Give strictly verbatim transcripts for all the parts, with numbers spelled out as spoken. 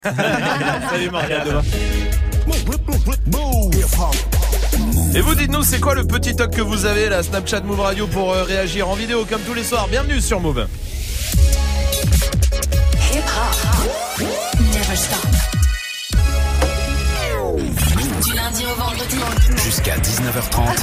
Salut Morgane, demain. Et vous dites-nous, c'est quoi le petit toc que vous avez, la Snapchat Move Radio, pour euh, réagir en vidéo comme tous les soirs. Bienvenue sur Move. Hip-hop, never stop. Du lundi au vendredi jusqu'à dix-neuf heures trente.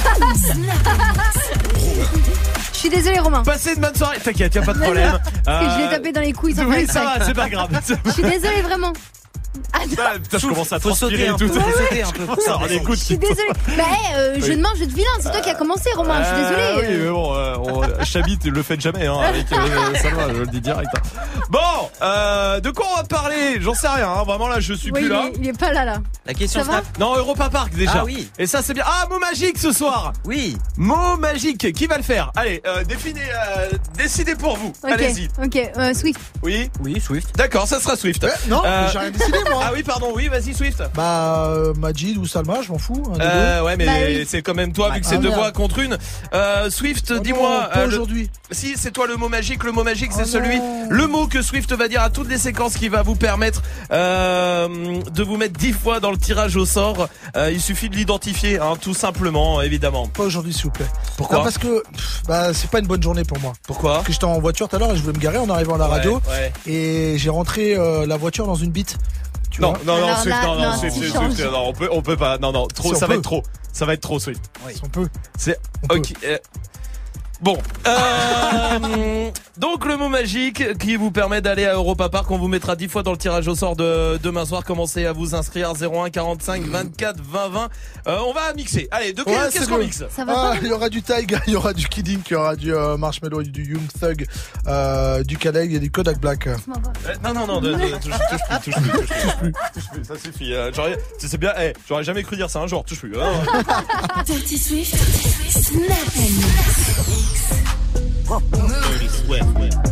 Je suis désolée Romain. Passez une bonne soirée. T'inquiète, y'a pas de problème. Parce que je l'ai tapé dans les couilles sans Oui, faire ça exprès. va, c'est pas grave. Je suis désolée vraiment. Ah non. Ah, putain, je commence à Faut transpirer sauter et un tout. peu, faut sauter un peu. Ça en écoute. Je suis désolée. Bah hey, euh, je Oui. demande, je te vilain. C'est toi qui as commencé Romain. Je suis Ah, désolée. oui, mais bon, euh, on, Chabit, le faites jamais, hein, avec euh, Salma, je le dis direct. Hein. Bon, euh, de quoi on va parler? J'en sais rien, hein, vraiment là, je suis Oui, plus il là. est, il est pas là là. La question Ça va Snap. Non, Europa Park déjà. Ah oui. Et ça c'est bien. Ah, mot magique ce soir. Oui. Mot magique, qui va le faire? Allez, euh, définez, euh, décidez pour vous. Ok. Allez-y. Ok. Euh, Swift. Oui. Oui, Swift. D'accord, ça sera Swift. Eh, non, Euh, j'ai rien décidé moi. Ah oui, pardon, oui, vas-y Swift. Bah, euh, Majid ou Salma, je m'en fous. un des Euh, ouais, mais Bah oui. c'est quand même toi, vu que Ah, c'est deux merde. voix contre une. Euh, Swift, deux. Oh dis-moi. non, pas euh, le- aujourd'hui. Si, c'est toi le mot magique. Le mot magique, c'est Oh celui, non. le mot que Swift va dire à toutes les séquences qui va vous permettre euh, de vous mettre dix fois dans le tirage au sort. Euh, il suffit de l'identifier, hein, tout simplement, évidemment. Pas aujourd'hui, s'il vous plaît. Pourquoi Non, parce que pff, bah, c'est pas une bonne journée pour moi. Pourquoi Parce que j'étais en voiture tout à l'heure et je voulais me garer en arrivant à la radio Ouais, ouais. et j'ai rentré euh, la voiture dans une bite. Tu Non, vois non, non, Alors Swift, là, non, non, non, Swift, tu Swift, changes. Swift, non, on peut, on peut pas, non, non, trop, Si, on ça va peut. être trop, ça va être trop, Swift. Si on peut. C'est, On peut. ok. euh, Bon, euh, donc le mot magique qui vous permet d'aller à Europa Park, on vous mettra dix fois dans le tirage au sort de demain soir. Commencez à vous inscrire zéro un quarante-cinq vingt-quatre vingt vingt. Euh, on va mixer. Allez, de quel- Ouais, qu'est-ce c'est qu'on bon. mixe? Ça va Ah, pas. il y aura du Tyga, il y aura du Kidding, il y aura du euh, Marshmello, du Young Thug, euh, du Khaled et du Kodak Black. Laisse-moi voir. Euh, Non, non, non, de- de- touche, touche plus, touche plus, touche plus, touche plus, ça suffit. Euh, j'aurais, c'est c'est bien, eh, j'aurais jamais cru dire ça un jour, touche plus. hein. Dirty Swift, Snap and Mix. Dirty Swift.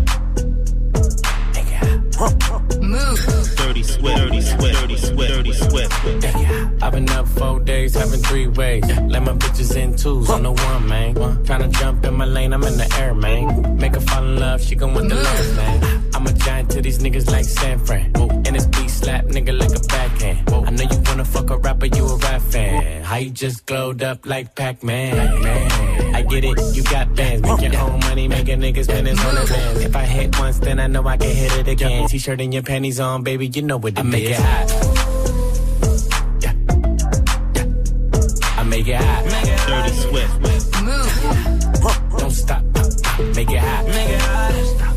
Move. Dirty Swift. Dirty Swift. Dirty Swift. Dirty Swift. I've been up four days, having three ways. Let my bitches in twos on the one, man. Tryna jump in my lane, I'm in the air, man. Make her fall in love, she gon' want the love, man. I'm a giant to these niggas like San Fran. And this beat slap nigga like a backhand. I know you wanna fuck a rapper, you a rap fan. How you just glowed up like Pac-Man? I get it, you got bands. Make your own money, make a nigga spend his hundred bands. If I hit once, then I know I can hit it again. T-shirt and your panties on, baby, you know what it I make is. It hot. Yeah. Yeah. I make it hot. Dirty Swift. Move. Don't stop. Make it hot. Make it hot.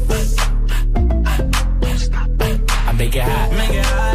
I make it hot. Make it hot.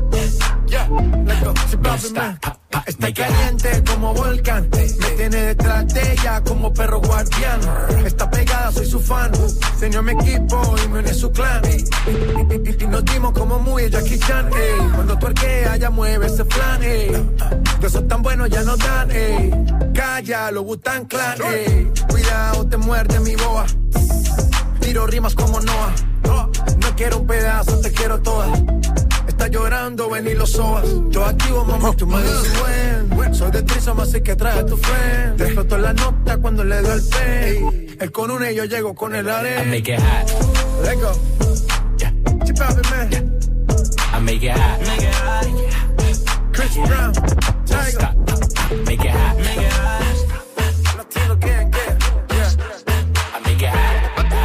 Don't stop. Pop, pop. Está Make it hot. caliente como volcán, me tiene detrás de ella como perro guardián. Está pegada, soy su fan, se unió a mi equipo y me une a su clan. Y, y- y- y nos dimos como muy Jackie Chan, ey. Cuando tuerquea ya mueve ese flan, ey. De esos tan buenos ya no dan, ey. Calla, lo Wu-Tang Clan, ey. Cuidado, te muerde mi boa. Tiro rimas como Noah. No quiero un pedazo, te quiero toda. Está llorando, ven y lo sobas. Yo activo, mami, tú me dices buen. Soy de Trisoma, así que trae a tu friend. Te exploto la nota cuando le doy el pay. Él con una y yo llego con el I arena. make it hot. Let go. Yeah. Chip out, man. I make it hot. Make it hot. Chris Brown. Don't Tiger. stop. Make it hot. Make it hot. Latino gang, yeah. Yeah. I make it hot.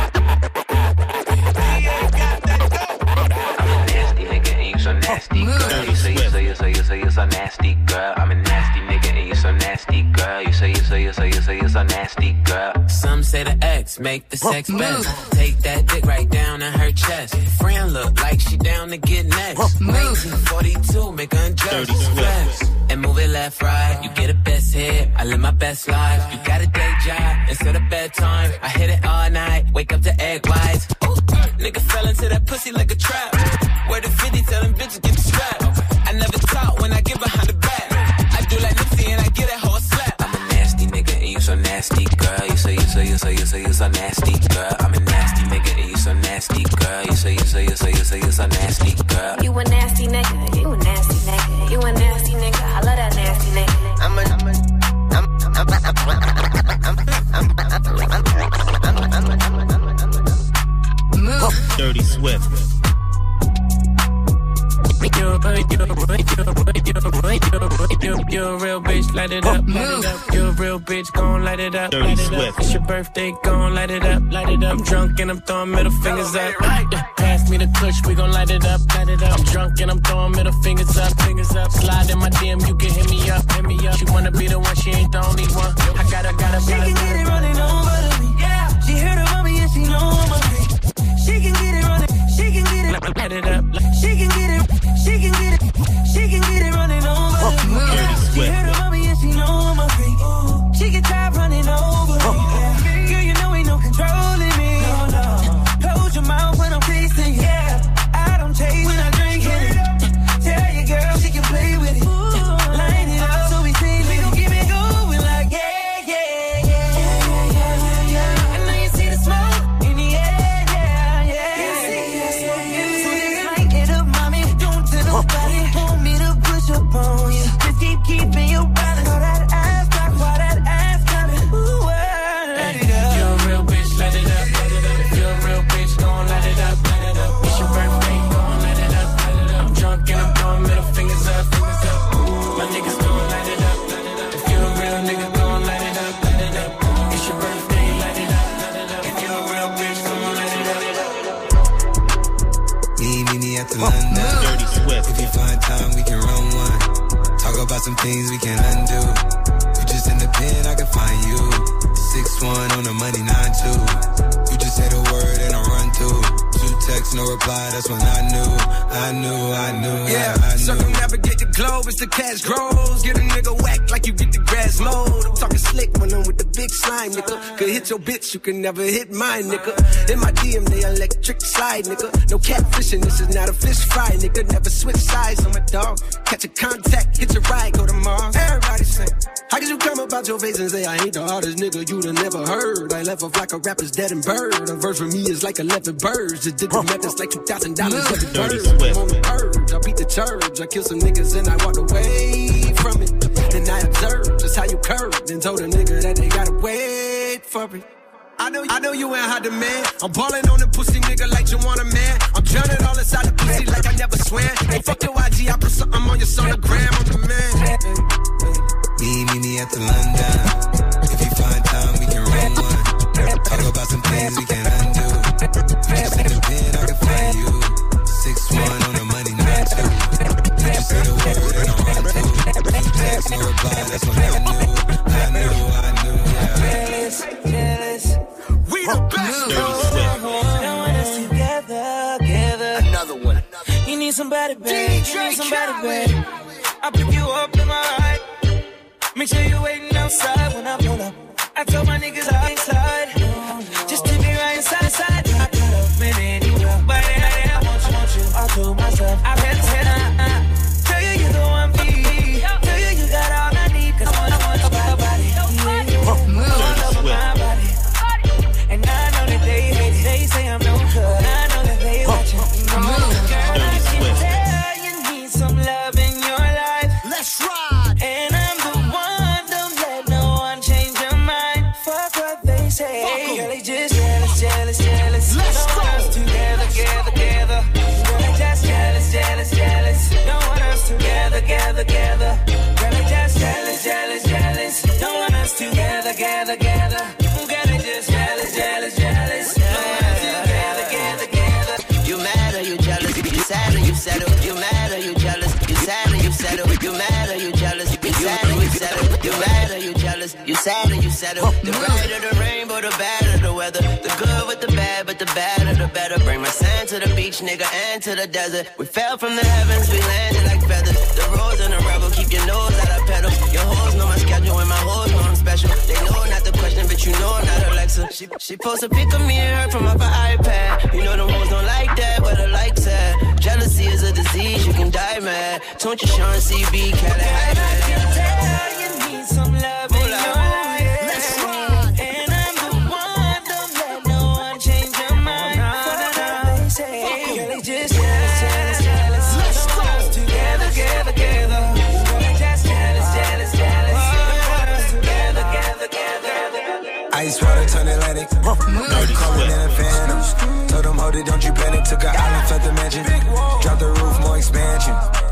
Nasty nigga and you so nasty girl. You say you say you say you say you so nasty girl. I'm a nasty nigga and you so nasty girl. You say you say you say you say you so nasty girl. Some say the X make the sex best. Take that dick right down in her chest. Friend look like she down to get next. nineteen forty-two, make her undress. Flex. And move it left, right. You get a best hit. I live my best life. You got a day job instead of bedtime. I hit it all night. Wake up to egg whites. Ooh, nigga fell into that pussy like a trap. Where the fifty tell them bitches get the strap. I never talk when I get behind the back. I do like Nipsey and I get that whole slap. I'm a nasty nigga and you so nasty girl. You say you say you say you say you so nasty girl. I'm a nasty nigga and you so nasty girl. You say you say you say you say you so nasty girl. You a nasty nigga. You a nasty nigga. You a nasty nigga. I love that nasty nigga. I'm a I'm a I'm I'm I'm Move. Dirty Swift. You You're a, you're a, you're a, you're a real bitch, light it up, light it up. You're a real bitch, gon' light it up, light it up. It's your birthday, gon' light it up, light it up. I'm drunk and I'm throwing middle fingers up. Yeah, pass me the kush, we gon' light it up, light it up. I'm drunk and I'm throwing middle fingers up, fingers up. Slide in my D M, you can hit me up, hit me up. She wanna be the one, she ain't the only one. I gotta, gotta, she can get it running over to me. Yeah, she heard about me and she know I'm a freak. She can get it running, she can get it, light it up. She can get it, she can get it, she can get it running over to me. Yeah, she heard about me and she know I'm a freak. She can try running over me. Yeah. Girl, you know ain't no controlling me. No, no. Close your mouth when I'm facing you. Yeah, I don't chase when I drink it. Tell your girl she can play with it. Line it up so we say we don't keep it going like yeah, yeah, yeah, yeah, yeah, yeah. I know you see the smoke in the air, yeah, yeah. You see the smoke, you see the light it up, mommy. Don't tell nobody, want me to push up on you. Just keep keeping your balance. All that ass back, while that ass coming. Ooh, light it up. You're a real bitch, light it up, light it up. If you're a real bitch, gon' light it up, light it up. It's your birthday, gon' light it up, light it up. I'm drunk and I'm throwing middle fingers up, fingers up. My niggas gon' light it up, light it up. If you're a real nigga, gon' light it up, light it up. It's your birthday, light it up, light it up. If you're a real bitch, gon' light it up. Me, me, me at the London. Dirty Swift. If you find time, we can run one. Talk about some things we can undo. You just in the pen, I can find you. six one on the money, nine two. You just say the word and I run through. Two texts, no reply, that's when I knew. I knew, I knew, yeah, I, I knew. Circumnavigate the globe as the cash grows. Get a nigga whack like you get the grass mowed. I'm talking slick when I'm with the big slime, nigga. Could hit your bitch, you can never hit mine, nigga. In my D M, they electric slide, nigga. No catfishing, this is not a fish fry, nigga. Never switch sides on my dog. Catch a contact, hit your ride, go to Mars. Everybody sing. How could you come about your face and say I ain't the hardest nigga you'd have never heard? I left off like a rapper's dead and bird. A verse for me is like eleven birds. Just did the math, that's like two thousand dollars every bird. I'm on the urge, I beat the church. I kill some niggas and I walked away from it. Then I observed just how you curved and told a nigga that they gotta wait for it. I know, I know you ain't hot demand. I'm ballin' on the pussy nigga like you want a man. I'm drowning all inside the pussy like I never swam. Hey, fuck your I G, I put something on your sonogram. I'm the man. Me, me, me at the London. If you find time, we can run one. Talk about some things we can undo. Just in the pen, I can find you. six one on the money, nine two. You just say the word and I run through. Two texts, no reply, that's when I knew. I knew, I knew, yeah. Jealous, jealous. We the best. Dirty Swift. Don't want us together, together. Another one. You need somebody, babe. You need somebody, babe. I pick you up in my ride. Make sure you're waiting outside when I pull up. I told my niggas I'm inside. Just take me right inside, inside. I could have been anywhere, but I, I want you, want you. I told myself I've had said, uh, uh. Tell you you're the one for me. Tell you you got all I need. Cause I want, I want your body. Yeah. All over my body. And I know that they hate it. They say I'm no good. I know that they watching. No, girl, I can tell you need some love in your life. Let's ride. And I'm the one, don't let no one change your mind. Fuck what they say. Girl, they just jealous, jealous, jealous. Let's don't go. want us together, together, together. Girl, they just jealous, jealous, jealous. Don't want us together, together, together. Girl, they just jealous, jealous, jealous. Don't want us together, together, together. Girl, they just jealous, jealous, jealous. Don't want us together, together, together. You mad or you jealous? You sad or you settle? You mad or you jealous? You sad or you settle? You mad or you jealous? You sad or you settle? You mad or you jealous? You sad or you settle? The right or the rainbow, the bad or the weather. The good with the bad, but the bad or the better. Bring my sand to the beach, nigga, and to the desert. We fell from the heavens, we landed like feathers. The rose and the rebel, keep your nose out of pedal. Your hoes know my schedule and my hoes know I'm special. They know not the question, but you know I'm not Alexa. She, she post a pic of me and her from off her iPad. You know them hoes don't like that, but I like that. Jealousy is a disease, you can die mad. Don't you Sean C B, Cali high man. I can tell you need some love in your life. Let's ride. And I'm the one, don't let no one change your mind. Fuck what they say. Girl, they just jealous, jealous, jealous. Let's Don't want go. us together, together, together. Girl, they just jealous, jealous, jealous. Don't want us together, together, together. Ice water turn Atlantic. No calling in a phantom. Told them, hold it, don't you panic. Took an island, felt the mansion. Drop the roof, more expansion.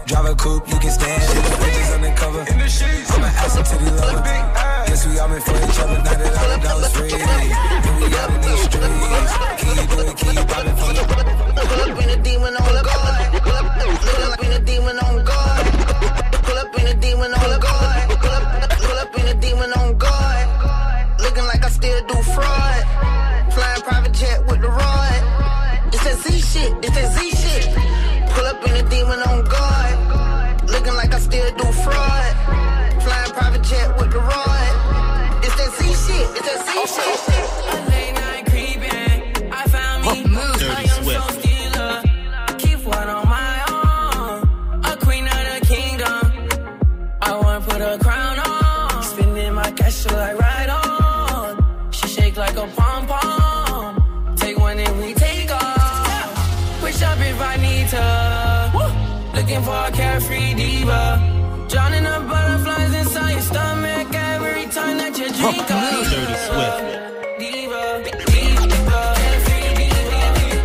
Drive a coupe, you can stand it. Bitches undercover. I'm an asset to the lover. Guess we all been for each other. Now that all the dollars free. And we out in these streets. Can you do it? Can you pop it from the... Pull up in a demon on guard. Pull up in a demon on guard. Pull up in a demon on guard. Pull up in a demon on guard. Looking like I still do fraud. Flying private jet with the rod. It's that Z shit. It's that Z shit. Pull up in a demon on guard. Looking like I still do fraud. Flying private jet with the rod. It's that Z shit. It's that Z shit. Late night creeping. I found me. Dirty Swift. Keep one on my own. A queen of the kingdom. I want to put a crown on. Spending my cash like right on. She shake like a pom pom. Take one and we take off. Push up if I need to. Looking for a carefree diva. Drowning the butterflies inside your stomach every time that you drink up. Dirty Swift. Diva, diva, carefree diva.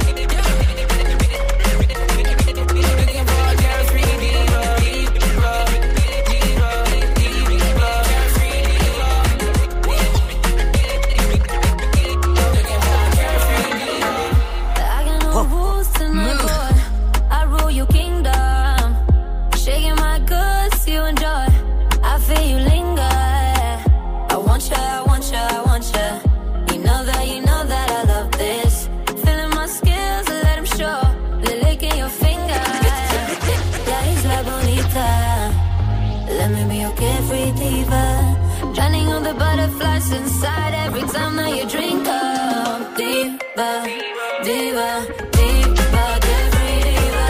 Looking for a carefree diva. Diva, diva, diva, carefree diva. Looking for a carefree diva. I got no rules to my board. I rule your kingdom. Shaking my goods, you enjoy. I feel you linger. I want you, I want you, I want you. You know that, you know that I love this. Feeling my skills, let them show. The lick in your finger. La isla bonita. Let me be your carefree diva. Drowning on the butterflies inside every time that you drink up. Diva, diva, diva, carefree diva.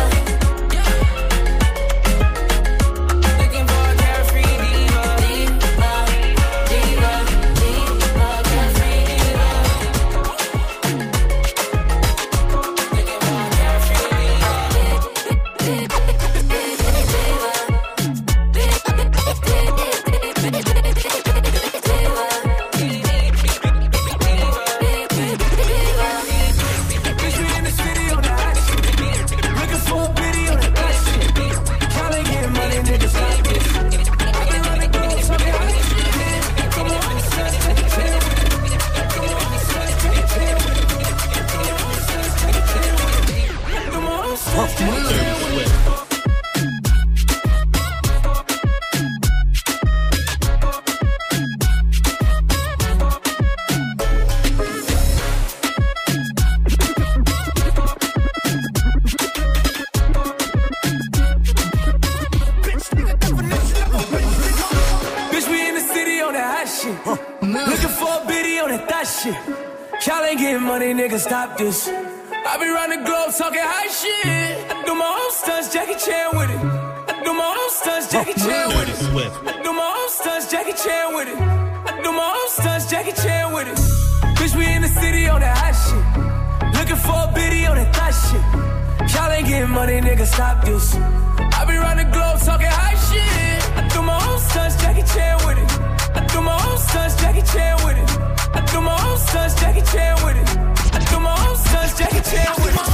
Looking for a carefree diva. Diva, diva, diva, carefree diva. Looking for a carefree diva. Bitch, we in the city on the hot shit. Looking for a biddy on that hot shit. Tryna get money, niggas like this. I been running girls, talking hot shit. Come on, son, take a chill with it. Come on, son, take a chill with it. Come on, son, take a chill with it. Come on, son, take a chill with it. Bitch, we in the city on that hot shit. Looking for a biddy on that thot shit. Y'all ain't getting money, nigga, stop this. I be round the globe talking hot shit. I do my own stunts, Jackie Chan with it. I do my own stunts, Jackie Chan with Dirty it. Swift. I do my own stunts, Jackie Chan with it. I do my own stunts, Jackie Chan with it. Bitch, we in the city on that hot shit. Looking for a biddy on that thot shit. Y'all ain't getting money, nigga, stop this. I be round the globe talking hot shit. I do my own stunts, Jackie Chan with it. I do my own stunts, Jackie Chan with it. I do my own stunts, Jackie Chan with it. I do my own stunts, Jackie Chan with it.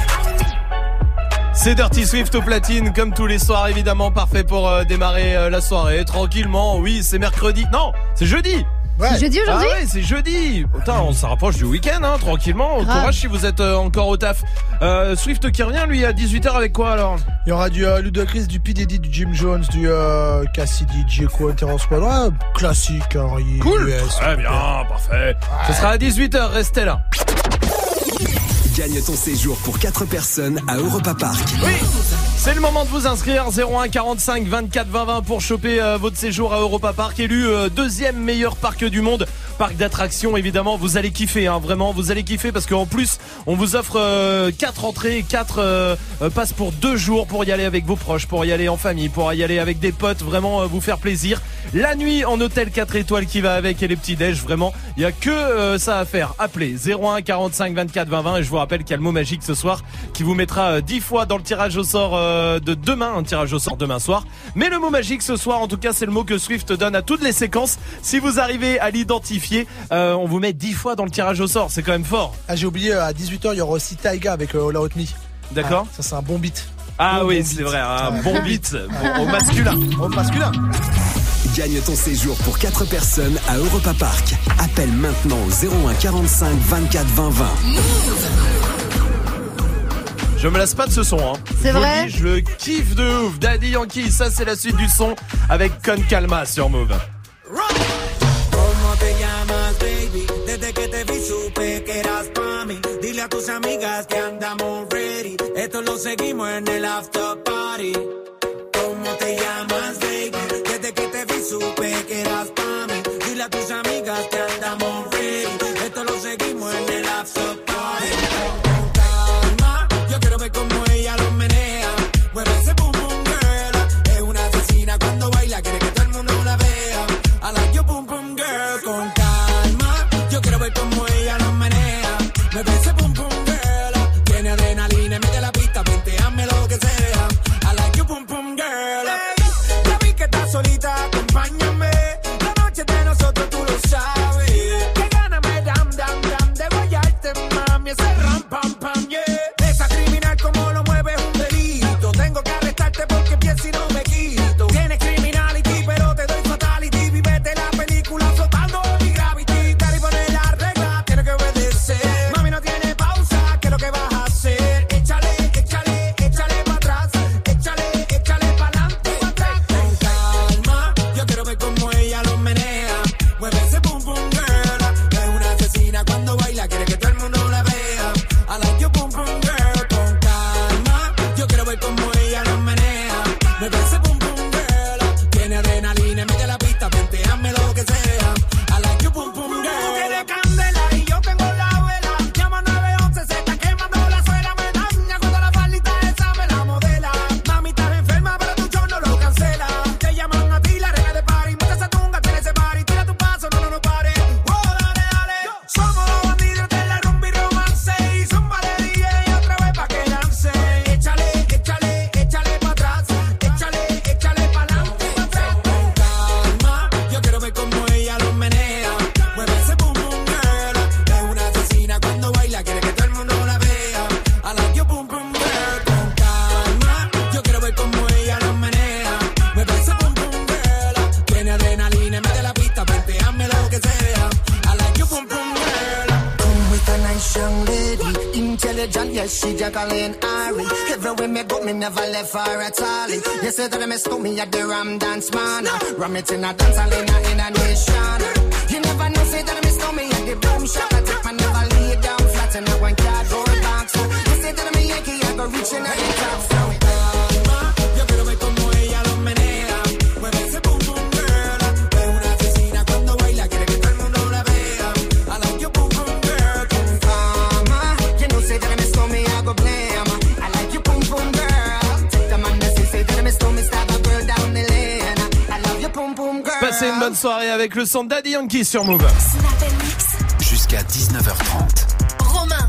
C'est Dirty Swift au platine, comme tous les soirs évidemment, parfait pour euh, démarrer euh, la soirée tranquillement. Oui, c'est mercredi, non, c'est jeudi. Ouais. C'est jeudi aujourd'hui. Ah ouais, c'est jeudi. Putain, on se rapproche du week-end, hein, tranquillement. Grave. Courage si vous êtes euh, encore au taf. Euh, Swift qui revient, lui, à dix-huit heures avec quoi alors? Il y aura du euh, Ludacris, du P. Diddy, du Jim Jones, du euh, Cassidy, Djeko, Terrence Squad. Ouais, classique, hein, Cool. U S. Très bien, parfait. Ce sera à dix-huit heures, restez là. Gagne ton séjour pour quatre personnes à Europa Park. Oui, c'est le moment de vous inscrire. Zéro un quarante-cinq vingt-quatre vingt vingt pour choper euh, votre séjour à Europa Park, élu euh, deuxième meilleur parc du monde. Parc d'attractions, évidemment, vous allez kiffer, hein, vraiment, vous allez kiffer parce qu'en plus, on vous offre euh, quatre entrées, quatre euh, euh, passes pour deux jours pour y aller avec vos proches, pour y aller en famille, pour y aller avec des potes, vraiment euh, vous faire plaisir. La nuit en hôtel quatre étoiles qui va avec et les petits déj, vraiment, il y a que euh, ça à faire. Appelez zéro un quarante-cinq vingt-quatre vingt vingt et je vous rappelle qu'il y a le mot magique ce soir qui vous mettra euh, dix fois dans le tirage au sort euh, de demain, un tirage au sort demain soir. Mais le mot magique ce soir, en tout cas, c'est le mot que Swift donne à toutes les séquences. Si vous arrivez à l'identifier, euh, on vous met dix fois dans le tirage au sort, c'est quand même fort. Ah, j'ai oublié, à dix-huit heures, il y aura aussi Taiga avec euh, All Out Me. D'accord. Ah, ça, c'est un bon beat. Ah Bon, oui, bon c'est beat. vrai, un bon beat, bon, au masculin. Au masculin. Gagne ton séjour pour quatre personnes à Europa Park. Appelle maintenant au zéro un quarante-cinq vingt-quatre vingt vingt. Je me lasse pas de ce son, hein. C'est Je vous vrai le dis, je kiffe de ouf. Daddy Yankee, ça c'est la suite du son avec Con Calma sur Move. ¿Cómo te llamas, baby? Desde que te vi supe que eras pa' mí. Dile a tus amigas que andamos ready. Esto lo seguimos en el after party. ¿Cómo te llamas, baby? Desde que te vi supe que eras pa' mí. Dile a tus amigas que andamos ready. Esto lo seguimos en el after party. Con calma, yo quiero ver cómo ella lo menea. Mueve ese boom boom girl. Es una asesina cuando baila, quiere que todo el mundo la vea. I like your boom boom girl. Con calma, yo quiero ver cómo ella lo menea. Mueve ese boom boom girl. Tiene adrenalina, mete la pista, venteame lo que sea. I like your boom boom girl. Hey, ya vi que estás solita, acompáñame. La noche de nosotros tú lo sabes. Que gana me dam dam dam de guayarte, mami. Ese ram pam pam yeah. Esa criminal como lo mueve es un delito. Tengo que arrestarte porque pienso y no me quito. Tienes criminality pero te doy fatality. Vivete la película flotando en mi gravity. Cari pone la regla, tiene que obedecer. Mami no tiene pausa, ¿qué es lo que vas a hacer? Échale, échale, échale pa' atrás. Échale, échale pa' adelante, pa' atrás. Con calma, yo quiero ver cómo ella lo menea. Mueve ese boom boom girl. Es una asesina cuando baila, quiere que todo el mundo la vea. I like your boom boom girl. Con calma, yo quiero ver cómo ella lo menea. Mueve ese boom boom girl. Tiene adrenalina, mete la pista, venteame lo que sea. I like your boom boom girl. Tú tienes candela y yo tengo la vela. Llama nueve once, se está quemando la suela. Me daña cuando la palita esa me la modela. Mami, estás enferma, pero tu show no lo cancela. Te llaman a ti, la reina de party. Mucha esa tunga, tiene ese party. Tira tu paso, no, no, no pare. Oh, dale, dale. Somos los bandidos de la rumba y romance. Y zumba de D J otra vez pa' que lance. Échale, échale, échale pa' atrás. Échale, échale pa' adelante, pa' atrás. Con calma, yo quiero ver cómo ella lo menea. Mueve ese boom boom girl. Es una asesina cuando baila, quiere que todo el mundo la vea. I like your boom boom girl. Con calma, yo quiero ver cómo ella lo menea. Mueve ese boom boom girl. Tiene adrenalina, mete la pista, venteame lo que sea. I like your boom boom girl. Come with a nice young lady, intelligent, yes, she Jacqueline Ari. Everywhere me go, me never left her at all. You say that I miss me at the Ram Dance Man. Ram it in a dance hall in a, in a nation. You never know, say that I miss me at the Boom Shop. I take my never lay down flat in a one cardboard box. You say that I'm a Yankee, I go reaching at the top. So Calma, yo quiero ver cómo ella lo menea. Mueve ese boom boom girl. Es una asesina cuando baila, quiere que todo el mundo la vea. I like your boom boom girl. Con Mama, you know, say that I miss me, I go blame. I like you, boom boom girl. Take the man that say that I miss me, stab a girl down the lane. I love you, boom boom girl. Passez une bonne soirée avec le son de Daddy Yankee sur Move. Jusqu'à dix-neuf heures trente. Romain.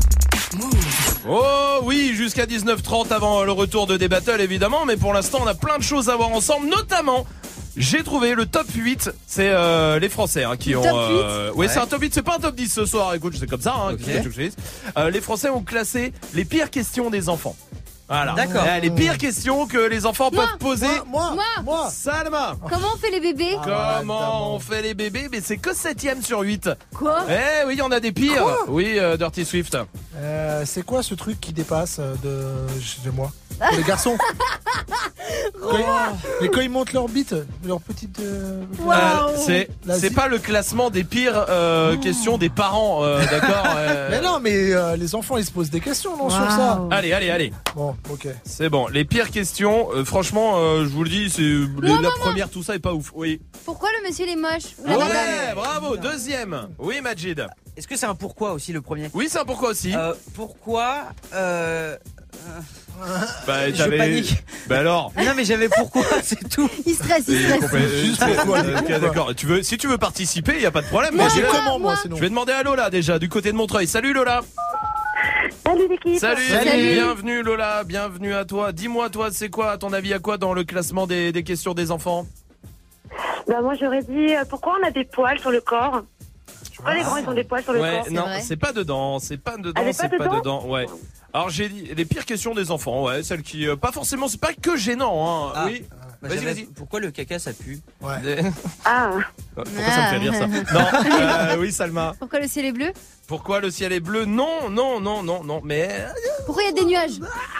Oh oui, jusqu'à dix-neuf heures trente avant le retour de D-Battle évidemment, mais pour l'instant on a plein de choses à voir ensemble, notamment j'ai trouvé le top huit, c'est euh, les Français hein, qui Le ont... top huit euh, oui, ouais. C'est un top huit, c'est pas un top dix ce soir, écoute, c'est comme ça. Hein, okay. que je euh, les Français ont classé les pires questions des enfants. Voilà. D'accord. Euh, les pires questions que les enfants Moi, peuvent poser. Moi, moi, moi. Salma. Comment on fait les bébés? Ah, Comment on fait les bébés? Mais c'est que septième sur huit. Quoi? Eh oui, on a des pires. Quoi oui, euh, Dirty Swift. Euh, c'est quoi ce truc qui dépasse euh, de chez moi? Pour les garçons. Quand ils- mais quand ils montent leur bite, leur petite. Euh, Wow. Euh, c'est La c'est zi- pas le classement des pires euh, questions des parents, euh, d'accord euh, Mais non, mais euh, les enfants ils se posent des questions non, sur ça. Allez, allez, allez. Bon, ok. C'est bon. Les pires questions, euh, franchement, euh, je vous le dis, c'est les- Moi, la moi, première, tout ça est pas ouf. Oui. Pourquoi le monsieur il est moche? Ou la Ouais, madame? bravo. Deuxième. Oui, Majid. Est-ce que c'est un pourquoi aussi le premier? Oui, c'est un pourquoi aussi. Euh, pourquoi euh... bah, je t'avais- panique. Bah alors. Non mais j'avais pourquoi, c'est tout. Il stresse, il C'est stresse. complè- Juste c'est- pourquoi, euh, ok, pourquoi. d'accord. Tu veux, si tu veux participer, y a pas de problème. Moi mais j'ai je- comment moi moi. sinon? Je vais demander à Lola déjà du côté de Montreuil. Salut Lola. Salut l'équipe. Salut. Salut. Bienvenue Lola, bienvenue à toi. Dis-moi toi, c'est quoi à ton avis à quoi dans le classement des, des questions des enfants? Bah moi j'aurais dit euh, pourquoi on a des poils sur le corps. Pourquoi les grands ils ont des poils sur le Ouais, corps? non, vrai. c'est pas dedans, c'est pas dedans, Elle est c'est pas pas dedans dedans. Ouais. Alors j'ai dit les pires questions des enfants, ouais, celles qui euh, pas forcément, c'est pas que gênant, hein. Ah. Oui. Bah, Vas-y, j'avais- vas-y. Pourquoi le caca ça pue? Ouais. Des- Ah. Pourquoi ça me fait rire ça? Non, euh, oui Salma. Pourquoi le ciel est bleu? Pourquoi le ciel est bleu? Non, non, non, non, non, mais Pourquoi il y a des nuages?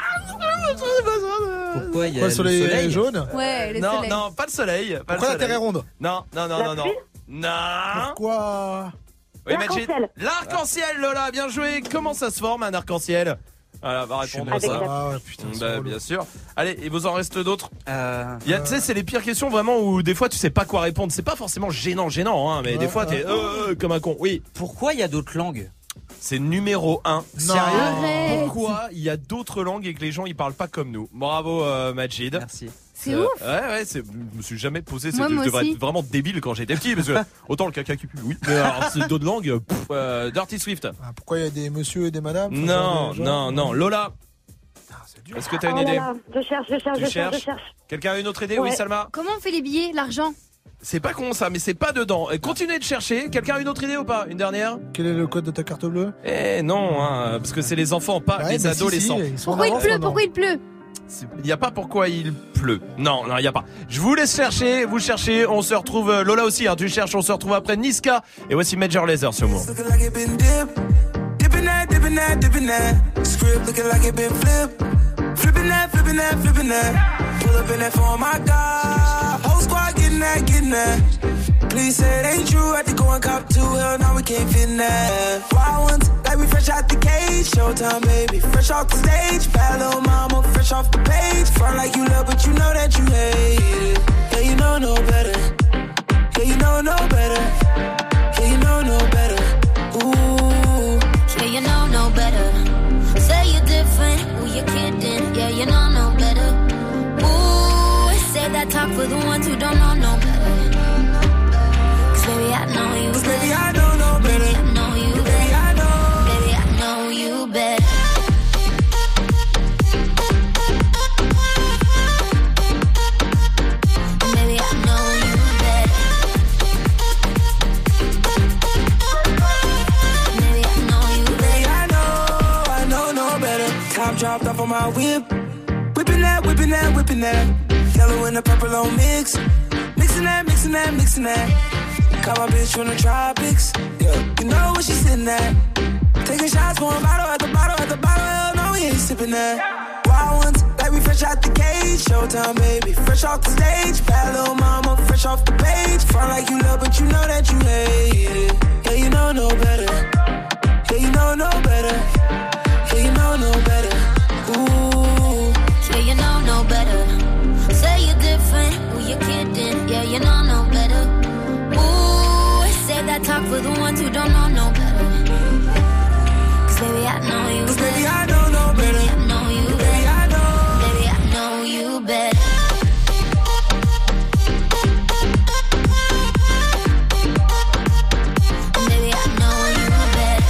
Pourquoi il y a Quoi, le soleil, soleil jaune? Ouais, le non, soleil. non, pas le soleil. Pas Pourquoi le la soleil. Terre est ronde? Non, non, non, La non, non. pluie Non. Pourquoi? Oui, Majid. L'arc-en-ciel. L'arc-en-ciel, Lola, bien joué. Comment ça se forme un arc-en-ciel? Voilà, va répondre à Avec ça. la- Ah ouais, putain. c'est Bah, relou. bien sûr. Allez, il vous en reste d'autres? Euh, Il y a, tu sais, c'est les pires questions vraiment où des fois tu sais pas quoi répondre. C'est pas forcément gênant, gênant, hein, mais Ouais, des fois t'es ouais. euh, euh, comme un con. Oui, Pourquoi il y a d'autres langues? c'est numéro un. Non. Arrête. Pourquoi il y a d'autres langues et que les gens ils parlent pas comme nous? Bravo, euh, Majid. Merci. C'est Euh, ouf. Ouais, ouais, c'est, je me suis jamais posé. C'est, Moi, je moi devrais aussi. être vraiment débile quand j'étais petit parce que autant le caca qui pue, oui. Mais alors, c'est d'autres langues. Pff, euh, Dirty Swift. Ah, pourquoi il y a des monsieur et des madames? Faut Non, faire des gens. non, non. Lola, Ah, c'est dur. est-ce que t'as une Oh là idée? là, je cherche, je cherche, Tu je cherche, je cherches cherche. Quelqu'un a une autre idée? Ouais. Oui, Salma. Comment on fait les billets, l'argent? C'est pas con ça, mais c'est pas dedans. Et continuez de chercher. Quelqu'un a une autre idée ou pas? Une dernière? Quel est le code de ta carte bleue? Eh non, hein, parce que c'est les enfants, pas Ouais, les mais si, adolescents. si, ils sont en Pourquoi il avance pleut? maintenant. Pourquoi il pleut? Il n'y a pas pourquoi il pleut. Non, non, il n'y a pas. Je vous laisse chercher, vous cherchez, on se retrouve, euh, Lola aussi, hein, tu cherches, on se retrouve après Niska. Et voici Major Lazer sur Move. Looking like it been dip. Dipping that, dipping that, dipping that. Script looking like it been flip. Flipping that, flipping that, flipping that. Pull up in that for my God. Whole squad getting that, getting that. Please say it ain't true. I had to go and cop two. Hell no, we can't fit in that. Wild ones, like we fresh out the cage. Showtime, baby. Fresh off the stage. Bad little mama, fresh off the page. Front like you love, but you know that you hate it. Yeah, you know no better. Yeah, you know no better. Yeah, you know no better. Ooh. Yeah, you know no better. Say you're different, who you kidding? Yeah, you know no better. Ooh, say that talk for the ones who don't know no better. Cause baby, I know you Cause baby, better. I know no better. Baby, I know you Baby, better. I know. Baby, I know you better. Baby, I know you better. Baby, I know you Baby, better. I know, I know no better. Top dropped off on my whip. Whipping that, whipping that, whipping that. Yellow and the purple on mix. Mixing that, mixing that, mixing that. Call my bitch from the tropics. Yeah, you know where she sitting at. Taking shots, pouring bottle at the bottle at the bottle. Hell no, we ain't sipping that. Wild ones, like we fresh out the cage. Showtime, baby, fresh off the stage. Bad little mama, fresh off the page. Front like you love, but you know that you hate it. Yeah, you know no better. Yeah, you know no better. Yeah, you know no better. Ooh. Yeah, you know no better. Say you're different, who you kidding? Yeah, you know no better. Ooh, say that talk for the ones who don't know no better. Cause baby, I know you Cause better. baby, I know no better. Baby, I know you Baby, better. I know. Baby, I know you better. Baby, I know you better.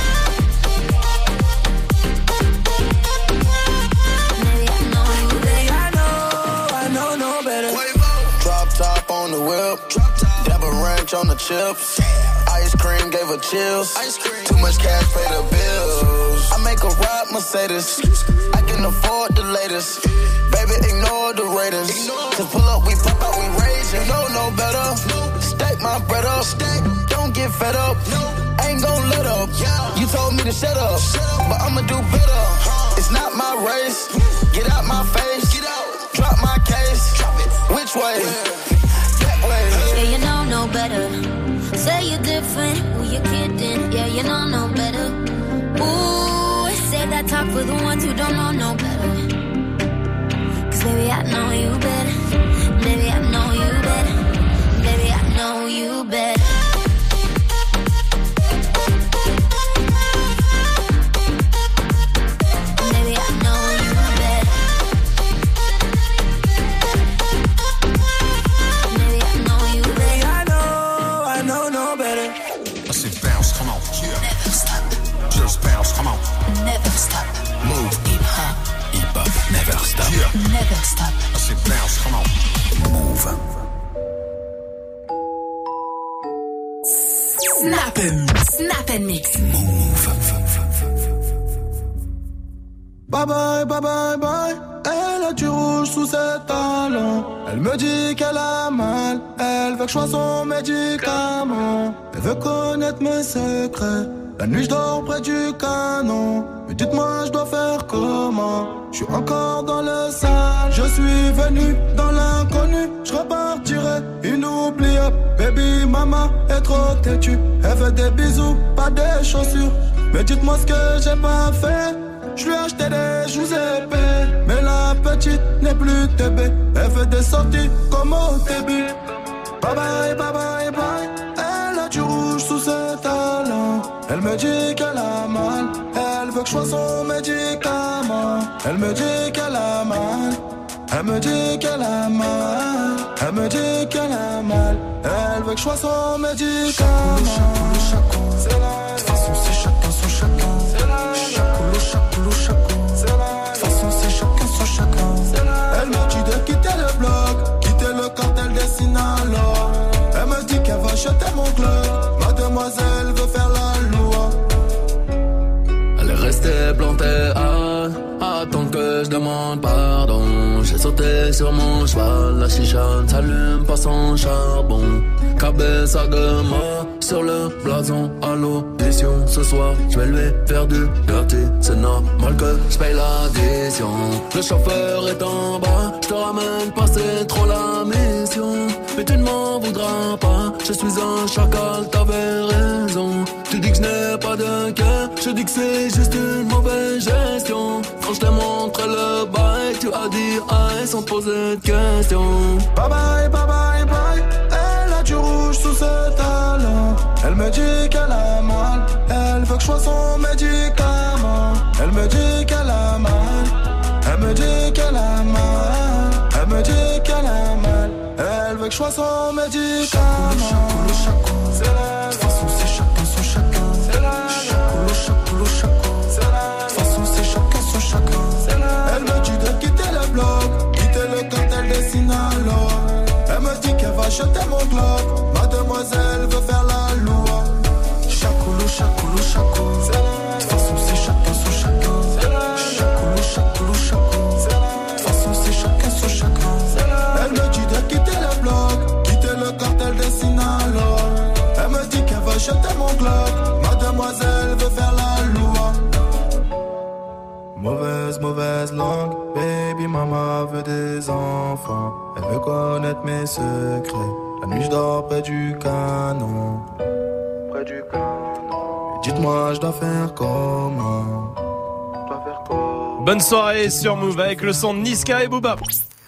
Baby, I know you Baby, better. I know, I know no better. Drop top on the whip. Dab a ranch on the chips. Ice cream gave her chills. Too much cash, pay the bills. I make a ride Mercedes. I can afford the latest. Baby, ignore the Raiders. Cause pull up, we pop out, we raise. You know no better. Stack my bread up. Don't get fed up. Ain't gon' let up. You told me to shut up, but I'ma do better. It's not my race. Get out my face. Drop my case. Which way? That way. Yeah, you know no better. Say you're different, who you kidding? Yeah, you know no better. Ooh, say that talk for the ones who don't know no better. Cause baby, I know you better. Baby, I know you better. Baby, I know you better. Baby, I know you better. Baby, I know you better. Baby, I know, I know no better. I said bounce, come on. Never stop. Just bounce, come on. Never stop. Move. Hip hop. Hip hop. Never stop. Yeah. Never stop. I said bounce, come on. Move. Snap and snap and mix. Move. Bye bye, bye bye, bye. Elle a du rouge sous ses talons. Elle me dit qu'elle a mal. Elle veut que je sois son médicament. Elle veut connaître mes secrets. La nuit je dors près du canon. Mais dites-moi je dois faire comment? Je suis encore dans le sale. Je suis venu dans l'inconnu. Je repartirai inoubliable. Baby mama est trop têtue. Elle fait des bisous, pas des chaussures. Mais dites-moi ce que j'ai pas fait. Je lui ai acheté des joues épais. Mais la petite n'est plus T B. Elle fait des sorties comme au début. Bye bye, bye bye, bye. Elle a du rouge sous ses talons. Elle me dit qu'elle a mal. Elle veut que je sois son médicament. Elle me dit qu'elle a mal. Elle me dit qu'elle a mal. Elle me dit qu'elle a mal. Elle veut que je sois son médicament. Chaco, c'est la. De toute façon c'est chacun son chacun. C'est la. Chaco, chaco, chaco. C'est la. De toute façon c'est chacun son chacun. C'est la. Elle me dit de quitter le bloc, quitter le cartel des Sinaloa. Elle me dit qu'elle va acheter mon club. Mademoiselle veut faire la loi. Elle est restée plantée à attendre que je demande pardon. J'ai sauté sur mon cheval, la chicha ne s'allume pas sans charbon. Cabeza de mort sur le blason à l'audition. Ce soir, je vais lui faire du dirty. C'est normal que je paye l'addition. Le chauffeur est en bas, je te ramène pas, c'est trop la mission. Mais tu ne m'en voudras pas, je suis un chacal, t'avais raison. Tu dis que je n'ai pas de cœur, je dis que c'est juste une mauvaise gestion. Quand je t'ai montré le bail, tu as dit aïe sans poser de questions. Bye bye, bye bye, bye. Elle a du rouge sous ses talons. Elle me dit qu'elle a mal. Elle veut que je sois son médicament. Elle me dit qu'elle a mal. Elle me dit qu'elle a mal. Elle me dit qu'elle a mal. Elle veut que je sois son médicament. Chaco, chaco, c'est la. De toute façon c'est chacun son chacun. C'est la. Chaco, chaco, chaco, c'est la. De toute façon c'est chacun son chacun. C'est la. Elle me dit de quitter le bloc, quitter le cartel des Sinaloa. Elle me dit qu'elle va acheter mon club. Mademoiselle veut faire la loi. Chacoulou, chacoulou, chaco. C'est la. De toute façon c'est chacun son chacun. C'est la. Chacoulou, chacoulou, chaco. C'est la. De toute façon c'est chacun son chacun. C'est la. Elle me dit de quitter le bloc, quitter le cartel des Sinaloa. Elle me dit qu'elle va acheter mon club. Mademoiselle veut faire la loi. Mauvaise, mauvaise langue, baby mama veut des enfants. Elle veut connaître mes secrets. La nuit je dors près du canon. Près du canon. Dites-moi je dois faire comment? Je dois faire comment? Bonne soirée sur Move avec le son de Niska et Booba.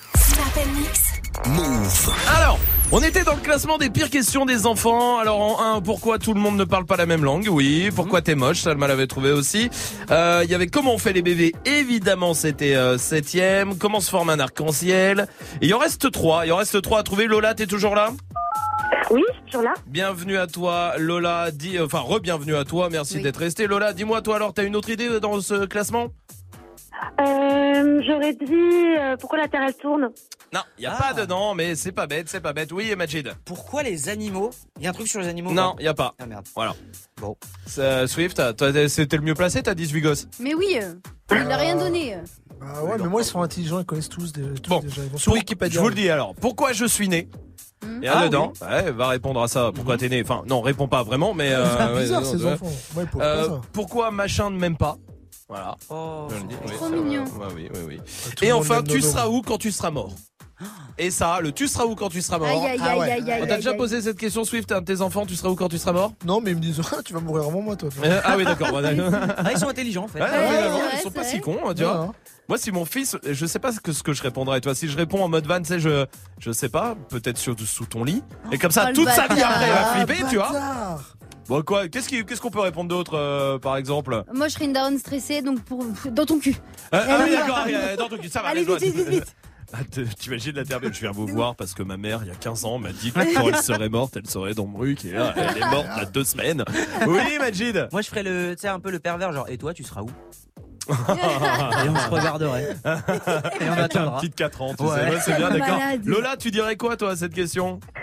Move. Alors, on était dans le classement des pires questions des enfants. Alors en un, pourquoi tout le monde ne parle pas la même langue? Oui. Pourquoi t'es moche? Salma l'avait trouvé aussi. Euh, il y avait comment on fait les bébés? Évidemment, c'était euh, septième. Comment se forme un arc-en-ciel? Et il en reste trois. Il en reste trois à trouver. Lola, t'es toujours là? Oui, toujours là. Bienvenue à toi, Lola. Dis, enfin, re-bienvenue à toi. Merci oui. d'être resté. Lola, dis-moi, toi alors, t'as une autre idée dans ce classement? Euh, j'aurais dit euh, pourquoi la Terre elle tourne. Non, il y a ah. pas dedans, mais c'est pas bête, c'est pas bête. Oui, Majid. Pourquoi les animaux? Il y a un truc sur les animaux? Non, il y a pas. Ah merde. Voilà. Bon. Euh, Swift, toi, c'était le mieux placé, t'as dix-huit gosses. Mais oui, euh, il n'a rien donné. Ah ouais, mais moi ils sont intelligents, ils connaissent tous, des, tous bon. déjà. Ils vont sur Wikipédia. Je vous le dis alors. Pourquoi je suis né? Mmh. Et ah, dedans, oui. ouais, va répondre à ça. Pourquoi mmh. t'es né? Enfin, non, réponds pas vraiment, mais. Euh, c'est bizarre ouais, ces ouais. enfants. Ouais, euh, ça. Pourquoi machin ne m'aime pas? Voilà. Oh, je le dis. C'est oui, trop mignon. Ouais, oui, oui, oui. Tout Et enfin, tu seras où quand tu seras mort? Et ça, le tu seras où quand tu seras mort? Aïe, aïe, ah ouais. aïe, aïe, On t'a aïe, déjà aïe. posé cette question, Swift, à un de tes enfants, tu seras où quand tu seras mort? Non, mais ils me disent, tu vas mourir avant moi, toi. Euh, ah oui, d'accord. Ah, ils sont intelligents, en fait. Ouais, ouais, ouais, ouais, ouais, ouais, ils sont pas vrai. si cons, tu vois. Ouais. Moi, si mon fils, je sais pas ce que, ce que je répondrais. Toi, si je réponds en mode van, tu sais, je, je sais pas, peut-être sur, sous ton lit. Et comme ça, oh, toute sa vie après, elle va ah, flipper, bâtard. tu vois. Bon, quoi, qu'est-ce qui, qu'est-ce qu'on peut répondre d'autre, euh, par exemple? Moi, je serais une daronne stressée, donc pour dans ton cul. Euh, ah oui, d'accord, dans ton cul, ça va. Allez, vite, vite, vite, vite. Ah, t'imagines la terre, je viens vous voir parce que ma mère, il y a quinze ans, m'a dit que quand elle serait morte, elle serait dans Bruck et là, elle est morte il y a deux semaines. Oui, Majid. Moi, je ferais le, tu sais, un peu le pervers, genre, et toi, tu seras où? Et on se regarderait. Et on Avec un petit de quatre ans, tu ouais. sais. Ouais, c'est bien, d'accord. Malade. Lola, tu dirais quoi, toi, à cette question?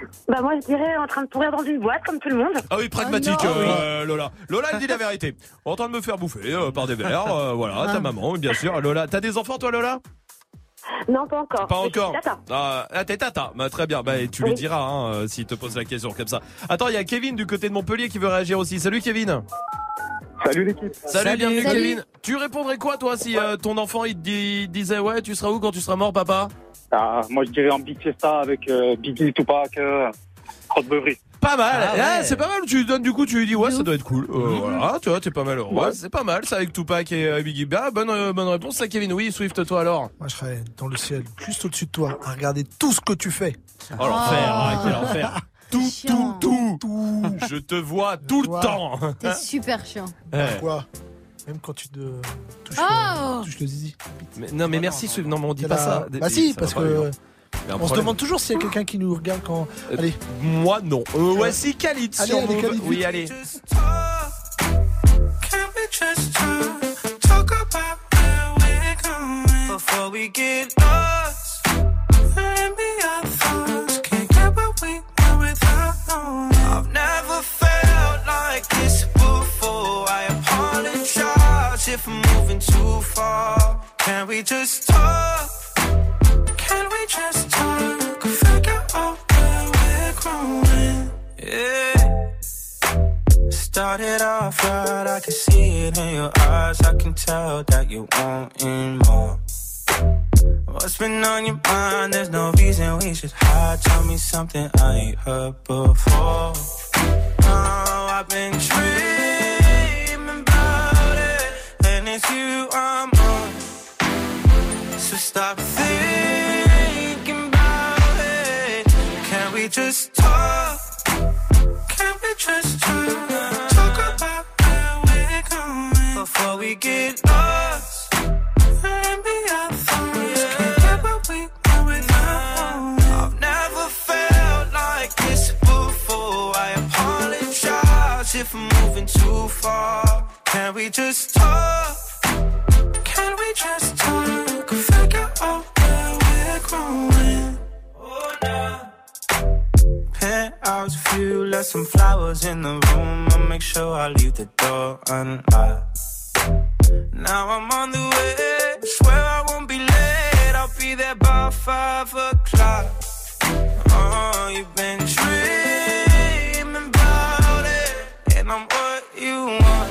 Bah moi je dirais en train de pourrir dans une boîte comme tout le monde. Ah oui, pragmatique, Oh non. euh, Lola. Lola, elle dit la vérité. En train de me faire bouffer euh, par des vers, euh, voilà, ta maman, bien sûr. Lola, t'as des enfants toi, Lola? Non, pas encore. Pas Mais je encore. suis tata. Ah, ah, t'es tata. Bah, très bien. Bah, tu lui diras hein, euh, s'il te pose la question comme ça. Attends, il y a Kevin du côté de Montpellier qui veut réagir aussi. Salut Kevin. Salut l'équipe. Salut, Salut. bienvenue Salut. Kevin. Tu répondrais quoi toi si euh, ton enfant il te dit- disait ouais, tu seras où quand tu seras mort, papa? Ah, moi je dirais en Big Fiesta avec euh, Biggie, Tupac, euh, Crotte Beuvry. Pas mal. Ah ouais. Ah, c'est pas mal. Tu lui donnes du coup, tu lui dis ouais, ça doit être cool. Euh, Voilà, tu vois, t'es pas mal. Ouais, c'est pas mal. Ça avec Tupac et euh, Biggie. Bah, bonne euh, bonne réponse, ça Kevin. Oui, Swift, toi alors. Moi, je serais dans le ciel, juste au-dessus de toi, à regarder tout ce que tu fais. Oh l'enfer, ah, quel enfer. Tout, tout, tout, tout. Je te vois tout le vois. temps. T'es super chiant. Pourquoi? Même quand tu te touches, Oh le, touches le zizi. Mais, non, mais merci, Swift. Non, mais on dit T'as pas la- ça. Bah si, Ça parce va pas, que lui, hein. Il y a un on se problème. demande toujours s'il y a quelqu'un qui nous regarde quand. Euh, Allez. Moi, non. Euh, ouais, si, Khalid, Allez, si on allez, veut. Khalid, Oui, vite. allez. Can we just talk, talk about where we're going before we get lost? Maybe our thoughts can't get what we want without knowing. I've never felt like this before. I apologize if I'm moving too far. Can we just talk? Can we just talk? Figure out where we're growing. Yeah. Started off right, I can see it in your eyes. I can tell that you wanting more. What's been on your mind? There's no reason we should hide. Tell me something I ain't heard before. Oh, I've been dreaming about it, and it's you I'm on. So stop thinking about it. Can we just talk? Can we just talk? Talk about where we're going before we get lost. Maybe our thoughts can't get what we want without knowing. I've never felt like this before. I apologize if I'm moving too far. Can we just talk? Can we just talk? Figure out where we're growing. Oh, no. Penthouse view, left some flowers in the room. I'll make sure I leave the door unlocked. Now I'm on the way, swear I won't be late. I'll be there by five o'clock. Oh, you've been dreaming about it, and I'm what you want.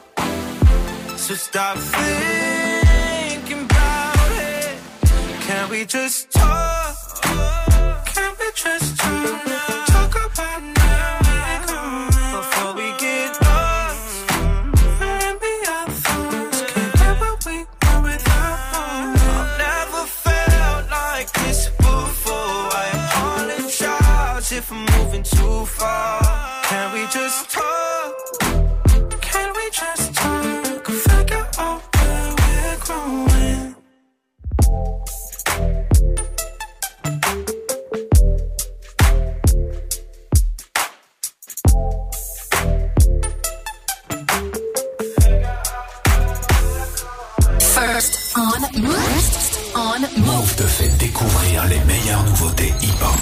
So stop thinking about it. Can we just talk? Can we just talk? Talk about now we're going before we get lost. Maybe our thoughts can't get what we want without knowing. I've never felt like this before. I apologize if I'm moving too far. Can we just talk? Can we just talk? Figure out where we're growing. First on Move. First on Move. Move te fait découvrir les meilleures nouveautés hip-hop.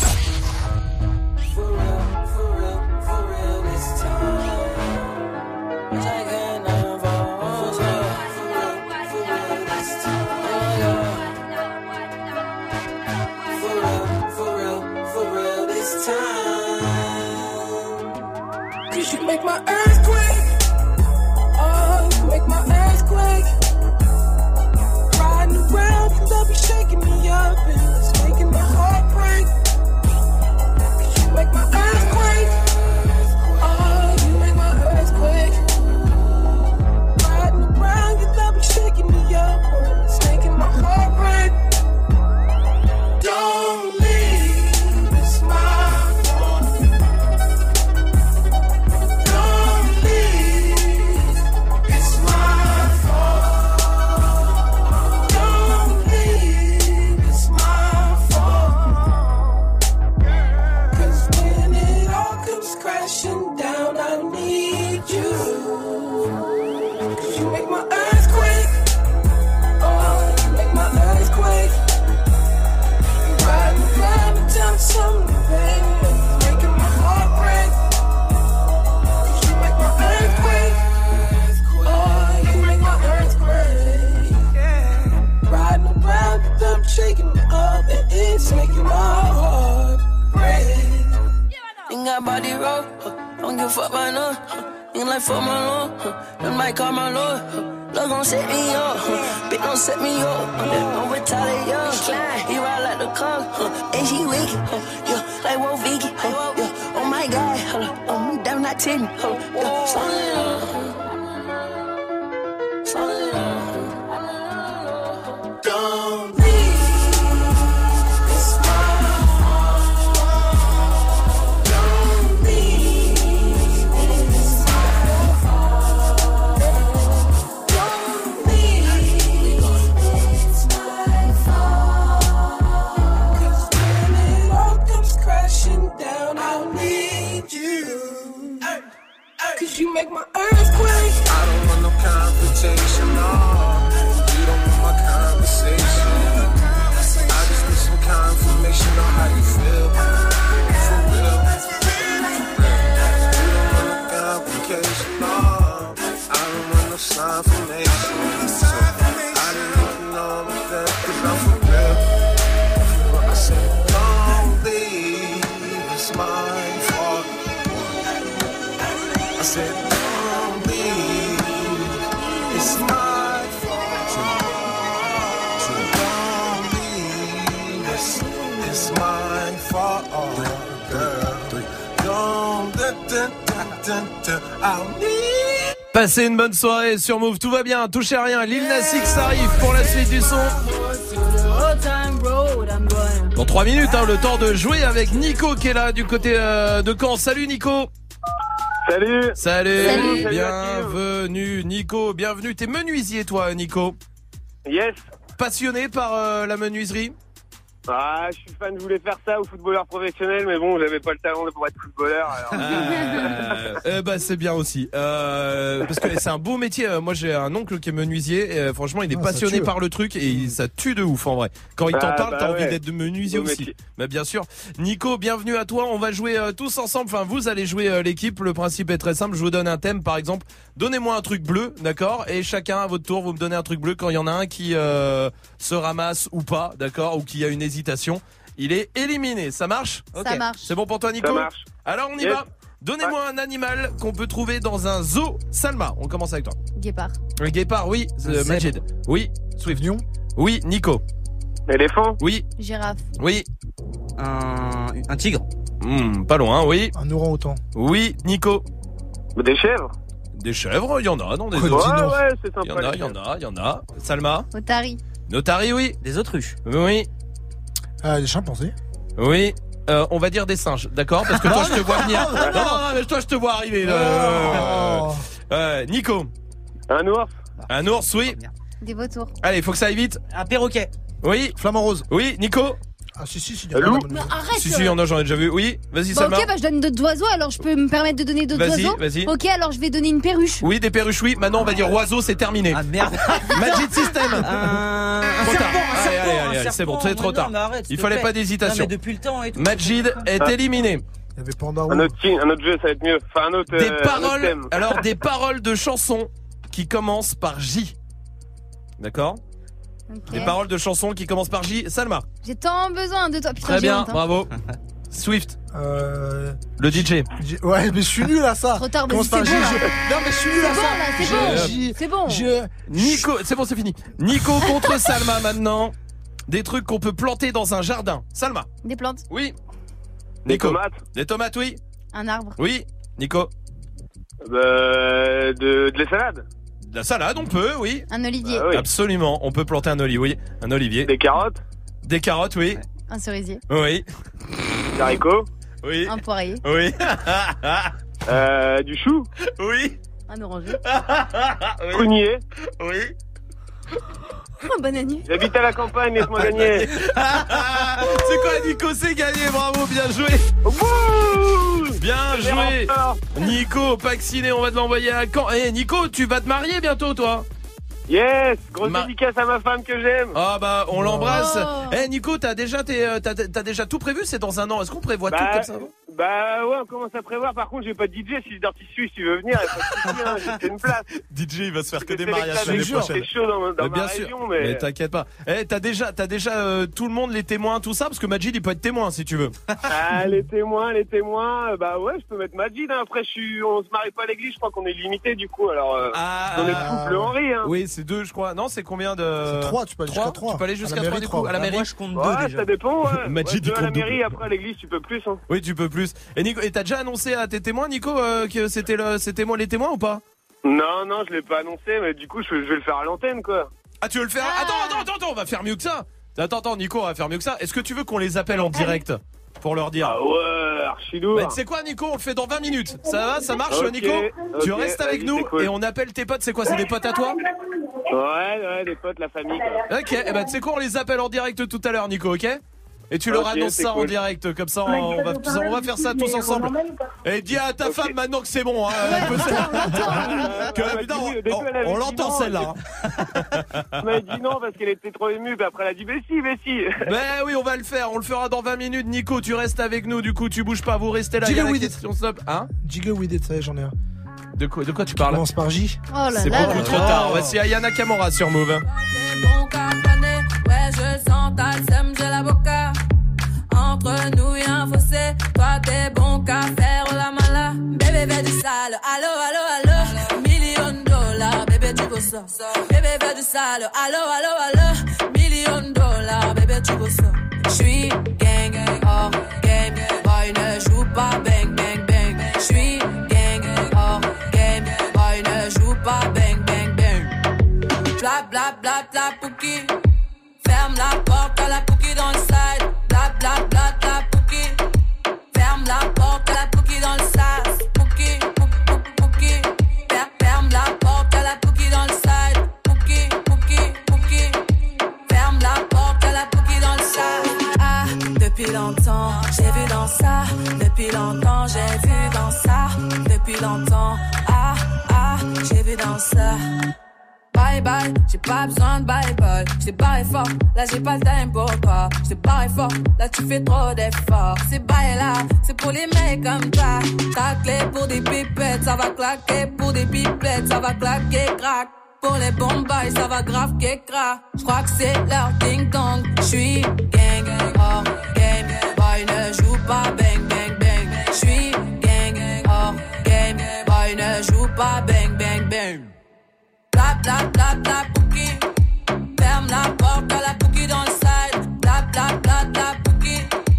Cause you make my earthquake. Oh, you make my earthquake. Riding around and they'll be shaking me up and it's making my heart break. Cause you make my earthquake. Oh, you make my earthquake. Riding around and they'll be shaking me up and it's making my heart break. Don't leave, it's my fault. Don't got body roll. Don't give a fuck right now. Ain't like fuck my lord. Them might call my lord. Love gon' set me up. Bitch don't set me up. Don't retaliate, yo. He ride like the car. And she wicked. Yeah, like Wolf Vicky. Yeah, oh my God. Oh, damn not ten. Yeah, slow it down. Slow it down. Don't leave. It's my fault. Don't leave. It's my fault. Don't leave. It's my fault. 'Cause when it all comes crashing down, I'll need you. 'Cause you make my earthquake. I don't want no confrontation, no. You don't want my conversation. I just need some confirmation on how you feel. For real. You don't want no complication, no. I don't want no confirmation. So I didn't even know that, 'cause I'm for real. I said, don't leave, it's my fault. I said, don't leave, it's my fault. Don't leave, it's, it's my fault, girl. Don't, da, da, da, da, da, I'll need. Passez une bonne soirée sur Move, tout va bien, touchez à rien. Lil Nas X arrive pour la suite du son. Dans trois minutes, hein, le temps de jouer avec Nico qui est là du côté euh, de Caen. Salut Nico. Salut. Salut. Salut. Bienvenue Nico, bienvenue. T'es menuisier toi Nico. Yes. Passionné par euh, la menuiserie. Ah, je suis fan, je voulais faire ça au footballeur professionnel, mais bon, j'avais pas le talent pour être footballeur. Alors... Euh, euh, bah c'est bien aussi, euh, parce que c'est un beau métier. Moi j'ai un oncle qui est menuisier. Et, euh, franchement, il est Ah, passionné tue. par le truc et il, ça tue de ouf en vrai. Quand il t'en Ah, parle, bah t'as envie ouais. d'être de menuisier Beau aussi. métier. Bah bien sûr. Nico, bienvenue à toi. On va jouer euh, tous ensemble. Enfin, vous allez jouer euh, l'équipe. Le principe est très simple. Je vous donne un thème, par exemple. Donnez-moi un truc bleu, d'accord. Et chacun à votre tour, vous me donnez un truc bleu. Quand il y en a un qui euh, se ramasse ou pas, d'accord, ou qui a une hésitation, il est éliminé. Ça marche? Ça marche. C'est bon pour toi, Nico? Ça marche. Alors on y Yes. va. Donnez-moi un animal qu'on peut trouver dans un zoo. Salma, on commence avec toi. Guépard. Un guépard, oui. Euh, zèbre. Majid. Oui. Swift. Lion. Oui. Nico. Éléphant. Oui. Girafe. Oui. Un, un tigre. Hmm, pas loin, oui. Un orang-outan. Oui. Nico. Des chèvres. Des chèvres, il y en a dans des Ouais, zoos. dis Ouais, non. ouais, c'est Il y en sympa. a, les il y en chèvres. a, il y en a. Salma. Otari. Notari, oui. Des autruches. Oui. Ah, des chimpanzés. Oui. Euh, on va dire des singes, d'accord? Parce que toi, je te vois venir. Non, non, non, mais toi, je te vois arriver. là. Oh. Euh, Nico. Un ours. Un ours, oui. Des vautours. Allez, faut que ça aille vite. Un perroquet. Oui. Flamant rose. Oui, Nico. Ah, si, si, si. Un loup. Mais arrête. Si, si, il y en a, j'en ai déjà vu. Oui, vas-y, Bah, Salma. ok, bah je donne d'autres oiseaux, alors je peux me permettre de donner d'autres Vas-y, oiseaux. vas-y. Ok, alors je vais donner une perruche. Oui, des perruches, oui. Maintenant, on va dire oiseau, c'est terminé. Ah merde. Magic System. Un, un Trop tard. serpent, un Allez, serpent, allez, un allez, serpent. c'est bon, c'est trop Mais tard. non, mais arrête, s'il Il te fallait plaît. pas d'hésitation. Non, mais depuis le temps et tout. Majid est Ah. éliminé. Il y avait Panda Un autre, team, un autre jeu, ça va être mieux. Enfin, un autre, Des euh, un autre paroles, thème. alors des paroles de chansons qui commencent par J. D'accord? Ok. Des paroles de chansons qui commencent par J. Salma. J'ai tant besoin de toi. Putain, Très j'ai bien, honte, hein. bravo. Swift, Euh. le D J. j'ai- Ouais, mais je suis nul à ça. Trop tard, Comment vas-y, ça, c'est j'ai- bon, je- là. Non, mais je suis nul C'est à bon, ça. là, c'est Je- bon. j'ai- C'est bon. Je. Nico, c'est bon, c'est fini. Nico contre Salma maintenant. Des trucs qu'on peut planter dans un jardin. Salma. Des plantes. Oui. Des Nico. tomates. Des tomates, oui. Un arbre. Oui. Nico. Euh, de, de la salade. De la salade, on peut, oui. Un olivier. Ah oui. Absolument. On peut planter un olivier, oui. Un olivier. Des carottes. Des carottes, oui. Un cerisier. Oui. Des haricots. Oui. Un poirier. Oui. Euh, du chou. Oui. Un oranger. Oui. Prunier. Oui. Un bananier. J'habite à la campagne, laisse-moi gagner. C'est quoi, Nico? C'est gagné, bravo, bien joué. Wouh. Bien Les joué. remparts. Nico, vacciné, on va te l'envoyer à Caen. Eh, Nico, tu vas te marier bientôt, toi? Yes. Grosse Ma- dédicace à ma femme que j'aime. Ah bah, on l'embrasse. Oh. Eh, Nico, t'as déjà, tes, euh, t'as, t'as déjà tout prévu? C'est dans un an. Est-ce qu'on prévoit tout Bah, comme ça? Bah ouais, on commence à prévoir. Par contre, j'ai pas de D J. Si Dirty Swift, si tu veux venir, il y a pas de souci, hein, j'ai une place. D J, il va se faire que des C'est mariages l'année sélectionné, prochaine. c'est chaud dans, dans Mais ma bien région, sûr. mais... Mais t'inquiète pas. Eh, t'as déjà, t'as déjà euh, tout le monde, les témoins, tout ça, parce que Majid, il peut être témoin si tu veux. Ah, les témoins, les témoins, euh, bah ouais, je peux mettre Majid, hein. Après, je suis, on se marie pas à l'église, je crois qu'on est limité, du coup, alors, euh, Ah, on est le couple Henri, hein. Oui, c'est deux, je crois. Non, c'est combien de. C'est trois, tu peux aller jusqu'à trois. Tu peux aller À jusqu'à la trois mairie, du coup, trois. à la Ah, mairie. Moi, je compte deux Ouais, déjà. ça dépend, ouais. Majid, Ouais, il deux à la compte mairie, double. après à l'église, tu peux plus, hein. Oui, tu peux plus. Et Nico, et t'as déjà annoncé à tes témoins, Nico, euh, que c'était le, c'était moi les témoins ou pas? Non, non, je l'ai pas annoncé, mais du coup, je, je vais le faire à l'antenne, quoi. Ah, tu veux le faire? Attends, attends, attends, attends, on va faire mieux que ça. Attends, attends, Nico, on va faire mieux que ça. Est-ce que tu veux qu'on les appelle en direct pour leur dire? Ah ouais, archi lourd. Bah, tu sais quoi, Nico, on le fait dans vingt minutes. Ça va, ça marche, Ok, Nico? Tu ok, restes avec vas-y, nous c'est cool. et on appelle tes potes. C'est quoi? C'est des potes à toi? Ouais, ouais, des potes, la famille, quoi. Ok, et bah tu sais quoi, on les appelle en direct tout à l'heure, Nico, ok? Et tu leur Ok, annonces c'est ça en cool. direct, comme ça on va, on va faire ça tous ensemble. Et dis à ta femme maintenant que c'est bon, hein, elle peut se- que, putain, on, on- on l'entend celle-là. Elle m'a dit non parce qu'elle était trop émue, puis après elle a dit mais si, mais si. Ben oui, on va le faire, on le fera dans vingt minutes. Nico, tu restes avec nous, du coup tu bouges pas, vous restez là. Il y a Jiggle la with it. question stop. Hein? Jiggle with it, ça y est, j'en ai un. De quoi, de quoi tu parles? Commence par J. Oh là C'est là beaucoup là trop là. tard. Voici Ayana Kamora sur Move. Bon cacané, ouais je sens ta sème, j'ai la boca. Entre nous y'a un fossé, toi t'es bon qu'à faire la mala. Bébé fais du sale, allo allo allo. Million de dollars, bébé tu veux ça. Bébé fais du sale, allo allo allo. Million de dollars, bébé tu veux ça. J'suis gang, oh game, boy ne joue pas bang bang bang. J'suis gang, oh game, boy ne joue pas bang bang bang. Bla bla bla bla pouki. Ferme la porte à la pouki dans le side. Bla bla bla bla pouki. Ferme la porte à la pouki dans le sas. Pouki, pouki, pouki. Fer- Ferme la porte à la pouki dans le side. Pouki, pouki, pouki. Ferme la porte à la pouki dans le sas. Ah, depuis longtemps, j'ai vu dans ça. Depuis longtemps, j'ai vu dans ça. Depuis longtemps, ah, ah, j'ai vu dans ça. Bye bye, j'ai pas besoin de bye bye. J't'ai barré fort, là j'ai pas le time pour toi. J't'ai barré fort, là tu fais trop d'efforts. C'est bye là, c'est pour les mecs comme toi. Ta clé pour des pipettes, ça va claquer. Pour des pipettes, ça va claquer, crack. Pour les bombes, ça va grave qu'écra. J'crois que c'est leur ding dong. J'suis gang, oh game. Boy ne joue pas bang bang bang. J'suis gang, oh game. Boy ne joue pas bang bang bang. Bla bla bla bla pouki. Ferme la porte à la pouki dans le side. Bla bla bla bla pouki.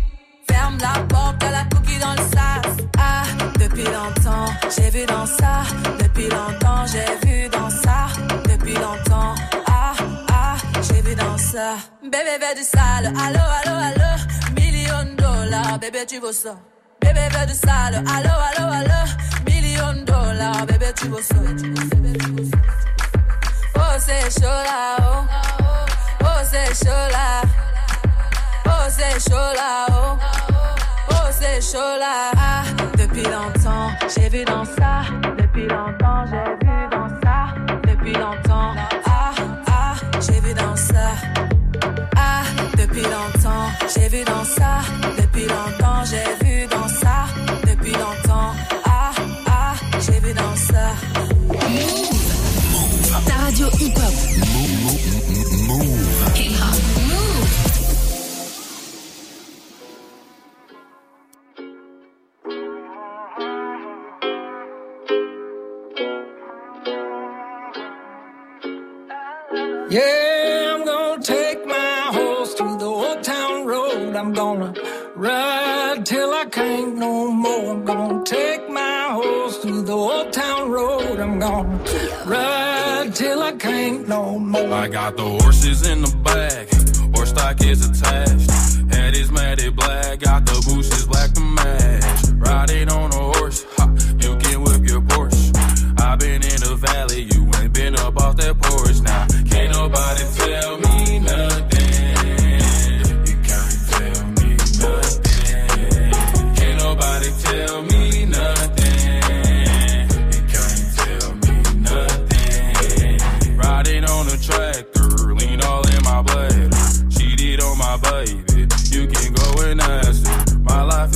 Ferme la porte à la pouki dans le sas. Ah, depuis longtemps, j'ai vu dans ça. Depuis longtemps, j'ai vu dans ça. Depuis longtemps, ah, ah, j'ai vu dans ça. Bébé veut du sale, allo, allo, allo. Million de dollars, bébé tu veux ça. Bébé veut du sale, allo, allo, allo. Million de dollars, bébé tu veux ça. Oh c'est chaud là, oh, oh c'est chaud là, oh c'est chaud là, oh, oh c'est chaud là. Ah, depuis longtemps, j'ai vu dans ça. Depuis longtemps, j'ai vu dans ça. Depuis longtemps, ah, ah, j'ai vu dans ça. Ah, depuis longtemps, j'ai vu dans ça. Depuis longtemps, j'ai vu dans ça. Depuis longtemps, ah, ah, j'ai vu dans ça. Ta radio hip-hop. Move. Hip-hop. Move. Yeah, I'm gonna take my horse to the old town road. I'm gonna ride till I can't no more. I'm gonna take my horse to the old town road. I'm gonna ride till I can't no more. I got the horses in the back, horse stock is attached. Head is matted black, got the bushes black to match. Riding on a horse, ha, you can whip your Porsche. I've been in the valley, you ain't been up off that porch. Now, can't nobody tell me nothing. You can't tell me nothing. Can't nobody tell me nothing. You can't tell me nothing. Riding on a tractor, lean all in my blood. Cheated on my baby, you can go and ask her. My life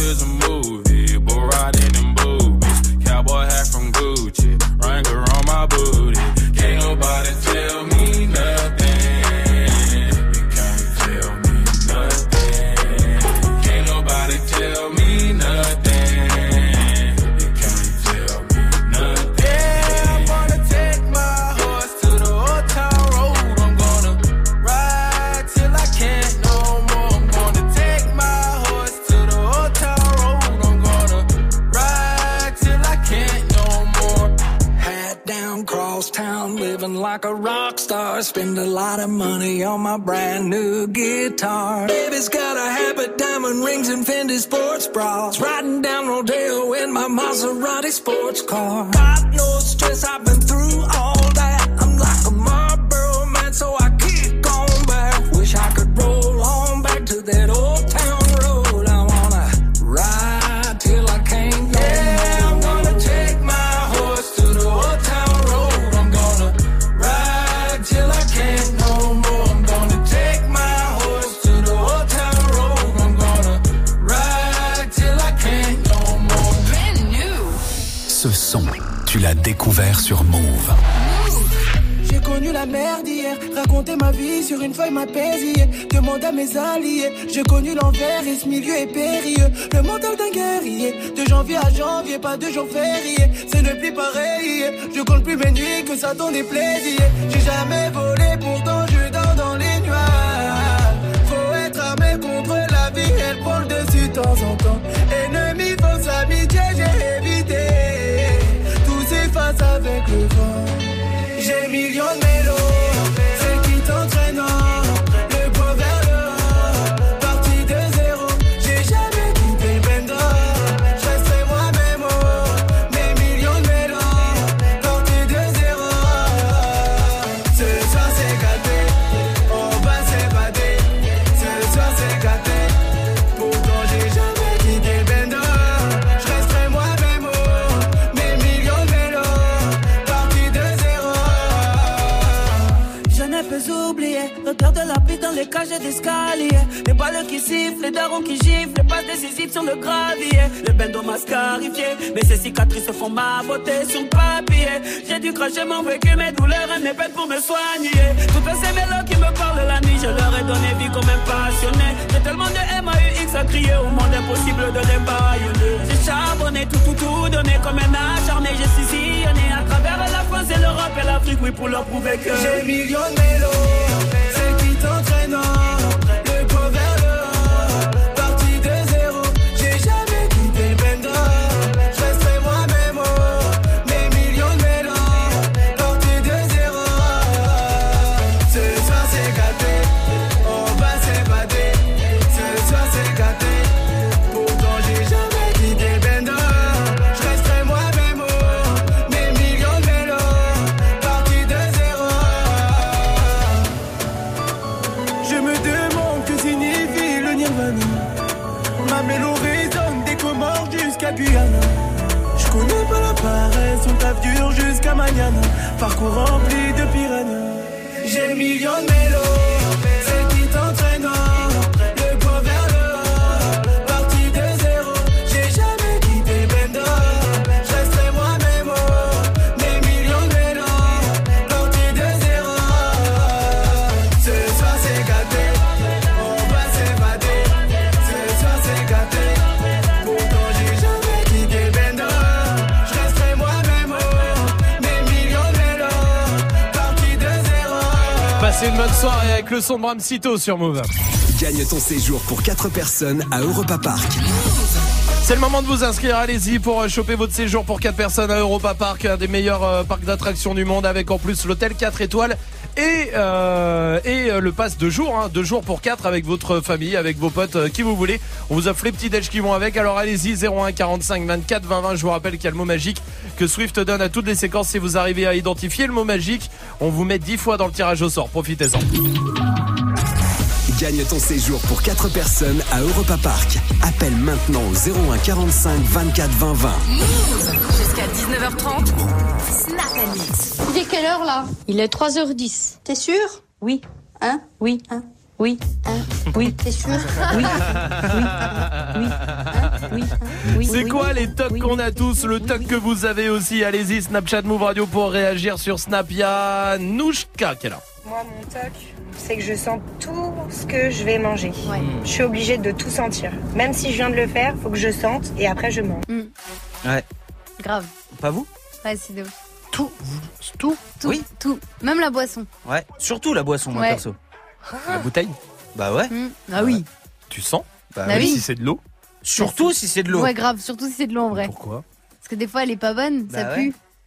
like a rock star. Spend a lot of money on my brand new guitar. Baby's got a habit, diamond rings and Fendi sports bras. Riding down Rodeo in my Maserati sports car. Got no stress, I've been through all that. I'm like a Marlboro man, so I kick on back. Wish I could roll on back to that old town road. I wanna ride till I can't go. Yeah, I'm gonna take my horse to the old town road. I'm gonna ride till I can't no more. I'm gonna take my horse to the old town road. I'm gonna ride till I can't no more. Brand new. Ce son, tu l'as découvert sur Move. J'ai connu la merde hier, raconter ma vie sur une feuille m'a pesé. Demande à mes alliés, j'ai connu l'envers et ce milieu est périlleux. Le mental d'un guerrier, de janvier à janvier, pas de jour férié. C'est ne plus pareil, je compte plus mes nuits que ça donne des plaisirs. J'ai jamais volé, pourtant je dors dans les nuages. Faut être armé contre la vie, elle prend le dessus de temps en temps. Ennemi, fausse amitié, j'ai évité. Tout s'efface avec le vent. J'ai millions de mélos, celle qui t'entraîne, le poids vers le haut, parti de zéro, j'ai jamais quitté le bendo, je resterai moi-même, oh, mes millions de mélos, parti de zéro, ce soir c'est gâté, on va s'évader, ce soir c'est gâté, pourtant j'ai jamais quitté le bendo, je resterai moi-même, oh, mes millions de mélos, parti de zéro. Je ne peux oublier l'odeur de la pluie dans les cages d'escalier. Les balles qui sifflent, les darons qui giflent, les passes décisives sur le gravier. Le bendo m'a scarifié, mais ces cicatrices font ma beauté sur le papier. J'ai dû cracher mon vécu, mes douleurs et mes peines pour me soigner. Toutes ces mélos qui me parlent la nuit, je leur ai donné vie comme un passionné. J'ai tellement de M A U X à crier au monde, impossible de les baïonner. J'ai charbonné, tout, tout, tout donné comme un acharné. J'ai sillonné à travers la France et l'Europe et l'Afrique, oui, pour leur prouver que j'ai millions de mélos, celle qui t'entraîne, le poids vers le haut, parti de zéro, j'ai jamais quitté le bendo, je resterai moi-même, oh, mes millions de mélos, parti de zéro, ce soir c'est gâté, on va s'évader, ce soir c'est gâté, pourtant j'ai jamais quitté le bendo, je resterai moi-même, oh, mes millions de mélos, parti de zéro. Je me demande que signifie le nirvana. Ma mélo résonne des Comores jusqu'à Guyana. Je connais pas la paresse, on tape dur jusqu'à Magnana. Parcours rempli de piranhas. J'ai millions de mélos, celle qui t'entraîne, le poids vers le haut, parti de zéro, j'ai jamais quitté le bendo, je resterai moi-même, oh, mes millions de mélos, parti de zéro, ce soir c'est gâté, on va s'évader, ce soir c'est gâté, pourtant j'ai jamais quitté le bendo, je resterai moi-même, oh, mes millions de mélos, parti de zéro. Passez une bonne soirée avec le son de Bram Cito sur Move. Gagne ton séjour pour quatre personnes à Europa Park. C'est le moment de vous inscrire, allez-y pour euh, choper votre séjour pour quatre personnes à Europa Park, un des meilleurs euh, parcs d'attractions du monde, avec en plus l'hôtel quatre étoiles et euh, et euh, le pass de jour, hein, deux jours pour quatre avec votre famille, avec vos potes, euh, qui vous voulez. On vous offre les petits déj qui vont avec, alors allez-y, zéro un quarante-cinq vingt-quatre vingt vingt. Je vous rappelle qu'il y a le mot magique que Swift donne à toutes les séquences. Si vous arrivez à identifier le mot magique, on vous met dix fois dans le tirage au sort, profitez-en. Gagne ton séjour pour quatre personnes à Europa Park. Appelle maintenant au zéro un quarante-cinq vingt-quatre vingt vingt. Jusqu'à dix-neuf heures trente, Snap and Mix. Il est quelle heure là? Il est trois heures dix. T'es sûr? Oui. Hein? Oui. Hein? Oui. Hein? Oui. T'es sûr? Oui. Oui. Oui. Hein? Oui. Oui. C'est Oui. quoi les tocs Oui. qu'on a tous, le toc Oui. que vous avez aussi? Allez-y, Snapchat Move Radio pour réagir sur Snap. Il y a Nouchka qui est là. Moi, mon toc, c'est que je sens tout ce que je vais manger. Ouais. Je suis obligée de tout sentir. Même si je viens de le faire, faut que je sente et après je mange. Mm. Ouais. Grave. Pas vous? Ouais, c'est de ouf. Tout, tout, Tout, Oui. tout. Même la boisson. Ouais. Surtout la boisson, moi, Ouais. perso. La bouteille? Bah ouais. Mm. Ah oui. Tu sens? Bah, Bah oui. oui. Si c'est de l'eau? Surtout si c'est de l'eau. Ouais, grave. Surtout si c'est de l'eau en vrai. Pourquoi? Parce que des fois, elle est pas bonne, Bah ça ouais. pue.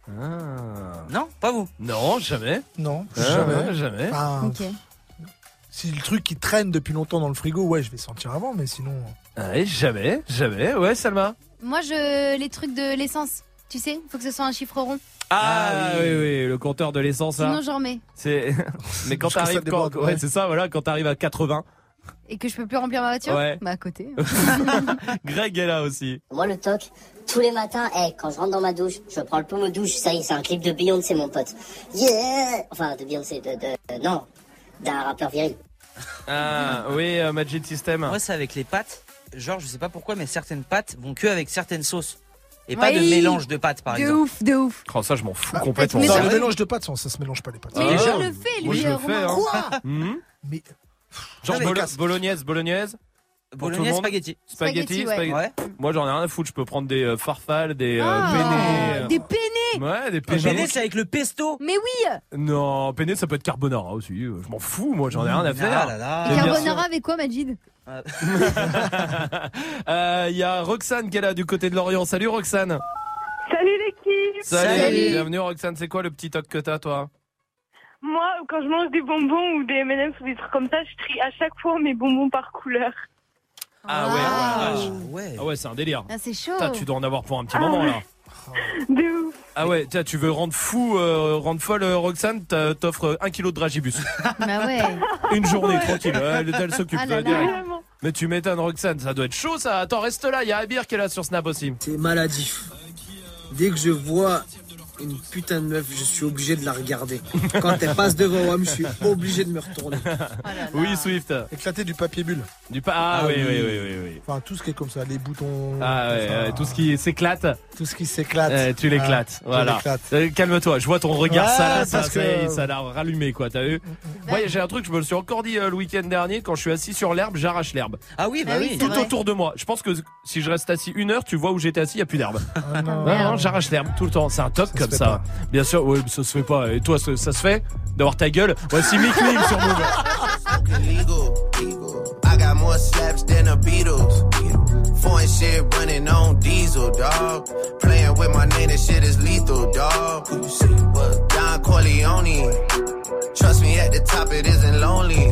Ah. Non, pas vous. Non, jamais. Non, Ah, jamais. jamais. Enfin, Ok. si le truc qui traîne depuis longtemps dans le frigo, ouais, je vais sentir avant, mais sinon. Ouais, jamais, jamais. Ouais, Salma. Moi, je les trucs de l'essence. Tu sais, faut que ce soit un chiffre rond. Ah, Ah oui. oui. oui, le compteur de l'essence. là. Sinon, j'en remets. C'est. Mais quand Jusqu'à ça t'arrives, déborde, quand... ouais. ouais, c'est ça, voilà, quand t'arrives à quatre-vingts. Et que je peux plus remplir ma voiture. Ouais. Bah à côté. Greg est là aussi. Moi, le toc, tous les matins, hey, quand je rentre dans ma douche, je prends le pommeau douche, ça y est, c'est un clip de Beyoncé, mon pote. Yeah! Enfin, de Beyoncé, de, de, de- non, d'un rappeur viril. Ah, oui, euh, Magic System. Moi, c'est avec les pâtes. Genre, je sais pas pourquoi, mais certaines pâtes vont que avec certaines sauces. Et pas Oui. de mélange de pâtes, par De exemple. ouf, de ouf. Oh, ça, je m'en fous Bah, complètement. mais Non, ça- le Ça. mélange de pâtes, ça, ça se mélange pas les pâtes. Mais Ah, je le fais, lui, moi, je le Romain. fais, hein. Quoi Mhm. Mais Genre mais bolo- casse. bolognaise, bolognaise. Pour tout le Bolognaise, monde. spaghetti. Spaghetti, Spaghetti, ouais. spaghetti. Ouais. Moi, j'en ai rien à foutre. Je peux prendre des euh, farfales, des euh, Ah, penne. des penne. Ouais, des Le penne. penne, c'est avec le pesto. Mais oui. Non, penne, ça peut être carbonara aussi. Je m'en fous, moi, j'en ai rien à faire. Ah là là. Et Et bien carbonara avec quoi, Majid? Euh, Il y a Roxane qui est là du côté de Lorient. Salut Roxane. Salut l'équipe. Salut. Salut. Bienvenue Roxane. C'est quoi le petit toc que t'as, toi? Moi, quand je mange des bonbons ou des M and M's ou des trucs comme ça, je trie à chaque fois mes bonbons par couleur. Ah ouais, Ah. ouais, Ouais. ah ouais, c'est un délire. Ah, c'est chaud. Putain, tu dois en avoir pour un petit Ah moment ouais. là. De ouf. Ah ouais, tiens, tu veux rendre fou, euh, rendre folle euh, Roxane, t'as- t'offres un kilo de dragibus. Bah ouais. Une journée, tranquille. Elle, elle s'occupe Ah là euh, là. direct. Vraiment. Mais tu m'étonnes Roxane, ça doit être chaud ça. Attends, reste là, il y a Abir qui est là sur Snap aussi. C'est maladif. Dès que je vois une putain de meuf, je suis obligé de la regarder. Quand elle passe devant moi, je suis obligé de me retourner. Oui, Swift. Éclater du papier bulle. Du pa ah, Ah oui, oui, oui. oui, oui, oui. Enfin, tout ce qui est comme ça, les boutons. Ah ouais, enfin, ouais, tout ce qui s'éclate, tout ce qui s'éclate. euh, tu l'éclates. Ah, je Voilà. l'éclate. Euh, Calme-toi, je vois ton regard Ouais, ça là, ça, parce ça, que- ça a l'air rallumé quoi, t'as vu? Moi j'ai un truc, je me le suis encore dit euh, le week-end dernier, quand je suis assis sur l'herbe, j'arrache l'herbe. Ah oui, bah Ah oui, oui. c'est Tout vrai. autour de moi. Je pense que si je reste assis une heure, tu vois où j'étais assis, il n'y a plus d'herbe. Ah, non. Non, non, j'arrache l'herbe tout le temps. C'est un toc Ça se comme fait ça. pas. Bien sûr, ouais, ça se fait pas. Et toi, ça, ça se fait d'avoir ta gueule? Voici Mick Mill sur Move. Illegal, illegal. I got more slaps than the Beatles. Foreign shit running on diesel, dog. Playing with my name, this shit is lethal, dog. Who you see? What? Don Corleone. Trust me, at the top it isn't lonely.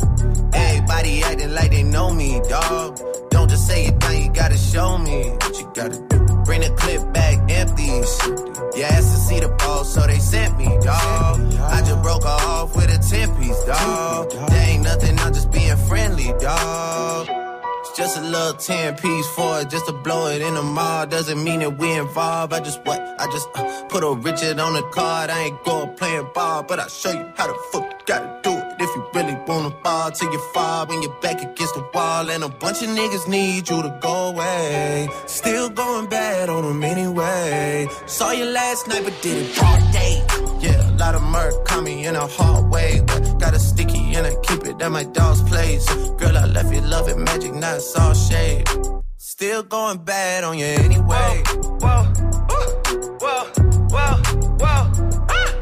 Everybody acting like they know me, dog. Don't just say it down, you gotta show me what you gotta do. Bring the clip back empty. You asked to see the ball, so they sent me, dog. I just broke her off with a ten piece, dog. There ain't nothing, I'm just being friendly, dog. It's just a little ten piece for it, just to blow it in the mall. Doesn't mean that we involved. I just what? I just uh, put a Richard on the card. I ain't going playing ball, but I'll show you how the fuck you gotta do it. If you really wanna fall till you fall when you're back against the wall. And a bunch of niggas need you to go away. Still going bad on them anyway. Saw you last night, but did it broad day. Yeah, a lot of murk caught me in a hard way. But got a sticky and I keep it at my dog's place. Girl, I left you loving magic, not all shade. Still going bad on you anyway. Whoa, whoa, whoa, whoa, whoa.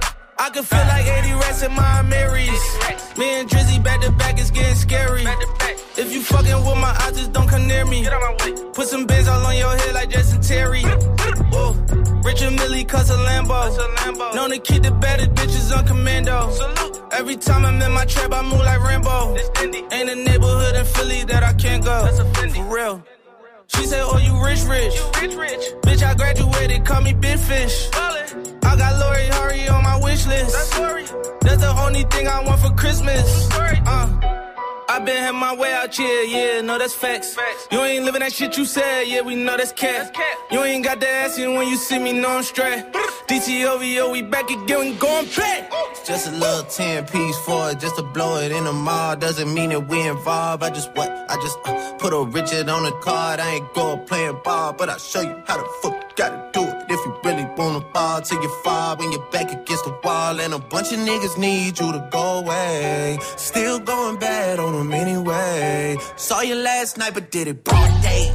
I can feel like eighty rats in my Marys. Me and Drizzy back to back, it's getting scary. If you fucking with my eyes, just don't come near me. Put some bins all on your head like Jason Terry. Whoa. Richard Millie cuss a Lambo. Known to keep the better bitches on commando. Every time I'm in my trap, I move like Rambo. Ain't a neighborhood in Philly that I can't go. For real. She said, oh, you rich, rich. You rich, rich. Bitch, I graduated, call me Big Fish. Ballin'. I got Lori Hurry on my wish list. That's Lori. That's the only thing I want for Christmas. Uh, I been had my way out here, yeah, no, that's facts. facts. You ain't living that shit you said, yeah, we know that's cat. That's cat. You ain't got the ass in when you see me, no, I'm straight. D T O V O, we back again, we going back. It's just a little ten piece for it, just to blow it in the mall. Doesn't mean that we involved. I just what? I just uh, put a Richard on the card. I ain't going playing ball, but I'll show you how the fuck you gotta do it. If you really wanna fall till you fall when you're back against the wall. And a bunch of niggas need you to go away. Still going bad on them anyway. Saw you last night, but did it broad day.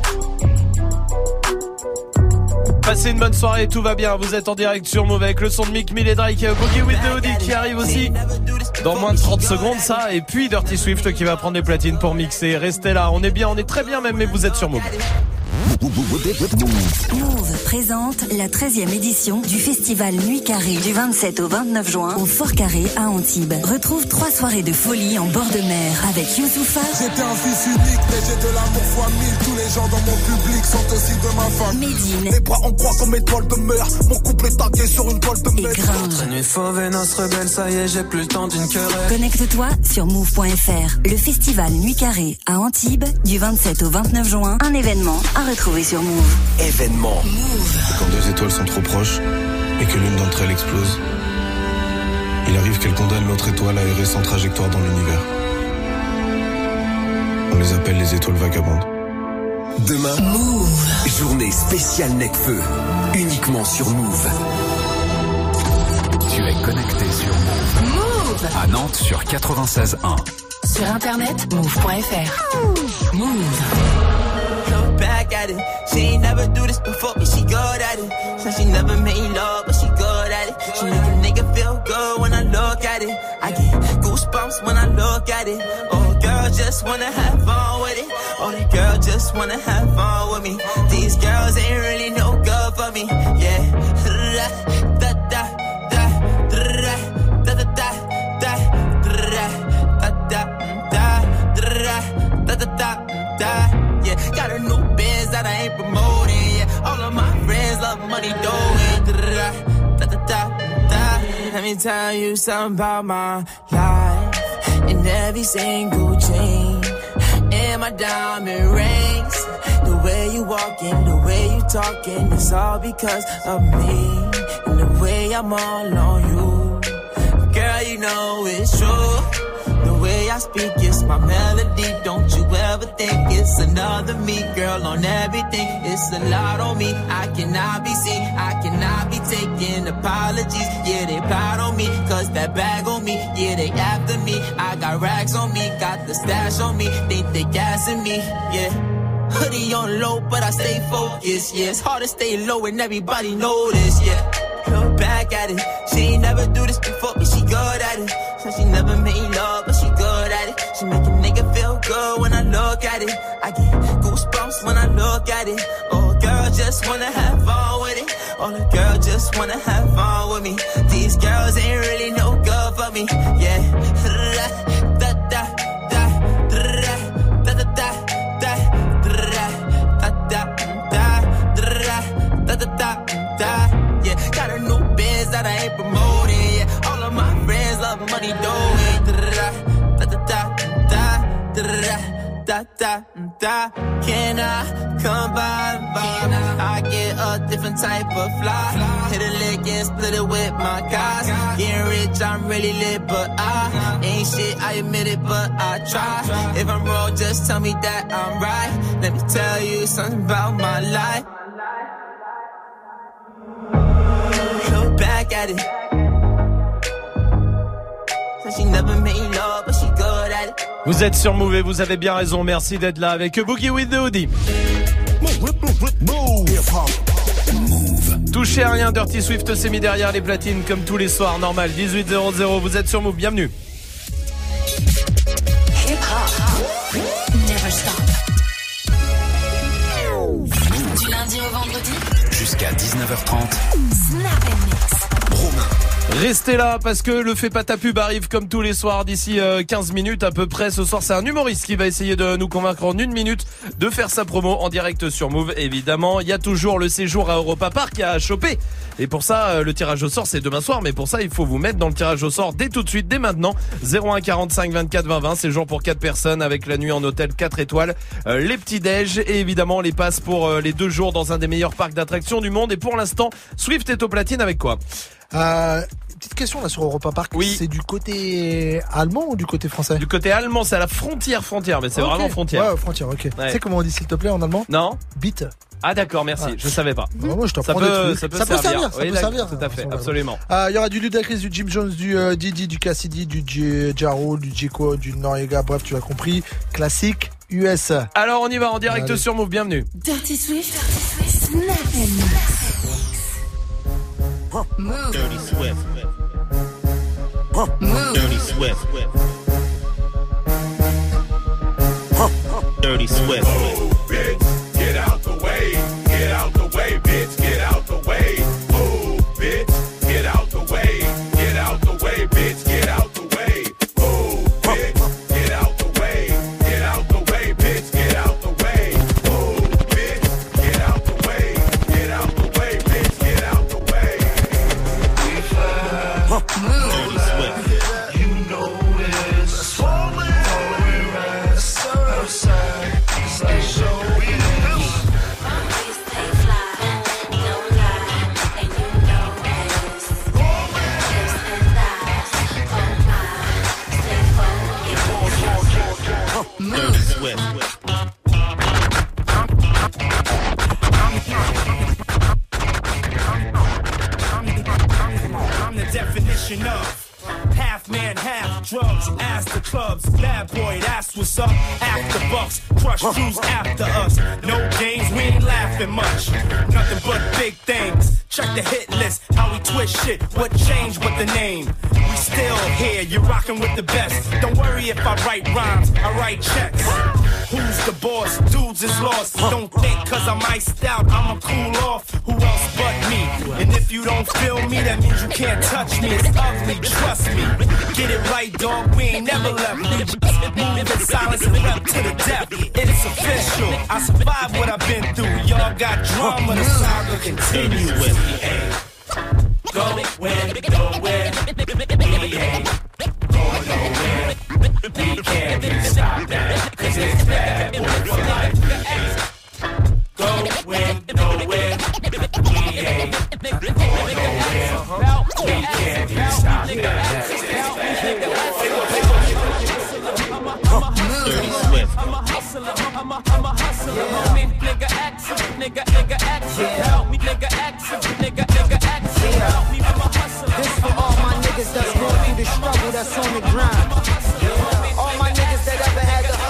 Passez une bonne soirée, tout va bien. Vous êtes en direct sur Move avec le son de Mick Mill et Drake, Boogie with the Hoodie qui arrive aussi dans moins de trente secondes, ça. Et puis Dirty Swift qui va prendre des platines pour mixer. Restez là, on est bien, on est très bien même, mais vous êtes sur Move. Move présente la treizième édition du festival Nuit Carrée du vingt-sept au vingt-neuf juin au Fort Carré à Antibes. Retrouve trois soirées de folie en bord de mer avec Youssoupha. J'étais un fils unique, mais j'ai de l'amour fois mille. Tous les gens dans mon public sont aussi de ma famille. Médine. Les bras en croix comme étoile de mer. Mon couple est tagué sur une toile de mer. Et Gringe. Notre nuit fauve et noce rebelle, ça y est, j'ai plus le temps d'une querelle. Connecte-toi sur move point f r. Le festival Nuit Carrée à Antibes du vingt-sept au vingt-neuf juin. Un événement à retrouver sur Move. Événement. Quand deux étoiles sont trop proches et que l'une d'entre elles explose, il arrive qu'elle condamne l'autre étoile à errer sans trajectoire dans l'univers. On les appelle les étoiles vagabondes. Demain, Move. Journée spéciale Necfeu. Uniquement sur Move. Tu es connecté sur Move. Move. À Nantes sur quatre-vingt-seize un. Sur internet, move point f r. Move. Back at it. She ain't never do this before, but she good at it. Said she never made love, but she good at it. She make a nigga feel good when I look at it. I get goosebumps when I look at it. Oh, girl just wanna have fun with it. Oh, the girl just wanna have fun with me. These girls ain't really no good for me. Yeah. Da da da da da da da da da da da da da da. Yeah, got a new biz that I ain't promoting. Yeah, all of my friends love money doing. Da, da, da, da, da. Let me tell you something about my life. In every single chain, in my diamond rings, the way you walking, the way you talking, it's all because of me. And the way I'm all on you, girl, you know it's true. The way I speak, it's my melody. Don't you ever think it's another me, girl, on everything. It's a lot on me. I cannot be seen. I cannot be taking apologies. Yeah, they proud on me, cause that bag on me. Yeah, they after me. I got racks on me, got the stash on me. Think they gassing me, yeah. Hoodie on low, but I stay focused, yeah. It's hard to stay low and everybody know this, yeah. Look back at it. She ain't never do this before, but she good at it. Said she never made love, but she good at it. She make a nigga feel good when I look at it. I get goosebumps when I look at it. Oh, girl just wanna have fun with it. Oh, the girl just wanna have fun with me. These girls ain't really no good for me. Yeah. Da da da da da da da da da da da da da da. Yeah, got a new biz that I ain't promoting. Yeah, all of my friends love money doing. Da da da da da da da da. Can I come by? I get a different type of fly. Hit a lick and split it with my guys. Getting rich, I'm really lit, but I ain't shit. I admit it, but I try. If I'm wrong, just tell me that I'm right. Let me tell you something about my life. Back at it. She never made love, but she good at it. Vous êtes sur Move et vous avez bien raison. Merci d'être là avec Boogie with the Hoodie. Touchez à rien, Dirty Swift s'est mis derrière les platines comme tous les soirs, normal. dix-huit zéro zéro, vous êtes sur Move, bienvenue. Hip hop. Never stop. Du lundi au vendredi. Jusqu'à dix-neuf heures trente. Snap and mix. Romain. Restez là parce que le Fait pas ta pub arrive comme tous les soirs d'ici euh, quinze minutes à peu près. Ce soir, c'est un humoriste qui va essayer de nous convaincre en une minute de faire sa promo en direct sur Move. Évidemment, il y a toujours le séjour à Europa Park à choper. Et pour ça, euh, le tirage au sort, c'est demain soir. Mais pour ça, il faut vous mettre dans le tirage au sort dès tout de suite, dès maintenant. zéro un quarante-cinq vingt-quatre vingt vingt. Séjour pour quatre personnes avec la nuit en hôtel quatre étoiles, euh, les petits déj et évidemment les passes pour euh, les deux jours dans un des meilleurs parcs d'attractions du monde. Et pour l'instant, Swift est au platine avec quoi? Euh, petite question là sur Europa Park. Oui. C'est du côté allemand ou du côté français? Du côté allemand, c'est à la frontière frontière, mais c'est okay. Vraiment frontière. Ouais, frontière, ok. Ouais. Tu sais comment on dit s'il te plaît en allemand? Non. Bite. Ah d'accord, merci. Ouais. Je savais pas. Bah, moi, je ça peut, ça peut, ça peut servir. servir. Ça oui, peut servir. Tout à fait, absolument. Il euh, y aura du Ludacris, du Jim Jones, du euh, Didi, du Cassidy, du J- Jaro, du Jeko, du Noriega. Bref, tu l'as compris. Classique U S. Alors on y va en direct Allez. Sur Move. Bienvenue. Dirty Swift. Snap and mix. Move. Dirty Swift. Move. Dirty Swift. Dirty Swift. Move, bitch, get out the way. Ask the clubs, bad boy, that's what's up. After bucks, crush crews after us. No games, we ain't laughing much. Nothing but big things. Check the hit list, how we twist shit. What changed with the name? We still here, you're rocking with the best. Don't worry if I write rhymes, I write checks. Who's the boss? Dudes is lost. Don't think cause I'm iced out, I'ma cool off. Who else but me? And if you don't feel me, that means you can't touch me. It's ugly, trust me. Get it right, dog, we ain't never left. Move in silence and rep to the death. It's official, I survived what I've been through. Y'all got drama, the saga continues. Go where, go where, we ain't going nowhere. We can't be stopped now, cause it's bad boy for life. Go where, go where, we ain't going nowhere. We can't be stopped now, cause it's bad Dirty Swift. I'm a hustler, I'm a, I'm a hustler, homie. Nigga action, nigga, nigga action. Help me, nigga action, nigga, nigga action. Help me, I'm a hustler. This for all my niggas that's going through the struggle that's on the grind. All my niggas that ever had to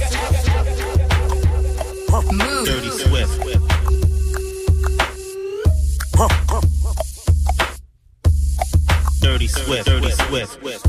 hustle, hustle. Dirty Swift. Dirty Swift, Dirty Swift.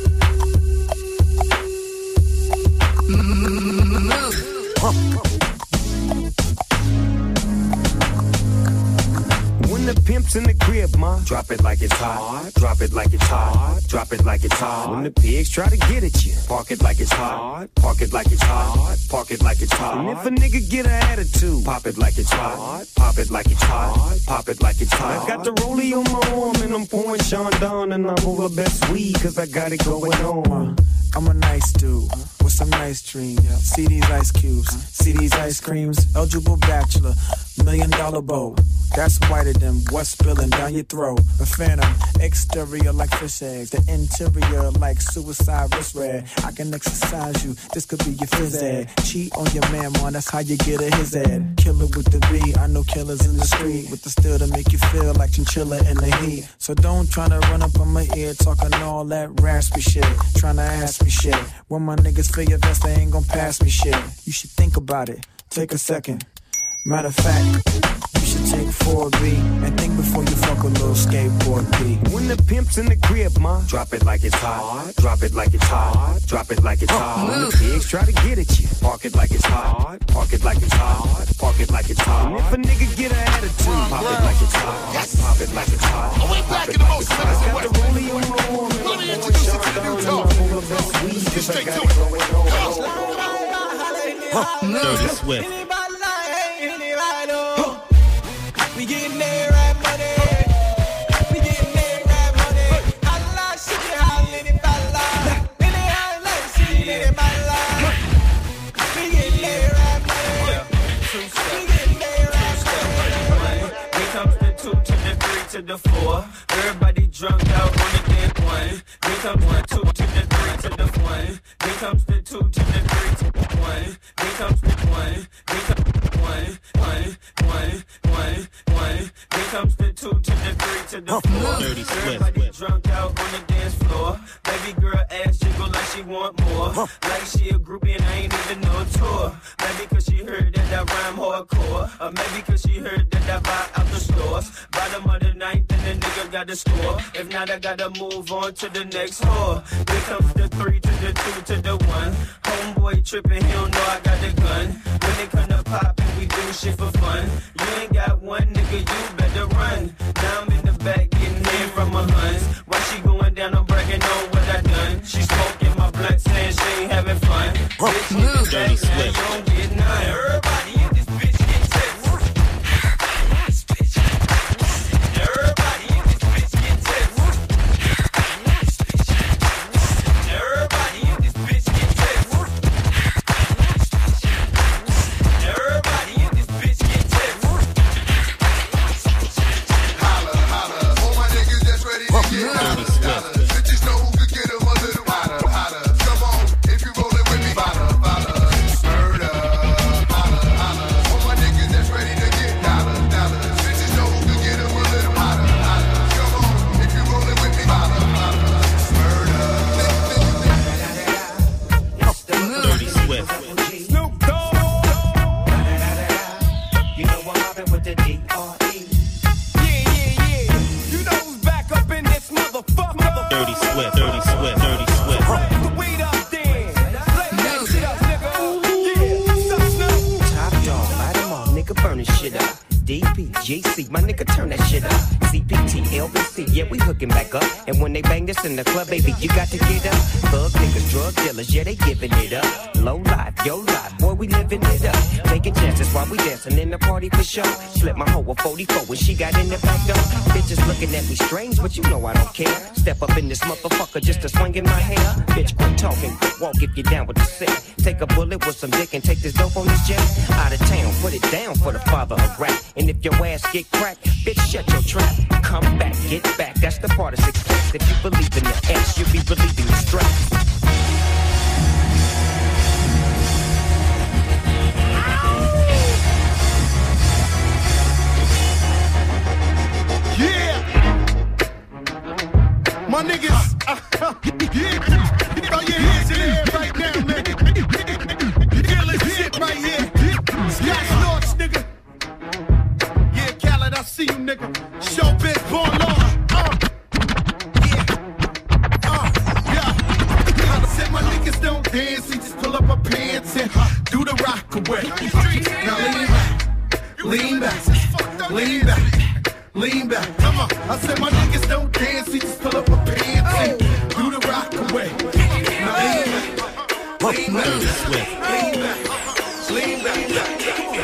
When the pimp's in the crib, ma, drop it like it's hot. Drop it like it's hot. Drop it like it's hot. When the pigs try to get at you, park it like it's hot. Park it like it's hot. Park it like it's hot. And if a nigga get an attitude, pop it like it's hot. Pop it like it's hot. Pop it like it's hot. I got the rollie on my arm and I'm pouring Sean Don and I'm over best weed cause I got it going on. I'm a nice dude with some nice dreams. See these ice cubes, see these ice creams. Eligible bachelor, million dollar bow. That's whiter than what's spilling down your throat. A phantom, exterior like fish eggs. The interior like suicide wrist red. I can exercise you, this could be your phys ed. Cheat on your man, man, that's how you get a his ad. Killer with the B, I know killers in the street. With the steel to make you feel like chinchilla in the heat. So don't try to run up on my ear talking all that raspy shit. Trying to ask me shit. When my niggas feel your vest, they ain't gon' pass me shit. You should think about it, take a second. Matter of fact, you should take four B and think before you fuck a little skateboard B. When the pimp's in the crib, ma, drop it like it's hot. Drop it like it's hot. Drop it like it's hot. When the pigs try to get at you, park it like it's hot. Park it like it's hot. Park it like it's hot. And if a nigga get an attitude, pop it like it's hot. Pop it like it's hot. Pop it like it's hot. I got the rollie on my arm and I'm pouring Sean Don and I'm over best weed cause I got it going on. Dirty Swift. We getting there, right money. We getting there, right money. Holla, shit, holla, in it, holla. In it, holla, shit, in it, holla. We getting there, right money. We getting there, right money. Here comes the two to the three to the four. Everybody drunk out on the dead one. Here comes the two to the three to the one. Here comes the two to the three to the one. Here comes the one. Here comes the one. One, one, one, one. Here comes the two to the three to the four. Dirty Swift. Everybody drunk out on the dance floor. Baby girl ass jiggle like she want more. Like she a groupie and I ain't even no tour. Maybe cause she heard that I rhyme hardcore. Or maybe cause she heard that I buy out the stores. Bottom of the ninth and the nigga got the score. If not, I gotta move on to the next whore. Here comes the three to the two to the one. Homeboy tripping, he don't know I got the gun. When they come to pop and we do shit for fun. You ain't got one nigga, you better run. Now I'm in the back getting head from my huns. While she going down, I'm bragging on what I done. She smoking my blunt, saying she ain't having fun. Bitch, you Dirty Swift. You don't get none. Everybody in this bitch get tips. Everybody in this bitch get tips. Everybody in this bitch get tips. Everybody in this bitch get tips. Holla, holla. All my niggas that's ready to get holla. Bitches know who could get them a little hotter, hotter. Come on, if you rollin' with me, holla, holla. Murder. Drop it with the D R E. Yeah, yeah, yeah. You know who's back up in this motherfucker. Dirty Swift, Dirty Swift, Dirty Swift. The weed up then. Play that shit up, nigga. Yeah, suck Snoop. Top dog, light them all, nigga, burn this shit up. D P, G C, my nigga, turn that shit up. C P T, L B C, yeah, we hooking back up. And when they bang this in the club, baby, you got to get up. Thug niggas, drug dealers, yeah, they giving it up. Low life, yo life, boy, we living it up. Taking chances while we dancing in the party for sure. Slip my hoe a forty-four when she got in the back door. Bitches looking at me strange, but you know I don't care. Step up in this motherfucker just to swing in my hair. Bitch, quit talking, quit walk if you're down with the sick. Take a bullet with some dick and take this dope on this jet. Out of town, put it down for the father of rap. And if your ass get cracked, bitch, shut your trap. Come back, get back, that's the part of success. If you believe in the S, you'll be relieving the stress. Yeah! My niggas, yeah, throw your hands in the air right now, man. You feel this shit right here? Sky Snorts, nigga. Yeah, Khaled, I see you, nigga. Showbiz, born law. Uh, yeah, uh, yeah. I said my niggas don't dance, we just pull up our pants and uh, do the rock away. Now lean back, lean back, lean back. Lean back, come on. I said my niggas don't dance, we just pull up a pants and do the rock away. Now lean back, lean back, lean back, lean back.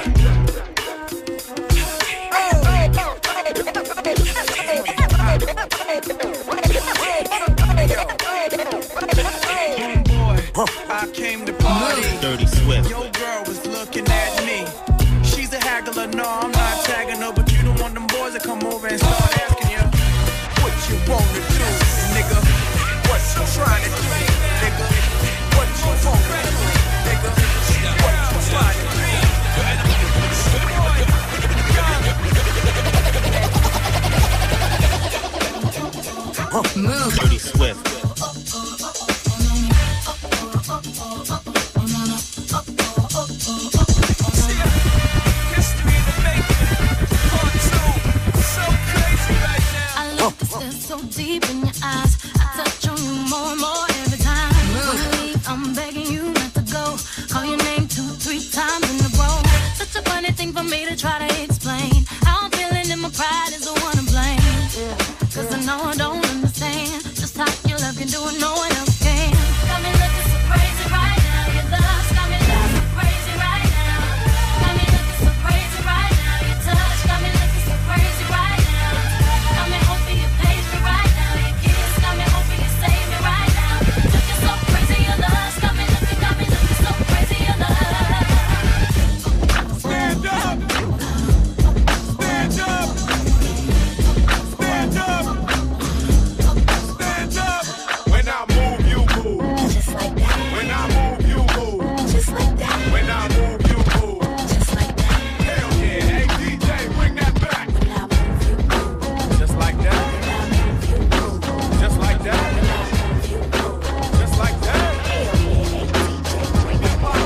I came to party. Dirty Swift. Your girl was looking at me. She's a haggler, no, I'm not tagging her, but you don't want them boys to come over and start asking you what you wanna do, nigga. What you trying to do, nigga? What you wanna do, nigga? What you trying to do? Move. Dirty Swift. So deep in your eyes, I touch on you more and more every time. When I leave, I'm begging you not to go. Call your name two, three times in a row. Such a funny thing for me to try to explain. How I'm feeling and my pride is the one to blame. Yeah. Cause I know I don't understand just how your love can do it, no one else can. Got me looking so crazy right now. Your love's got me looking so crazy right now. Got me looking so crazy right now. Your touch got me looking so crazy right now. Got me hoping you pay me right now. Your kiss got me hoping you save me right now. Looking so crazy, your love's got me looking, got me looking so crazy, your love. Stand up! Stand up! Stand up! Stand up! When I move, you move. Just like that. When I move, you move. Just like that. When I move, you move. Just like that. Hell yeah, hey D J, bring that back. When I move, you move. Just like that. When I move, you move. Just like that. When I move, you move. Just like that. Hell yeah, hey D J, bring that back.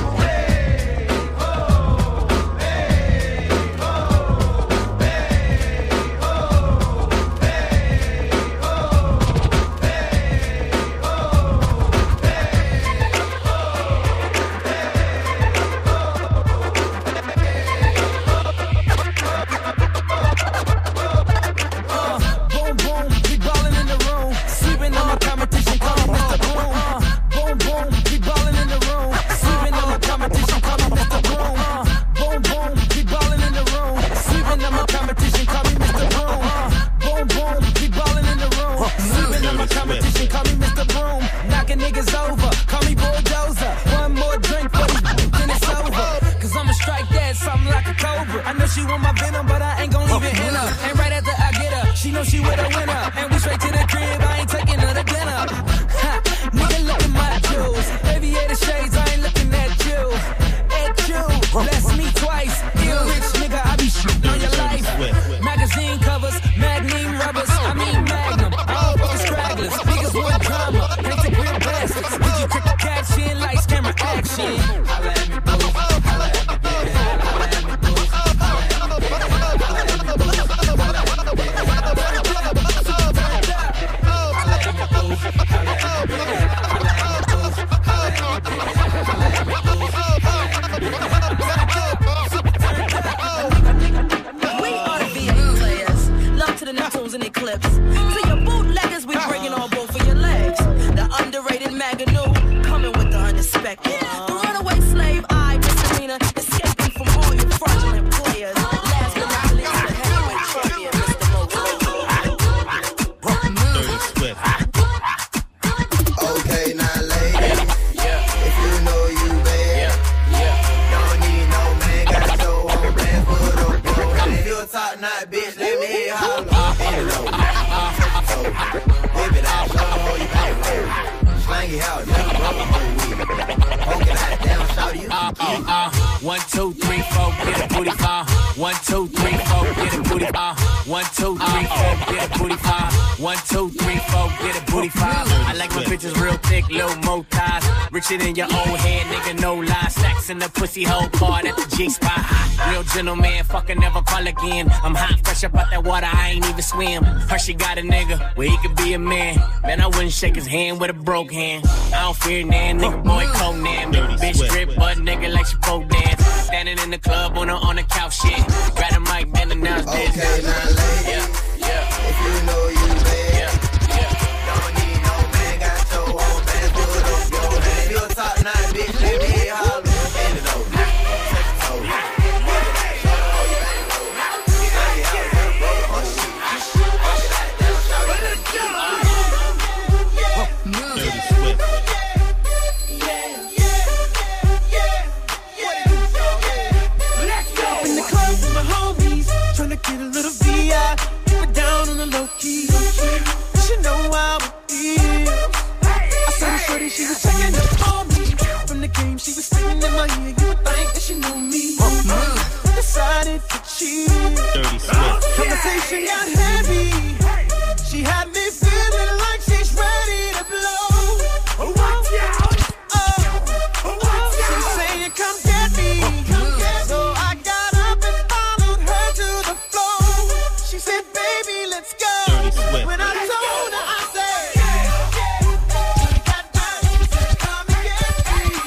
Boom, boom, we ballin' in the room. Sleeping on my competition, call me Mister Boom. Uh, boom, boom, we ballin' in the room. Sleeping on my competition, call me Mister Boom. Uh, boom, boom, we ballin' in the room. Sleeping on my competition, call me Mister Boom. Uh, boom, boom, we ballin' in the room. Sleeping on my competition, call me Mister Boom. Knocking niggas over, call me Bulldozer. One more drink for these then it's over. Cause I'ma strike that something like a cobra. I know she want my venom, but I ain't gon' leave it in her. And right after I get her, she know she with a winner. And we straight to the crib, I ain't taking her to dinner. Ha, nigga, look at my jewels. Aviator shades, I ain't looking at you. At you, bless me twice. You rich nigga, I be shooting on your life. Magazine covers, magnum rubbers, I mean magnum. All fucking stragglers, niggas want drama. Ain't the real bastards. Did you take the cash in, lights, camera, action? Holla at me, boo. Holla at me, baby. Holla at me, boo. Holla at me, baby. in their clips. To your bootleggers, we bringing on both of your legs. The underrated Maganu, coming with the unexpected. The runaway slave eye misdemeanor, escaping from all your fraudulent players. Last but not least, the heavyweight champion, Mister Motivator. Dirty Swift. Okay, now lady, yeah. If you know you bad, yeah. Yeah. Don't need no man, got so on plan for the bro. If you a top notch bitch, let me hear how long. Baby, that's all you pay. Slang it out, never roll. Poke it out, down, shout you. Uh, uh, uh. One, two, three, four, get a booty, uh. One, two, three, four, get a booty, uh. One, two, three, four, get a booty, uh. One, two, three, four, get a booty, five. I like my bitches real thick, little mo ties. Richer than your old head, nigga, no lie. Stacks in the pussy hole part at the G spot. Real gentleman, fucking never call again. I'm hot, fresh up out that water, I ain't even swim. Her, she got a nigga, where he could be a man. Man, I wouldn't shake his hand with a broke hand. I don't fear nan, nigga, boy, Conan. Bitch strip, butt nigga like she pole dance. Standing in the club on a, on the couch, shit. Grab a mic, man, announce this. Okay, now lady, yeah, yeah. If you know you bad, yeah, yeah. Don't need no man, got your own man, do it up your man. If you a top notch bitch, let me hear how long. Bend it over, take it over. Dirty Swift. In the club with my homies, tryna get a little V I, keep it down on the low key. She know how it is. I saw the shorty, she was checking up on me. From the game, she was singing in my ear. You would think that she knew me. Decided to cheat. Dirty Swift. Conversation got heavy. She had me feeling like she's ready to blow. Watch out! Oh, she's saying, "Come get me." So I got up and followed her to the floor. She said, "Baby, let's go." Dirty Swift. When I told her, I said, "She got down, she said, come and get me."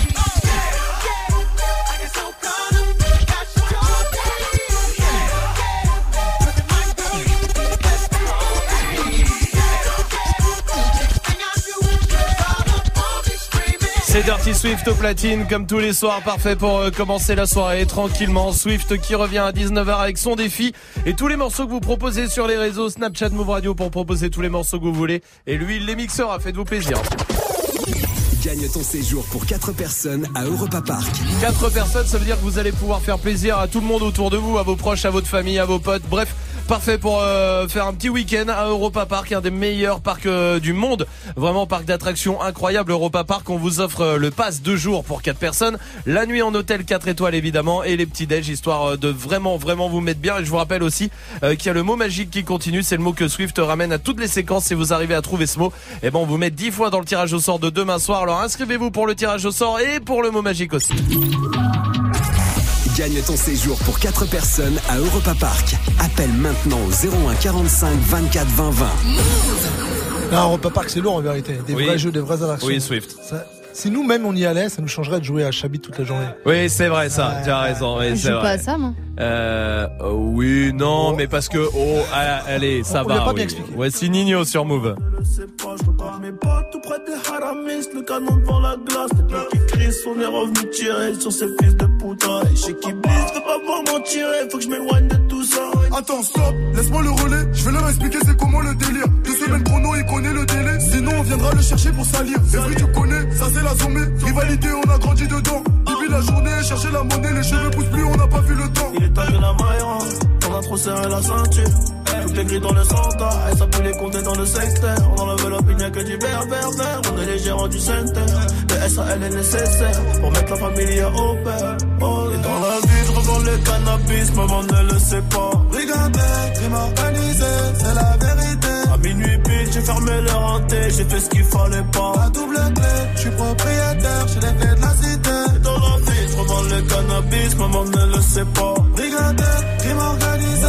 I get so caught up, got she told me. Look at my girl, that's the whole thing. Thing I do, all up on me screaming. C'est Dirty Swift au platine, comme tous les soirs, parfait pour euh, commencer la soirée tranquillement. Swift qui revient à dix-neuf heures avec son défi et tous les morceaux que vous proposez sur les réseaux Snapchat, Move Radio pour proposer tous les morceaux que vous voulez. Et lui, il les mixera, faites-vous plaisir. Gagne ton séjour pour quatre personnes à Europa Park. Quatre personnes, ça veut dire que vous allez pouvoir faire plaisir à tout le monde autour de vous, à vos proches, à votre famille, à vos potes, bref. Parfait pour euh, faire un petit week-end à Europa Park, un des meilleurs parcs euh, du monde. Vraiment parc d'attractions incroyable. Europa Park, on vous offre euh, le pass deux jours pour quatre personnes. La nuit en hôtel quatre étoiles évidemment et les petits déj histoire euh, de vraiment vraiment vous mettre bien. Et je vous rappelle aussi euh, qu'il y a le mot magique qui continue. C'est le mot que Swift ramène à toutes les séquences. Si vous arrivez à trouver ce mot, et ben on vous met dix fois dans le tirage au sort de demain soir. Alors inscrivez-vous pour le tirage au sort et pour le mot magique aussi. Gagne ton séjour pour quatre personnes à Europa Park. Appelle maintenant au zéro un quarante-cinq vingt-quatre vingt vingt. Non, Europa Park, c'est lourd en vérité. Des Oui. vrais jeux, des vraies attractions. Oui, Swift. Ça, si nous-mêmes on y allait, ça nous changerait de jouer à Chabit toute la journée. Oui, c'est vrai ça. Ouais. Tu as raison. Oui, Je c'est joue pas vrai. à ça, moi. Euh, euh, oui, non, mais parce que oh, ah, allez, ça On va. l'a pas oui. bien expliqué. Voici Nino sur Move. Je sais pas, je repars mes pas tout près des haramis, le canon devant la glace, les mecs qui crient, on est revenu tirer sur ces fils de putain. Et chez qui blisse, veux pas voir m'en tirer, faut que je m'éloigne de tout ça. Attends, stop, laisse-moi le relais. Je vais leur expliquer c'est comment le délire. Deux semaines chrono, il connaît le délai. Sinon, on viendra le chercher pour salir. C'est vrai, tu connais, ça c'est la zombie. Rivalité, on a grandi dedans. Depuis la journée, chercher la monnaie, les cheveux poussent plus, on n'a pas vu le temps. Il est tagué la maille, on a trop serré la ceinture. Tout est gris dans le centre, et ça peut les compter dans le secteur. On enlève l'opinion que du berbère, on est les gérants du center. Le S A L est nécessaire pour mettre la famille au père. Oh, et dans la vie, je revends le cannabis, maman ne le sait pas. Brigandais, crime organisé, c'est la vérité. À minuit pile, j'ai fermé le renté, j'ai fait ce qu'il fallait pas. La double clé, je suis propriétaire, j'ai les clés de la cité. Et dans la vie, je revends le cannabis, maman ne le sait pas. Brigandais, crime organisé.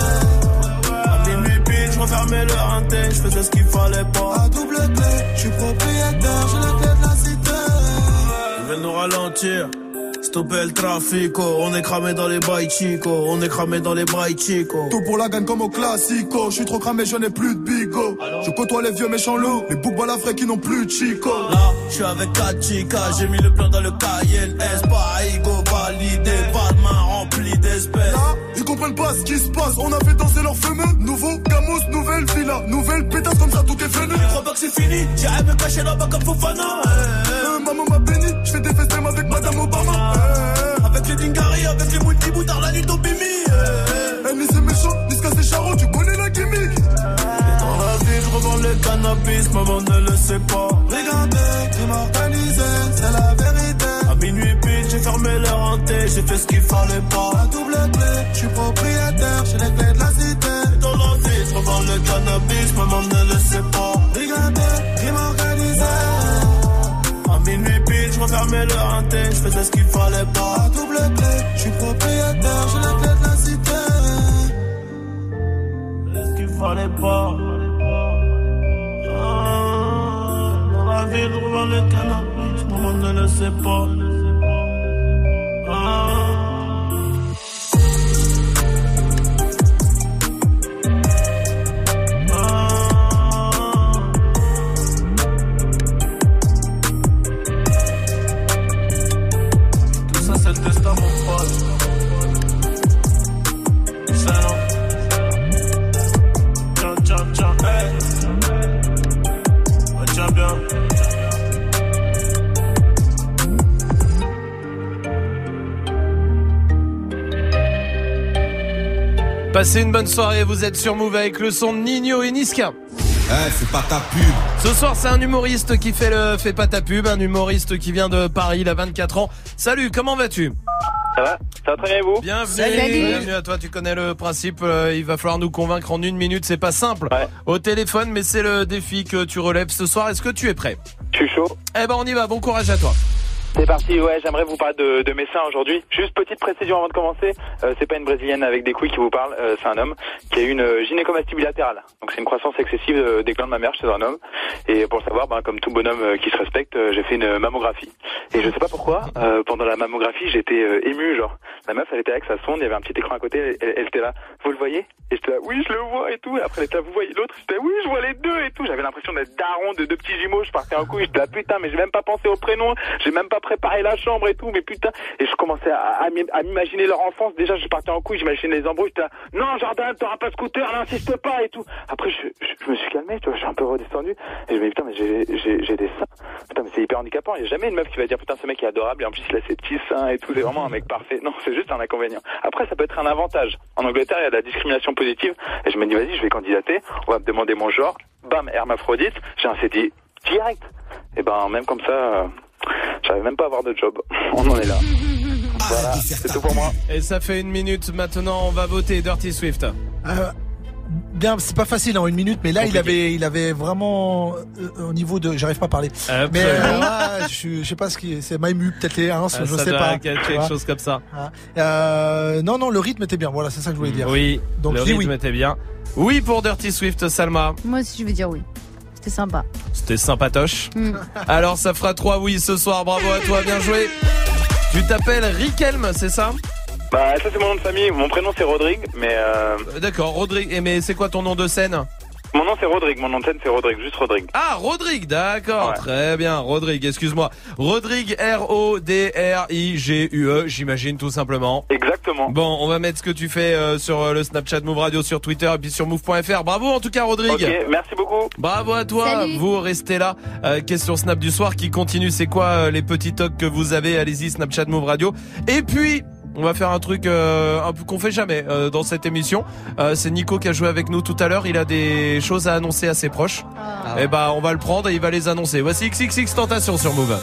Je refermais le renté, je faisais ce qu'il fallait pas. À double clé, je suis propriétaire, j'ai les clés de la cité. Ils veulent nous ralentir, c'est stopper le trafico. On est cramé dans les bails chico. On est cramé dans les bails chico. Tout pour la gagne comme au classico. Je suis trop cramé, je n'ai plus de bigo. Je côtoie les vieux méchants loups, les boucs balafrés qui n'ont plus de chico. Là, je suis avec quatre chicas. J'ai mis le plan dans le K L S. Pas ego validé, pas de main remplie d'espèces. Là, ils comprennent pas ce qui se passe. On a fait danser leurs fameux. Nouveau Camus, nouvelle villa. Nouvelle pétasse comme ça, tout est fini. Je crois pas que c'est fini. J'irai me cacher là-bas comme Fofana. Euh, maman m'a béni. Je fais des festins avec Madame Obama. Euh, avec les Dingari, avec les multiboutards, la nuit d'Obimi. Euh, ni c'est méchant, ni c'est charron, tu connais la gimmick. Et dans la vie, je revends le cannabis, maman ne le sait pas. Regardez, crime organisé, c'est la vérité. À minuit pile, j'ai fermé leur hanté, j'ai fait ce qu'il fallait pas. La double clé, je suis propriétaire, j'ai les clés de la cité. Et dans la vie, je revends le cannabis, maman ne le sait pas. Regardez, crime organisé. À minuit pile, je refermais le hanté, je faisais ce qu'il fallait pas. La double clé, je suis propriétaire, j'ai les clés de la cité. Ce qu'il fallait pas. Ah, dans la ville, je revends le cannabis, maman ne le sait pas. Ah. Passez une bonne soirée, vous êtes sur Move avec le son de Nino et Niska. Eh, hey, c'est pas ta pub. Ce soir, c'est un humoriste qui fait le fait pas ta pub, un humoriste qui vient de Paris, il a vingt-quatre ans. Salut, comment vas-tu ? Ça va ? Ça va très bien et vous ? Bienvenue, Salut. bienvenue à toi, tu connais le principe, euh, il va falloir nous convaincre en une minute, c'est pas simple ouais. Au téléphone, mais c'est le défi que tu relèves ce soir. Est-ce que tu es prêt ? Je suis chaud. Eh ben on y va, bon courage à toi. C'est parti, ouais, j'aimerais vous parler de, de mes seins aujourd'hui. Juste petite précision avant de commencer, euh, c'est pas une brésilienne avec des couilles qui vous parle, euh, c'est un homme qui a eu une euh, gynécomastie bilatérale. Donc c'est une croissance excessive euh, des glandes mammaires chez un homme. Et pour le savoir, ben, comme tout bonhomme euh, qui se respecte, euh, j'ai fait une mammographie. Et je sais pas pourquoi, euh, pendant la mammographie, j'étais euh, ému, genre. La meuf, elle était avec sa sonde, il y avait un petit écran à côté, elle, elle était là, vous le voyez ? Et j'étais là, oui, je le vois et tout. Et après, elle était là, vous voyez l'autre ? J'étais là, oui, je vois les deux et tout. J'avais l'impression d'être daron de deux petits jumeaux, je partais en couille, j'étais là, putain, mais j'ai même pas pensé au prénom, j'ai même pas préparé la chambre et tout, mais putain. Et je commençais à, à, à m'imaginer leur enfance. Déjà, je partais en couille, j'imaginais les embrouilles, j'étais là, non, Jordan, t'auras pas de scooter, n'insiste pas et tout. Après, je, je, je me suis calmé, tu vois, je suis un peu redescendu. Et je me dis, putain, mais j'ai, j'ai, j'ai des seins. Putain, mais c'est hyper handicapant. Il y a jamais une meuf qui va dire, putain, ce mec est adorable et en plus, il a ses petits seins et tout, c'est vraiment un mec parfait. Non, c'est juste un inconvénient. Après, ça peut être un avantage. En Angleterre, il y a de la discrimination positive. Et je me dis, vas-y, je vais candidater. On va me demander mon genre. Bam, hermaphrodite. J'ai un C D I direct. Et ben, même comme ça, euh, j'arrive même pas à avoir de job. On en est là. Voilà, c'est tout pour moi. Et ça fait une minute. Maintenant, on va voter Dirty Swift. Euh, bien, c'est pas facile en une minute, mais là, compliqué. il avait, il avait vraiment euh, au niveau de, j'arrive pas à parler. Absolument. Mais euh, là, je, je sais pas ce qui, c'est Maïmu, peut-être les uns, ah, je sais pas. Quelque chose comme ça. Ah. Euh, non, non, le rythme était bien. Voilà, c'est ça que je voulais dire. Oui. Donc le rythme oui. était bien. Oui pour Dirty Swift, Salma. Moi aussi, je vais dire oui. C'était sympa. C'était sympatoche. Mm. Alors, ça fera trois oui ce soir. Bravo à toi, bien joué. Tu t'appelles Riquelme, c'est ça ? Bah, ça c'est mon nom de famille. Mon prénom c'est Rodrigue, mais euh... D'accord, Rodrigue. Mais c'est quoi ton nom de scène ? Mon nom c'est Rodrigue, mon nom de scène c'est Rodrigue, juste Rodrigue. Ah, Rodrigue, d'accord, ouais. Très bien, Rodrigue, excuse-moi. Rodrigue, R O D R I G U E, j'imagine tout simplement. Exactement. Bon, on va mettre ce que tu fais euh, sur le Snapchat Move Radio, sur Twitter et puis sur move point f r. Bravo en tout cas, Rodrigue. Ok, merci beaucoup. Bravo à toi. Salut. Vous restez là. Euh, question Snap du soir qui continue, c'est quoi euh, les petits tocs que vous avez ? Allez-y, Snapchat Move Radio. Et puis... on va faire un truc euh, un peu qu'on fait jamais euh, dans cette émission. Euh, c'est Nico qui a joué avec nous tout à l'heure. Il a des choses à annoncer à ses proches. Ah. Et bah on va le prendre et il va les annoncer. Voici X X X Tentation sur Move.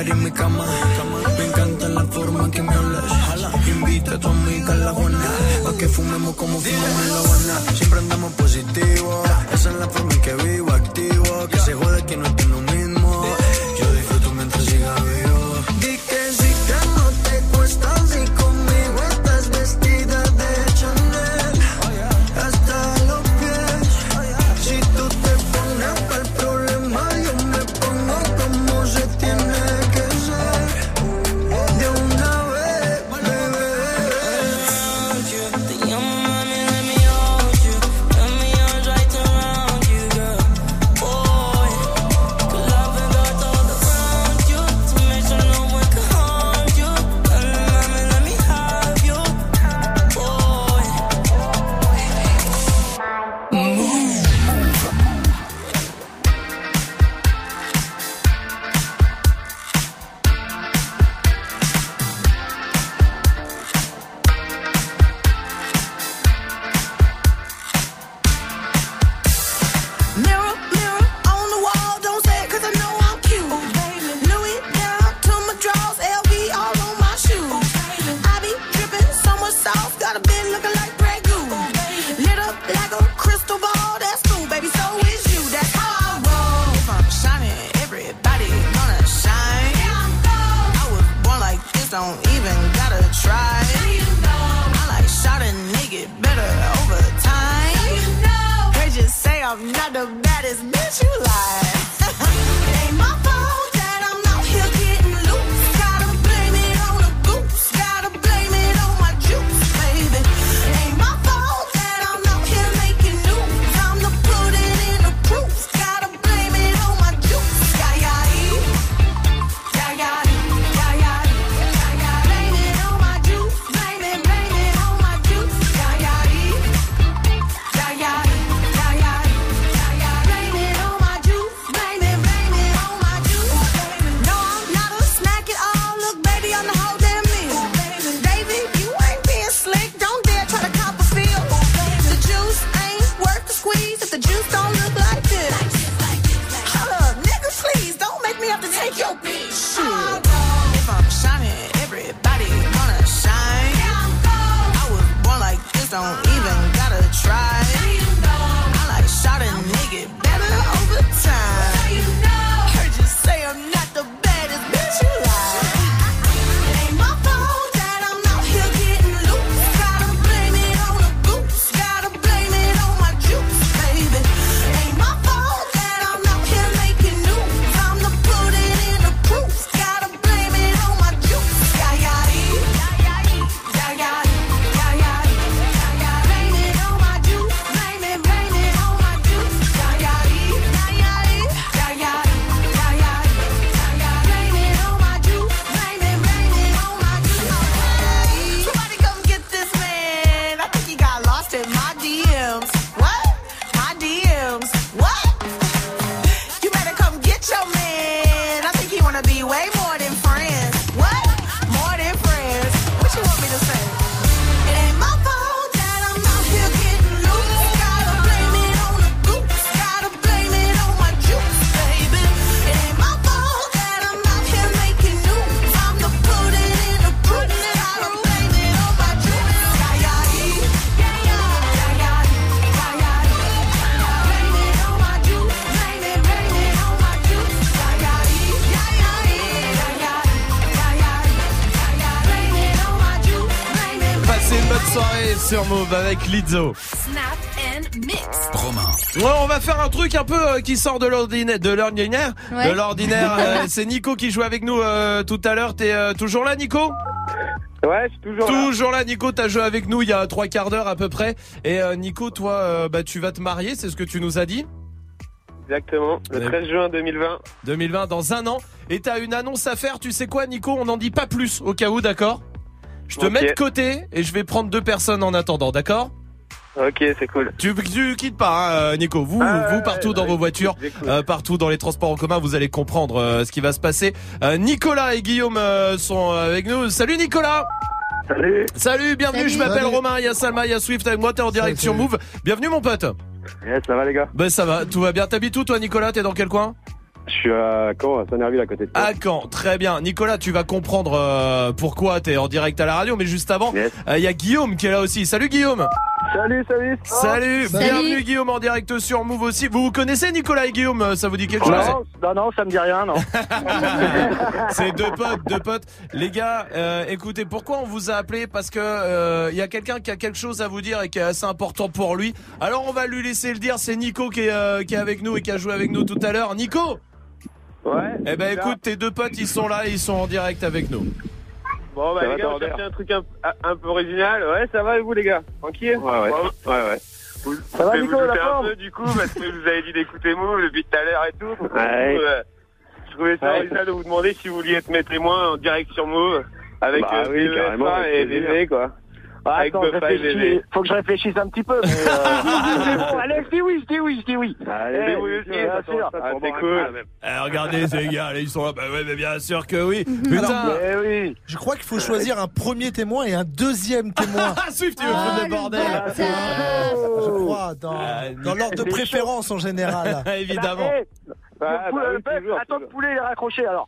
en mi cama. Me encanta la forma que me hablas. Invita a tu amiga a la Juana, pa' que fumemos como fumamos en La Habana. Siempre andamos positivo, esa es la forma en que vivo, activo. Que se jode que no estoy lo mismo. Yo disfruto mientras siga vivo. Di que sí que no te cuesta, si conmigo estás vestida de Chanel hasta los pies. Si tú te pones pa'l problema, yo me pongo como se tiene que ser. De una vez, bebé. Te llamo, mami, let me hold you. Let me arms right around you, girl. Boy, could love and go all around you to make sure no one can harm you. Mami, mami, let me have you, boy. Move. Mirror, mirror on the wall, don't say it 'cause I know I'm cute. Louis down to my drawers, L V all on my shoes. I be dripping so much sauce, got a bit looking like Grey Goose. Lit up like a crystal ball, that's cool, baby, so is you, that's how I roll. If I'm shining, everybody gonna shine. I was born like this, don't even gotta try. I like shot a nigga better over time. They just say I'm not the baddest bitch you like. It ain't my fault that I'm out here getting loose. Gotta blame it on the goose. Gotta blame it on my juice, baby. It ain't my fault that I'm out here making news. Time to put it in the proof. Gotta blame it on my juice. Yeah, yeah, yeah, yeah, yeah, yeah, yeah. Blame it on my juice. Blame it, blame it on my juice. Yeah, yeah, yeah, yeah, yeah, yeah. Blame it on my juice. Blame it, blame it on my juice. No, I'm not a snack at all. Look, baby, I'm the whole damn meal. David, you ain't being slick. Don't dare try to cop a feel. The juice ain't worth the squeeze if the juice don't look like this. Hold up, nigga, please don't make me have to take your bitch. Shit. If I'm shining, everybody gonna shine. I was born like this, don't even gotta try. I like shot a nigga better over time. Heard you say I'm not the baddest bitch you like. It ain't my fault that I'm out here getting loose. Gotta blame it on the goose. Gotta blame it on my juice, baby. It ain't my fault that I'm out here making news. Time to put it in the proof. Gotta blame it on my juice. Yeah, yeah, yeah, yeah, yeah, yeah, yeah, yeah. Blame it on my juice. Blame it, blame it on my juice. Yeah, yeah, yeah, yeah, yeah, yeah, yeah, yeah. Blame it on my juice. Blame it, blame it on my juice. Somebody come get this man. I think he got lost in my D Ms. What? My D Ms. What? You better come get your man. I think he wanna be way more than friends. What? More than friends. What you want me to say? It ain't my fault that I'm out here getting loose. Gotta blame it on the goose. Gotta blame it on my juice, baby. It ain't my fault that I'm out here making news. Time to put it in the proof. Gotta blame it on my juice. Yeah, yeah, yeah, yeah, yeah, yeah, yeah, yeah. Blame it on my juice. Blame it, blame it on my juice. Yeah, yeah, yeah, yeah, yeah, yeah, yeah, yeah. Blame it on my juice. Blame it. Passez une bonne soirée sur Move avec Lizzo. Snap and mix. Romain. Ouais, on va faire un truc un peu euh, qui sort de l'ordinaire, de l'ordinaire, Ouais. de l'ordinaire. euh, c'est Nico qui joue avec nous euh, tout à l'heure. T'es euh, toujours là, Nico? Ouais, je suis toujours là. Toujours là, Nico. T'as joué avec nous il y a trois quarts d'heure à peu près. Et euh, Nico, toi, euh, bah tu vas te marier, c'est ce que tu nous as dit. Exactement, le Ouais. treize juin deux mille vingt. deux mille vingt, dans un an. Et t'as une annonce à faire. Tu sais quoi, Nico? On n'en dit pas plus au cas où, d'accord? Je te Ok. mets de côté et je vais prendre deux personnes en attendant, d'accord? Ok, c'est cool. Tu, tu quittes pas, hein, Nico. Vous, Ah, vous ouais, partout ouais, dans ouais, vos voitures, j'écoute. euh, partout dans les transports en commun, vous allez comprendre euh, ce qui va se passer. Euh, Nicolas et Guillaume euh, sont avec nous. Salut Nicolas. Salut. Salut, bienvenue. Salut. Je m'appelle Salut. Romain. Il y a Salma, il y a Swift avec moi. T'es en direct sur Move. Bienvenue mon pote. Yes, ça va les gars. Ben ça va, tout va bien. T'habites où toi, Nicolas? T'es dans quel coin? Je suis à Caen, à Saint-Nerville, à côté de toi. À Caen, très bien. Nicolas, tu vas comprendre euh, pourquoi t'es en direct à la radio, mais juste avant, il yes. euh, y a Guillaume qui est là aussi. Salut Guillaume. Salut, salut. Salut, salut. Bienvenue Guillaume en direct sur Move aussi. Vous vous connaissez Nicolas et Guillaume? Ça vous dit quelque chose? Non, non, non, ça me dit rien, non. C'est deux potes, deux potes. Les gars, euh, écoutez, pourquoi on vous a appelé? Parce que il euh, y a quelqu'un qui a quelque chose à vous dire et qui est assez important pour lui. Alors on va lui laisser le dire. C'est Nico qui est, euh, qui est avec nous et qui a joué avec nous tout à l'heure. Nico. Ouais. Eh ben écoute, tes deux potes, ils sont là, ils sont en direct avec nous. Bon bah ça les gars, on cherche un truc un, un peu original. Ouais, ça va et vous les gars? Tranquille? Ouais, ouais. Ouais, ouais. Vous, ça va Nico, la forme? Un peu du coup, parce que vous avez dit d'écouter Move depuis tout à l'heure et tout. Ouais. Coup, euh, je trouvais ça original ouais. de vous demander si vous vouliez être mes témoins en direct sur Move avec bah, euh, oui, carrément, et Bébé quoi. Ah, attends, réfléchis, faut que je réfléchisse un petit peu. Mais euh... bon, allez, je dis oui, je dis oui, je dis oui. Allez, eh, oui, aussi, bien sûr. Ah, c'est cool. Eh, regardez ces gars, là, ils sont là. Bah ouais, mais bien sûr que oui. Putain. Alors, mais oui. Je crois qu'il faut choisir un premier témoin et un deuxième témoin. Ah, Swift, tu veux ah, foutre le bordel. Euh, je crois, dans, ah, dans l'ordre de préférence chaud. En général. Évidemment. Bah, bah, bah, oui, attends que Poulet est raccroché alors.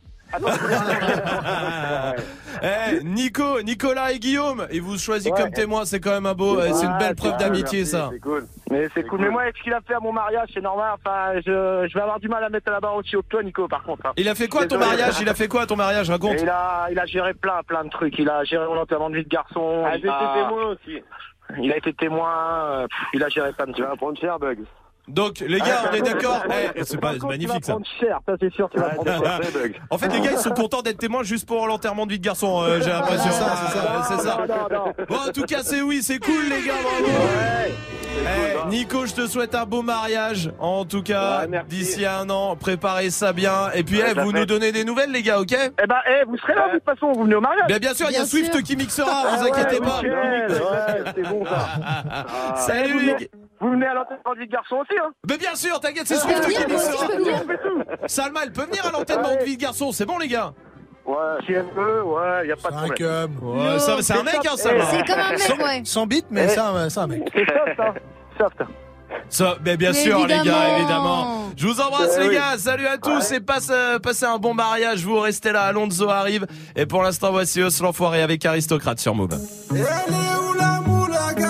Eh, Nico, Nicolas et Guillaume, et vous choisissez ouais. comme témoin, c'est quand même un beau, ouais, c'est une belle preuve d'amitié, merci, ça. C'est cool. Mais c'est, c'est cool. cool. Mais moi, avec ce qu'il a fait à mon mariage, c'est normal. Enfin, je, je vais avoir du mal à mettre la barre aussi haut que toi, Nico, par contre. Hein. Il a fait quoi à ton mariage? Il a fait quoi à ton mariage? Raconte. Il a, il a géré plein, plein de trucs. Il a géré mon enterrement de vie de garçon. Ah, il a été témoin aussi. Il a été témoin. Pff, il a géré plein de trucs. Tu vas prendre cher, Bug. Donc les gars, on est d'accord. Eh, c'est pas c'est magnifique ça. Cher, ça c'est sûr, tu vas prendre cher. En fait, les gars, ils sont contents d'être témoins juste pour l'enterrement de vie de garçon. Euh, j'ai l'impression. C'est ça, c'est ça. C'est ça. Bon, en tout cas, c'est oui, c'est cool, les gars. Bravo. Ouais. Eh, Nico, je te souhaite un beau mariage. En tout cas, ouais, d'ici un an, préparez ça bien. Et puis, ouais, eh, vous nous donnez des nouvelles, les gars, ok? Eh ben, eh, vous serez là de toute façon. Vous venez au mariage. Bien, bien sûr, il y a Swift qui mixera. Vous inquiétez pas. Ouais, c'est bon ça. Salut, les gars. Vous venez à l'enterrement de vie de garçon aussi, hein? Mais bien sûr, t'inquiète, c'est Swift qui dit ça. Salma, elle peut venir à l'enterrement de vie de garçon, c'est bon, les gars? Ouais, si elle peut, ouais, y a pas de problème. Ouais, ça, c'est un mec, hein, Salma. C'est comme un mec, ouais. Sans bite, mais ça, c'est un mec. C'est soft, hein. Soft. Ça, mais bien mais sûr, évidemment. Les gars, évidemment. Je vous embrasse, mais les oui. gars. Salut à tous ouais. et passe, euh, passez un bon mariage. Vous restez là, Alonso arrive. Et pour l'instant, voici Os l'enfoiré avec Aristocrate sur Move. Elle est où la moulaga?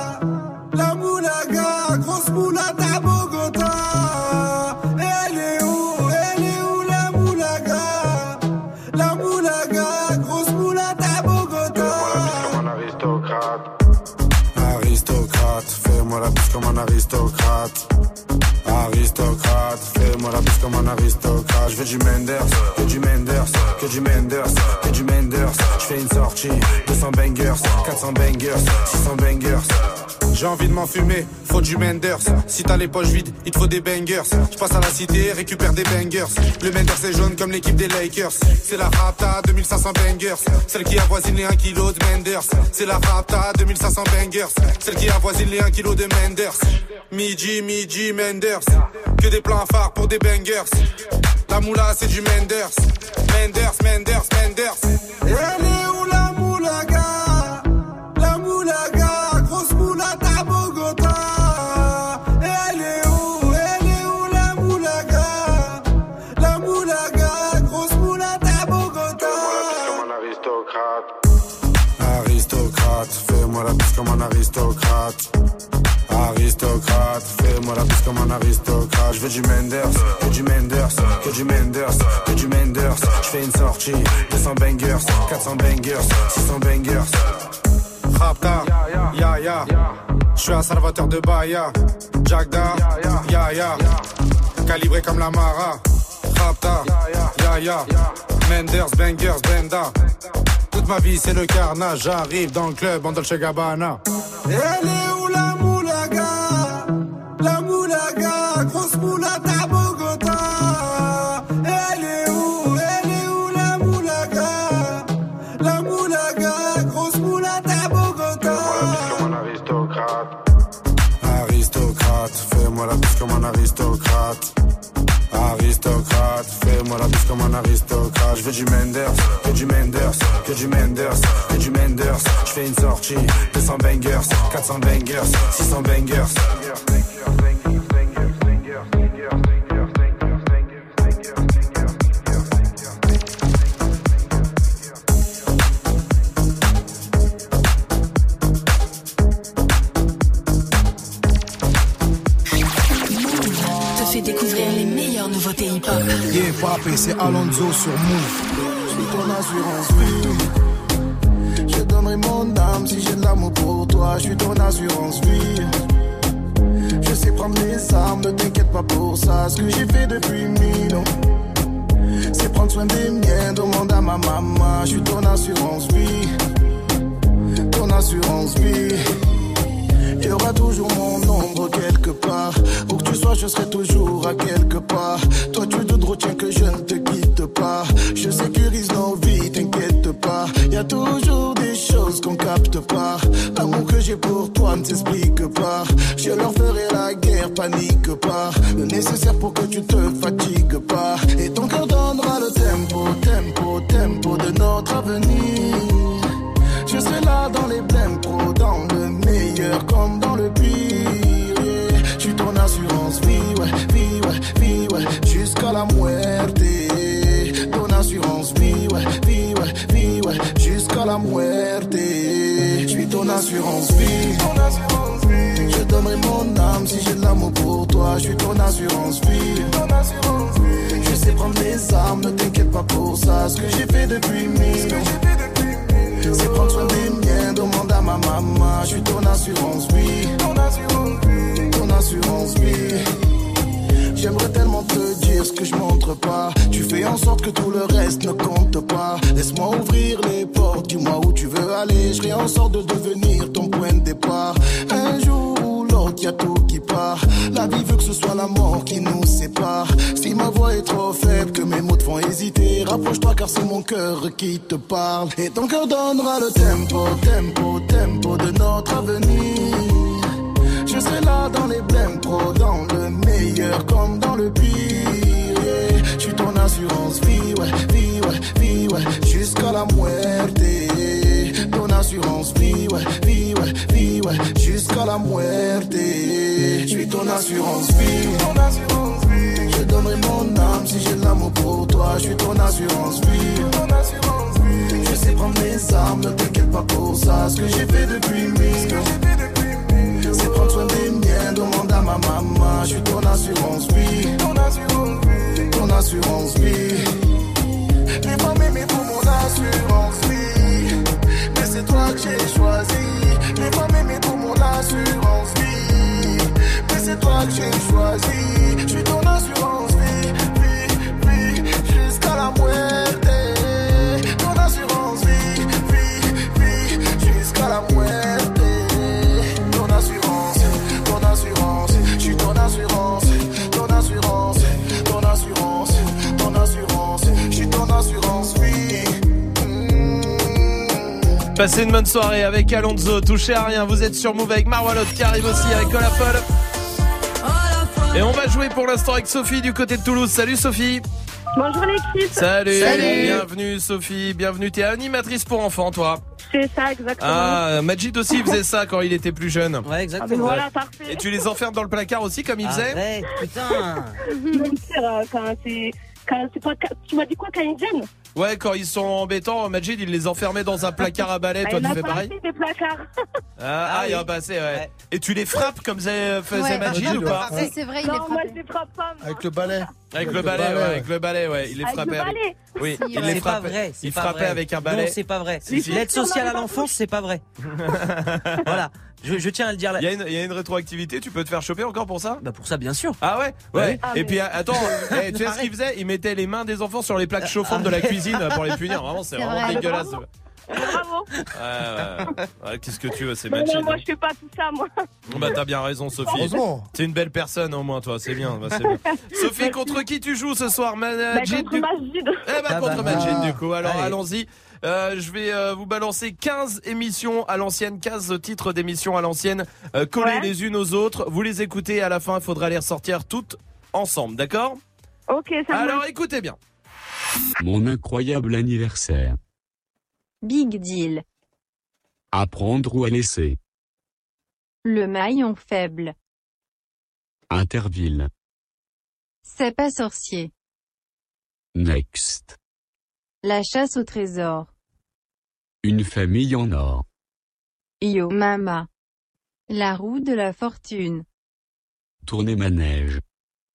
La moulaga, grosse moulade à Bogota. Elle est où, elle est où la moulaga? La moulaga, grosse moulade à Bogota. Fais-moi la bise comme un aristocrate. Aristocrate, fais-moi la bise comme un aristocrate. Aristocrate, fais-moi la bise comme un aristocrate. Je veux du Menders, que du Menders, que du Menders, que du Menders. Je fais une sortie, deux cents bangers, quatre cents bangers, six cents bangers. J'ai envie de m'enfumer, faut du Menders. Si t'as les poches vides, il te faut des bangers. Je passe à la cité, récupère des bangers. Le Menders est jaune comme l'équipe des Lakers. C'est la Rapta, deux mille cinq cents bangers. Celle qui avoisine les un kilo de Menders. C'est la Rapta, deux mille cinq cents bangers. Celle qui avoisine les un kilo de Menders. Midi, midi, Menders. Que des plans phares pour des bangers. La moula, c'est du Menders. Menders, Menders, Menders. Elle est où la moulaga? La moulaga, grosse moulade à Bogota. Elle est où, elle est où la moulaga? La moulaga, grosse moulade à Bogota. Fais-moi la bise comme un aristocrate. Aristocrate, fais-moi la bise comme un aristocrate. Aristocrate, fais-moi la bise comme un aristocrate. Je veux du Menders, que du Menders, que du Menders, que du Menders. Je fais une sortie, deux cents bangers, quatre cents bangers, six cents bangers. Rapta, ya ya, je suis un salvateur de Bahia. Jagda, ya ya, calibré comme la Mara. Rapta, ya ya, Menders, bangers, benda. Toute ma vie c'est le carnage, j'arrive dans le club en Dolce Gabbana. Elle est où la moulaga? La moulaga, grosse moulade à Bogota. Elle est où, elle est où la moulaga? La moulaga, grosse moulade à Bogota. Fais-moi la bise comme un aristocrate. Aristocrate, fais-moi la bise comme un aristocrate. Aristocrate, fais-moi la bise comme un aristocrate. Je veux du Menders, que du Menders, que du Menders, que du Menders. Je fais une sortie, deux cents bangers, quatre cents bangers, six cents bangers. nouveauté hip-hop. Yeah, papé, c'est Alonso sur Move. Je suis ton assurance vie. Je donnerai mon âme si j'ai de l'amour pour toi. Je suis ton assurance vie. Je sais prendre les armes, ne t'inquiète pas pour ça. Ce que j'ai fait depuis mille ans, c'est prendre soin des miens. Demande à ma maman. Je suis ton assurance vie. Ton assurance vie. Il y aura toujours mon ombre quelque part. Où que tu sois, je serai toujours à quelque part. Toi, tu te retiens que je ne te quitte pas. Je sécurise nos vies, t'inquiète pas. Y a toujours des choses qu'on capte pas. L'amour que j'ai pour toi ne s'explique pas. Je leur ferai la guerre, panique pas. Le nécessaire pour que tu te fatigues pas. Et ton cœur donnera le tempo, tempo, tempo de notre avenir. Je serai là dans les blèmes pro, dans le meilleur comme dans le pire. Yeah. Je suis ton assurance vie, ouais, vie, ouais, vie, ouais, jusqu'à la muerte. Ton assurance vie, ouais, vie, ouais, vie, ouais, jusqu'à la muerte. Je suis ton assurance vie. Je donnerai mon âme si j'ai de l'amour pour toi. Je suis ton assurance vie. Je sais prendre les armes, ne t'inquiète pas pour ça. Ce que j'ai fait depuis mille ans, c'est prendre soin des miens, demande à ma maman. Je suis ton assurance vie. Ton assurance vie. J'aimerais tellement te dire ce que je montre pas. Tu fais en sorte que tout le reste ne compte pas. Laisse-moi ouvrir les portes, dis-moi où tu veux aller. Je ferai en sorte de devenir ton point de départ. Un jour ou l'autre, y'a tout qui part. La vie veut que ce soit la mort qui nous sépare. Si ma voix est trop faible, que mes mots te font hésiter, rapproche-toi car c'est mon cœur qui te parle. Et ton cœur donnera le tempo, tempo, tempo de notre avenir. Je serai là dans les blèmes pro, dans le meilleur comme dans le pire. Yeah. Je suis ton assurance vie, ouais, vie, ouais, vie, ouais, jusqu'à la muerte. Ton assurance vie, ouais, vie, ouais, vie, ouais, jusqu'à la muerte. Je suis ton assurance vie. Je donnerai mon âme si j'ai de l'amour pour toi. Je suis ton assurance vie. Je sais prendre les armes, ne t'inquiète pas pour ça. Ce que j'ai fait depuis mille ans, c'est prendre soin des miens, demande à ma maman. Je suis ton assurance vie. Ton assurance vie. Les femmes aimées pour mon assurance vie. Mais c'est toi que j'ai choisi. Les femmes aimées pour mon assurance vie. Mais c'est toi que j'ai choisi. Je suis ton assurance vie, vie, vie, jusqu'à la muerte. Ton assurance vie, vie, vie, jusqu'à la muerte. Ton assurance, ton assurance, je suis ton assurance, ton assurance, ton assurance, ton assurance, je suis ton assurance vie. Passez une bonne soirée avec Alonso, touchez à rien, vous êtes sur Move avec Marwalot qui arrive aussi avec Olafol. Et on va jouer pour l'instant avec Sophie du côté de Toulouse. Salut Sophie. Bonjour l'équipe. Salut. Salut. Bienvenue Sophie, bienvenue. T'es animatrice pour enfants toi. C'est ça exactement. Ah, Majid aussi faisait ça quand il était plus jeune. Ouais, exactement. Voilà, parfait. Et tu les enfermes dans le placard aussi comme il faisait? Arrête, putain. Mentir, quand c'est... Quand c'est pas... Tu m'as dit quoi quand ils viennent? Ouais, quand ils sont embêtants, Majid il les enfermait dans un placard à balai. Toi il tu fais pareil? Il des placards. Ah, ah, il y a pas assez, ouais. ouais. Et tu les frappes comme faisait, faisait Ouais. Majid Ouais. ou pas? C'est, c'est vrai, il Non, est moi frappé. je les frappe pas. moi. Avec le balai. Avec Avec le le balai, balai, ouais, ouais. avec le balai, ouais. Il les Avec frappait le avec. balai. Oui, Si, il ouais. les C'est pas frappait. vrai. C'est Il pas frappait vrai. avec un balai. Non, c'est pas vrai. Si, si. L'aide sociale à l'enfance, c'est pas vrai. Voilà. Je, je tiens à le dire. Il y, a une, il y a une rétroactivité, tu peux te faire choper encore pour ça? Bah pour ça, bien sûr. Ah ouais? Ouais. Ah, Et mais- puis attends, eh, tu sais ce qu'il faisait? Il mettait les mains des enfants sur les plaques chauffantes de la cuisine pour les punir. Vraiment, c'est C'est vraiment vrai. dégueulasse. Bravo. Ouais, ouais. Ouais, qu'est-ce que tu veux, c'est Mais Majid. non, moi je fais pas tout ça, moi. Bon, bah t'as bien raison Sophie. Heureusement. C'est une belle personne au moins toi, c'est bien, bah, c'est bien. Sophie, contre qui tu joues ce soir? Bah, Majid contre du... Majid. Eh bah Ah contre bah. Majid du coup. Alors Allez. allons-y. Euh, je vais euh, vous balancer quinze émissions à l'ancienne, quinze titres d'émissions à l'ancienne, euh, collés Ouais. les unes aux autres. Vous les écoutez, à la fin il faudra les ressortir toutes ensemble, d'accord? Ok, ça Alors marche. écoutez bien. Mon incroyable anniversaire. Big deal. À prendre ou à laisser. Le maillon faible. Interville. C'est pas sorcier. Next. La chasse au trésor. Une famille en or. Yo mama. La roue de la fortune. Tourner manège.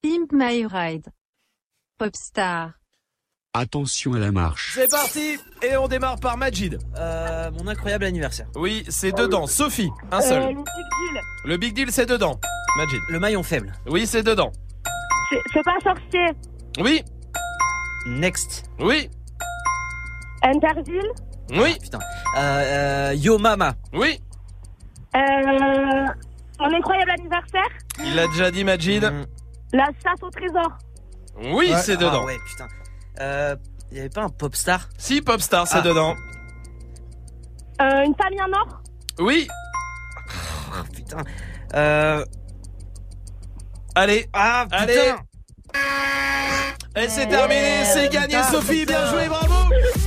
Pimp My Ride. Popstar. Attention à la marche. C'est parti. Et on démarre par Majid. Euh, mon incroyable anniversaire. Oui, c'est dedans. Sophie, un seul. Euh, le Big Deal. Le Big Deal, c'est dedans. Majid. Le maillon faible. Oui, c'est dedans. C'est, c'est pas sorcier. Oui. Next. Oui. Interville. Oui. Putain. Euh, euh, Yo Mama. Oui. Euh, mon incroyable anniversaire. Il l'a déjà dit, Majid. Mmh. La chasse au trésor. Oui, ouais. c'est dedans. Ah ouais, putain. Euh, y avait pas un Popstar? Si, Popstar, c'est ah. dedans. Euh, une famille en or. Oui. Oh, putain. Euh... Allez. Ah, putain. Allez. Et c'est terminé, c'est gagné, putain, Sophie, putain. Bien joué, bravo.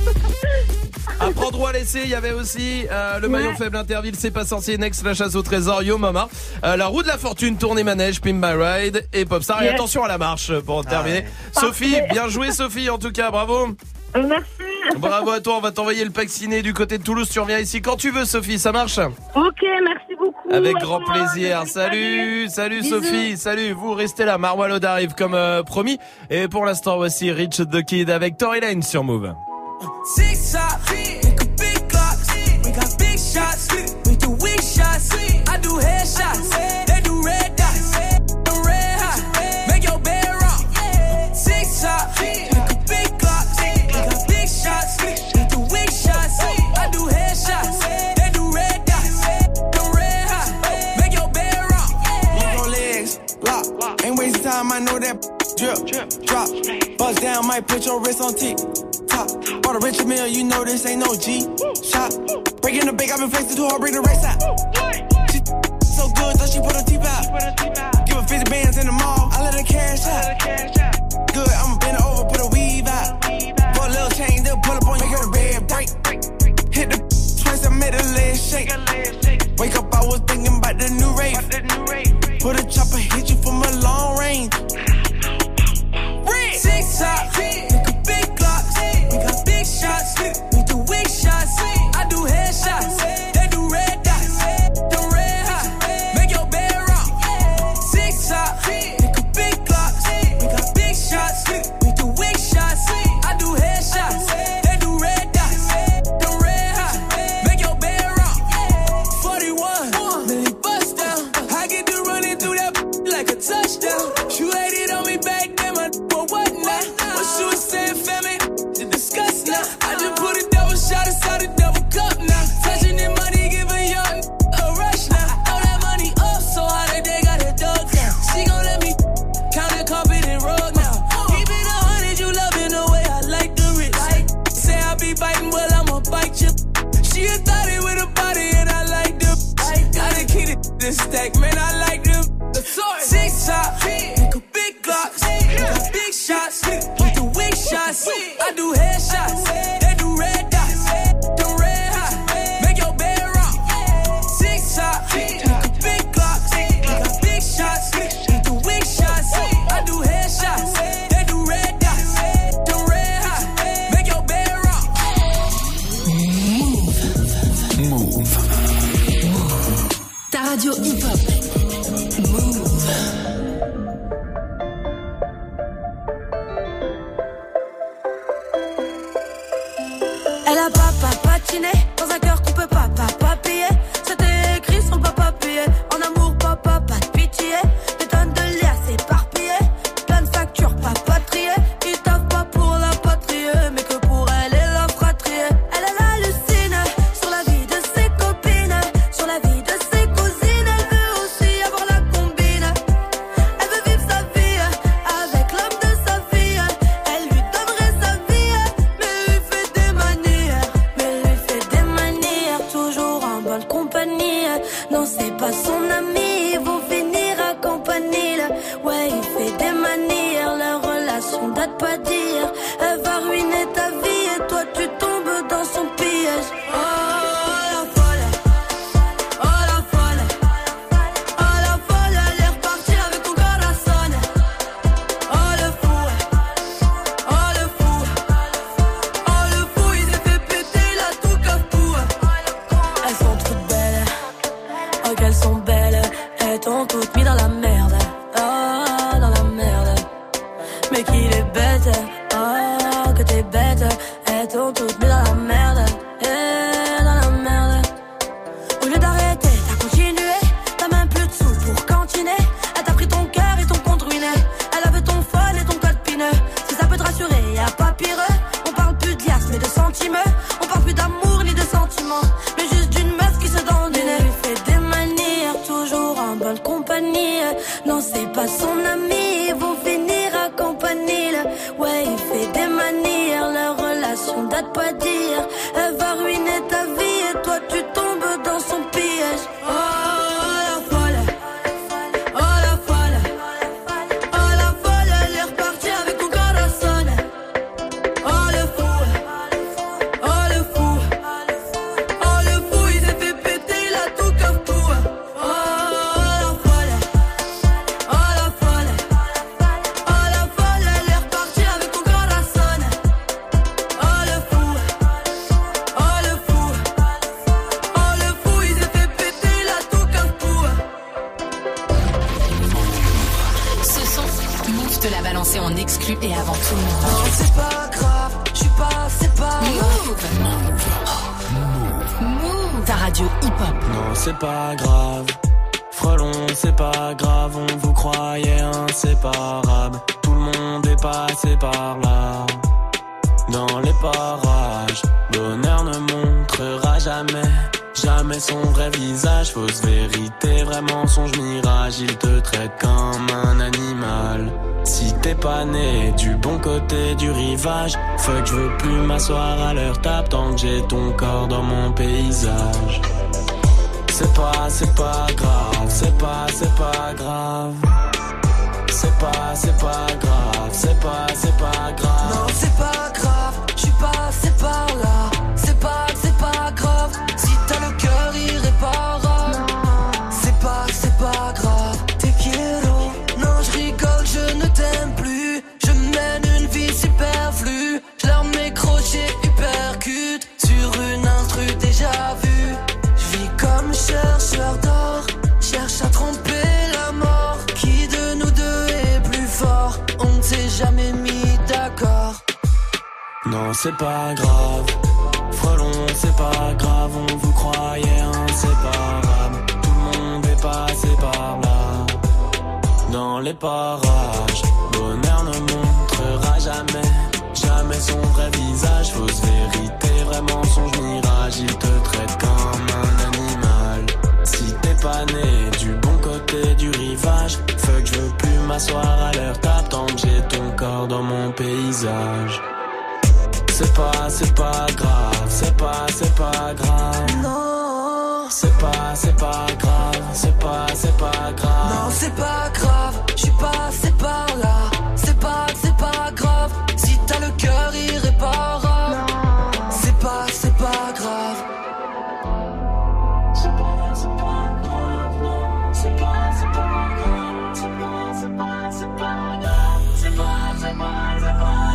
À prendre ou à laisser, il y avait aussi euh, le maillon ouais. faible Interville, c'est pas sorcier, Next, la chasse au trésor, Yo Mama, euh, la roue de la fortune, tournée manège, Pimp My Ride et Popstar. Yes. Et attention à la marche pour ah terminer. Ouais. Sophie, parfait. Bien joué Sophie, en tout cas, bravo. Merci. Bravo à toi, on va t'envoyer le pack ciné du côté de Toulouse. Tu reviens ici quand tu veux, Sophie, ça marche? Ok, merci beaucoup. Avec grand plaisir. Salut, salut, salut Sophie, salut. Vous restez là, Marwa Lode arrive comme euh, promis. Et pour l'instant, voici Rich the Kid avec Tory Lane sur Move. Six shots, make a big clocks. We got big shots, we do weak shots. I do headshots, they do red dots. The red hot, make your bed rock. Six shots, make a big clocks. We got big shots, we do weak shots. I do headshots, they do red dots. The red hot, make your bed rock. Move on legs, lock. Ain't wasting time, I know that drip, drop. Bust down, might put your wrist on tick. Bought a Richard Mille, you know this ain't no G shot. Breaking the bank, I've been flexing too hard, bring the race out. She so good, thought she put her teeth out. Give her fifty bands in the mall, I let her cash out. Good, I'ma bend her over, put a weave out. Put a little chain, they'll pull up on you, make her the bed break. Hit the twice, I made her leg shake. Wake up, I was thinking about the new rave. Put a chopper, hit you from a long range. Six shots, make a big clocks. We got big shots, we do weak shots. I do headshots, they do red dots. The red hot, make your bed rock. Six shots, make a big clocks. We got big shots, we do weak shots. I do headshots, they do red dots. The red hot, make your bed rock. forty-one, Millie bust down. I get to running through that like a touchdown. She laid it on me back then, my for what now? What she was saying, family, to discuss now. I just put a double shot inside a double cup now. Touching that money, give a young a rush now. Throw that money up so high that they got it dug down. She gon' let me count the carpet and rug now. Keep it a hundred, you loving the way I like the rich. Say I be biting, well I'ma bite you. She a thotty with a body and I like them. Gotta keep it this stack, man, I like them. Six shots, make a big clocks. Got big shots, we do weak shots. I do headshots, they do red dots. The red hot, make your bed rock. Six shots, make a big clocks. Got big shots, we do weak shots. I do headshots, they do red dots. The red hot, make your bed rock. Move. Move. Ta radio hip-hop. Move. Elle a papa patiné dans un cœur qu'on peut pas papa payer. C'était écrit son papa payé. En amour papa pas de pitié. Des tonnes de liasses éparpillées. Plein de factures papa triées. Qui taffent pas pour la patrie, mais que pour elle et la fratrie. Elle elle hallucine sur la vie de ses copines, sur la vie de ses cousines. Elle veut aussi avoir la combine. Elle veut vivre sa vie avec l'homme de sa fille. Elle lui donnerait sa vie, mais lui fait des manières. Mais lui fait des manières, toujours en bonne compagnie. Non, c'est pas son ami, ils vont finir à campanile. Ouais, il fait des manières, leur relation date pas d'hier. Elle va ruiner ta vie et toi tu tombes dans son piège. Oh la folle, oh la folle, oh la folle, elle est repartie avec ton corazon. Oh le fou, oh le fou, oh le fou, il s'est fait péter la tout cafou. Elles sont toutes belles, oh qu'elles sont belles, elles t'ont toutes mis dans la merde, oh dans la merde. compagnie. Non, c'est pas son ami, ils vont finir à campanile. Ouais, il fait des manières, leur relation date pas d'hier. Elle va ruiner ta vie et toi tu tombes dans son piège. Oh, la folle, oh la folle, oh la folle, elle est repartie avec mon corazon. Oh le fou, oh le fou, oh le fou, il s'est fait péter, il a tout comme tout. Oh la folle, oh la folle, oh la folle, elle est repartie avec mon corazon. Oh le fou, oh le fou, oh le fou, il s'est fait péter, il a tout comme tout. Ce son, Move te l'a balancé en exclu et avant tout le monde. Non, c'est pas grave, je suis pas, c'est pas Move. Move. Ta radio hip-hop. Non, c'est pas grave. Frelon, c'est pas grave. On vous croyait inséparables. Tout le monde est passé par là. Dans les parages, bonheur ne montrera jamais, jamais son vrai visage. Fausse vérité, vrai mensonge, mirage. Il te traite comme un animal. Si t'es pas né du bon côté du rivage, fuck, je veux plus m'asseoir à leur table tant que j'ai ton corps dans mon paysage. C'est pas, c'est pas grave, c'est pas, c'est pas grave. C'est pas, c'est pas grave, c'est pas, c'est pas grave. Non, c'est pas grave, je suis passé par là. C'est pas, c'est pas grave, si t'as le cœur irréparable. C'est pas, c'est pas grave, te quiero. Non, je rigole, je ne t'aime plus. Je mène une vie superflue. Je leur mets crochet hypercute sur une instru déjà vue. Je vis comme chercheur d'or, cherche à tromper la mort. Qui de nous deux est plus fort? On ne s'est jamais mis d'accord. Non, c'est pas grave. Frelon, c'est pas grave. On vous croyait inséparables. Tout le monde est passé par là. Dans les parages, bonheur ne montrera jamais, jamais son vrai visage. Fausse vérité, vrai mensonge, mirage. Il te traite comme un animal. Si t'es pas né du bon côté du rivage, fuck, je veux plus m'asseoir à leur table tant que j'ai ton corps dans mon paysage. C'est pas, c'est pas grave, c'est pas, c'est pas grave. Non, c'est pas, c'est pas grave, c'est pas, c'est pas grave. Non, c'est pas grave, je suis passé par là. C'est pas, c'est pas grave, si t'as le cœur irréparable. C'est pas, c'est pas grave. C'est pas, c'est pas grave, non. C'est pas, c'est pas grave. C'est pas, c'est pas, c'est pas grave. C'est pas, c'est pas, c'est pas grave.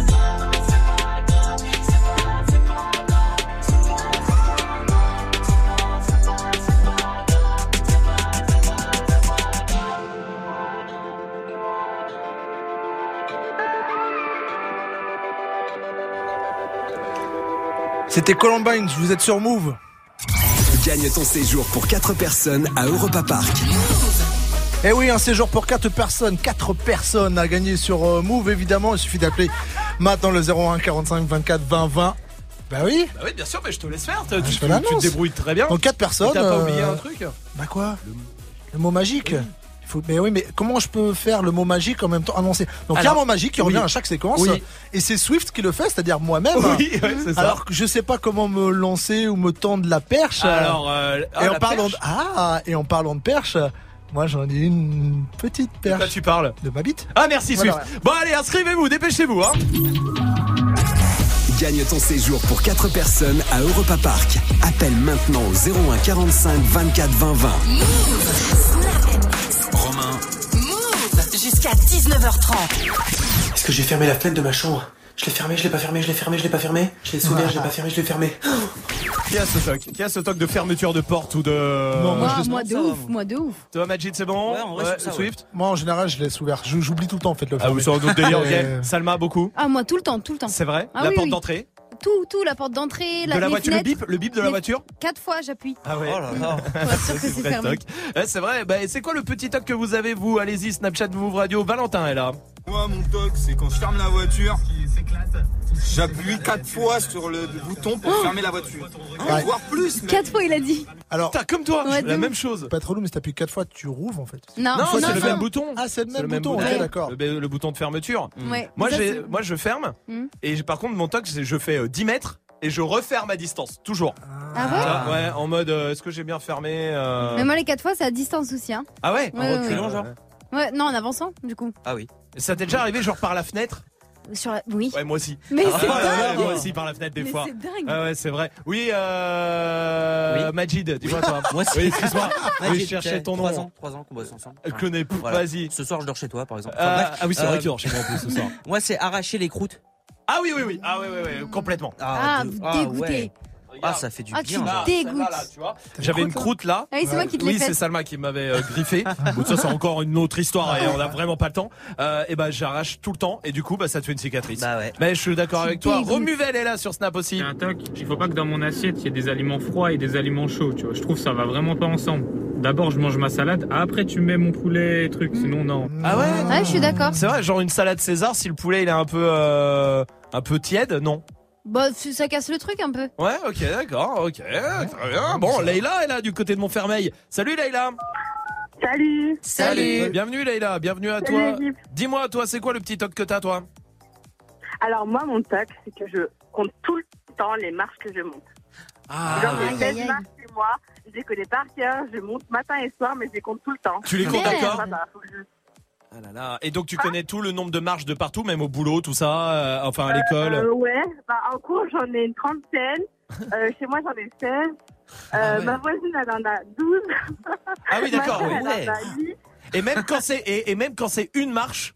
C'était Columbine, vous êtes sur Move. Gagne ton séjour pour quatre personnes à Europa Park. Eh oui, un séjour pour quatre personnes, quatre personnes à gagner sur euh, Move évidemment. Il suffit d'appeler maintenant le zéro un quarante-cinq vingt-quatre vingt vingt. Bah oui. Bah oui, bien sûr, mais je te laisse faire. Tu, Ah, tu, je tu, te tu te débrouilles très bien. Donc quatre personnes. Et t'as pas euh, oublié un truc? Bah quoi? Le, le mot magique. Oui. Il faut, mais oui, mais comment je peux faire le mot magique en même temps annoncé? Donc il y a un mot magique qui revient oui. à chaque séquence. Oui. Et c'est Swift qui le fait, c'est-à-dire moi-même. Oui, ouais, c'est ça. Alors que je sais pas comment me lancer ou me tendre la perche. Alors, euh, et ah, en la parlant perche. de, ah, et en parlant de perche, moi j'en ai une petite perche. De quoi tu parles? De ma bite. Ah merci Voilà, Swift. ouais. Bon allez, inscrivez-vous, dépêchez-vous hein. Gagne ton séjour pour quatre personnes à Europa Park. Appelle maintenant au zéro un quarante-cinq vingt-quatre vingt vingt. Romain. Move jusqu'à dix-neuf heures trente. Est-ce que j'ai fermé la fenêtre de ma chambre? Je l'ai fermé, je l'ai pas fermé, je l'ai fermé, je l'ai pas fermé. Je l'ai ouvert, je l'ai pas fermé, je l'ai fermé. Qui a ce toc? Qui a ce toc de fermeture de porte ou de... Non, Moi, je laisse- moi de ouf, moi de ouf. Toi Majid c'est bon? Ouais, en vrai, c'est ça, Swift? Moi en général je laisse ouvert. Je- J'oublie tout le temps en fait le Ah fermer. vous sur un autre délire, ok. Euh, Salma beaucoup? Ah, moi tout le temps, tout le temps. C'est vrai? Ah La oui, porte oui. d'entrée? Tout, tout, la porte d'entrée, la, De la les voiture, le fenêtres. bip, le bip de la Les- voiture? Quatre fois j'appuie. Ah ouais. Oh là là. Pour être sûr que c'est Vrai fermé. toc. Ouais, c'est vrai. Bah, c'est quoi le petit toc que vous avez vous? Allez-y, Snapchat Move Radio. Valentin est là. Moi, mon toc, c'est quand je ferme la voiture, c'est J'appuie quatre fois sur le bouton pour Oh. fermer la voiture. Ouais. Voire plus. Mais... Quatre fois, il a dit. Alors, T'as comme toi, Ouais, la de même ouf. chose. pas trop long, mais si t'appuies quatre fois, tu rouvres en fait. Non, Non, non, c'est le non. même bouton. Ah, c'est le C'est même bouton, ok, ouais. d'accord. Le, le bouton de fermeture. Ouais. Moi, Ça, j'ai, c'est- moi, je ferme. Hmm. Et j'ai- par contre, mon toc, c'est je fais euh, dix mètres et je referme à distance, toujours. Ah ouais Ah, ouais, en mode, euh, est-ce que j'ai bien fermé euh... Mais moi, les quatre fois, c'est à distance aussi. Hein. Ah ouais, Ouais, en ouais, reculant, ouais. genre. Ouais, non, en avançant, du coup. Ah oui. Ça t'est déjà arrivé, genre par la fenêtre? Sur la... Oui. Ouais, moi aussi. Mais Ah, c'est ouais, dingue. ouais, moi aussi, par la fenêtre, des Mais fois. c'est dingue. Ah ouais, c'est vrai. Oui, euh... Oui. Majid, dis-moi toi. Moi aussi. Oui, excuse-moi. Majid, Oui, je cherchais ton nom. Trois ans, trois ans qu'on bosse ensemble. Je connais plus. Voilà. Vas-y. Ce soir, je dors chez toi, par exemple. Euh, Enfin, bref, ah oui, c'est vrai euh, qu'il dort chez moi en plus ce soir. Moi, c'est arracher les croûtes. Ah oui, oui, oui. Ah oui, oui, oui, complètement. Ah, de- vous ah, dégoûtez. ouais. Ah, ça fait du Ah, bien. tu genre. dégoûtes. Celle-là, là, tu vois. J'avais une croûte là. Ah oui, c'est moi qui te l'ai Oui, c'est faite. Salma qui m'avait euh, griffé. Bon, ça, c'est encore une autre histoire et on a vraiment pas le temps. Euh, et bah, j'arrache tout le temps et du coup, bah, ça te fait une cicatrice. Bah ouais. Mais je suis d'accord avec toi. dégoûtes. Romuvel est là sur Snap aussi. C'est un toc. Il faut pas que dans mon assiette il y ait des aliments froids et des aliments chauds. Tu vois, je trouve que ça va vraiment pas ensemble. D'abord, je mange ma salade. Après, tu mets mon poulet et trucs. Sinon, non. Ah ouais. Ouais, je suis d'accord. C'est vrai, genre une salade César, si le poulet il est un peu, euh, un peu tiède, non. Bah, ça casse le truc un peu. Ouais, ok, d'accord, ok, très bien. Bon, Leïla est là du côté de Montfermeil. Salut Leïla. Salut. Salut. Bienvenue Leïla, bienvenue à Salut, toi. l'équipe. Dis-moi, toi, c'est quoi le petit toc que t'as, toi? Alors moi, mon toc, c'est que je compte tout le temps les marches que je monte. Ah, Genre, aïe, j'ai aïe, seize aïe. marches chez moi, je les connais par cœur, je monte matin et soir, mais je les compte tout le temps. Tu les comptes, Merde. d'accord? Ah bah, faut que je- Ah là là. Et donc tu connais tout le nombre de marches de partout, même au boulot, tout ça, euh, enfin à l'école. Euh, ouais, bah, en cours, j'en ai une trentaine. Euh, chez moi, j'en ai seize. Euh, Ah ouais. Ma voisine, elle en a douze. Ah oui, d'accord. Ma sœur, Oui. elle en a huit. Et même quand c'est et, et même quand c'est une marche.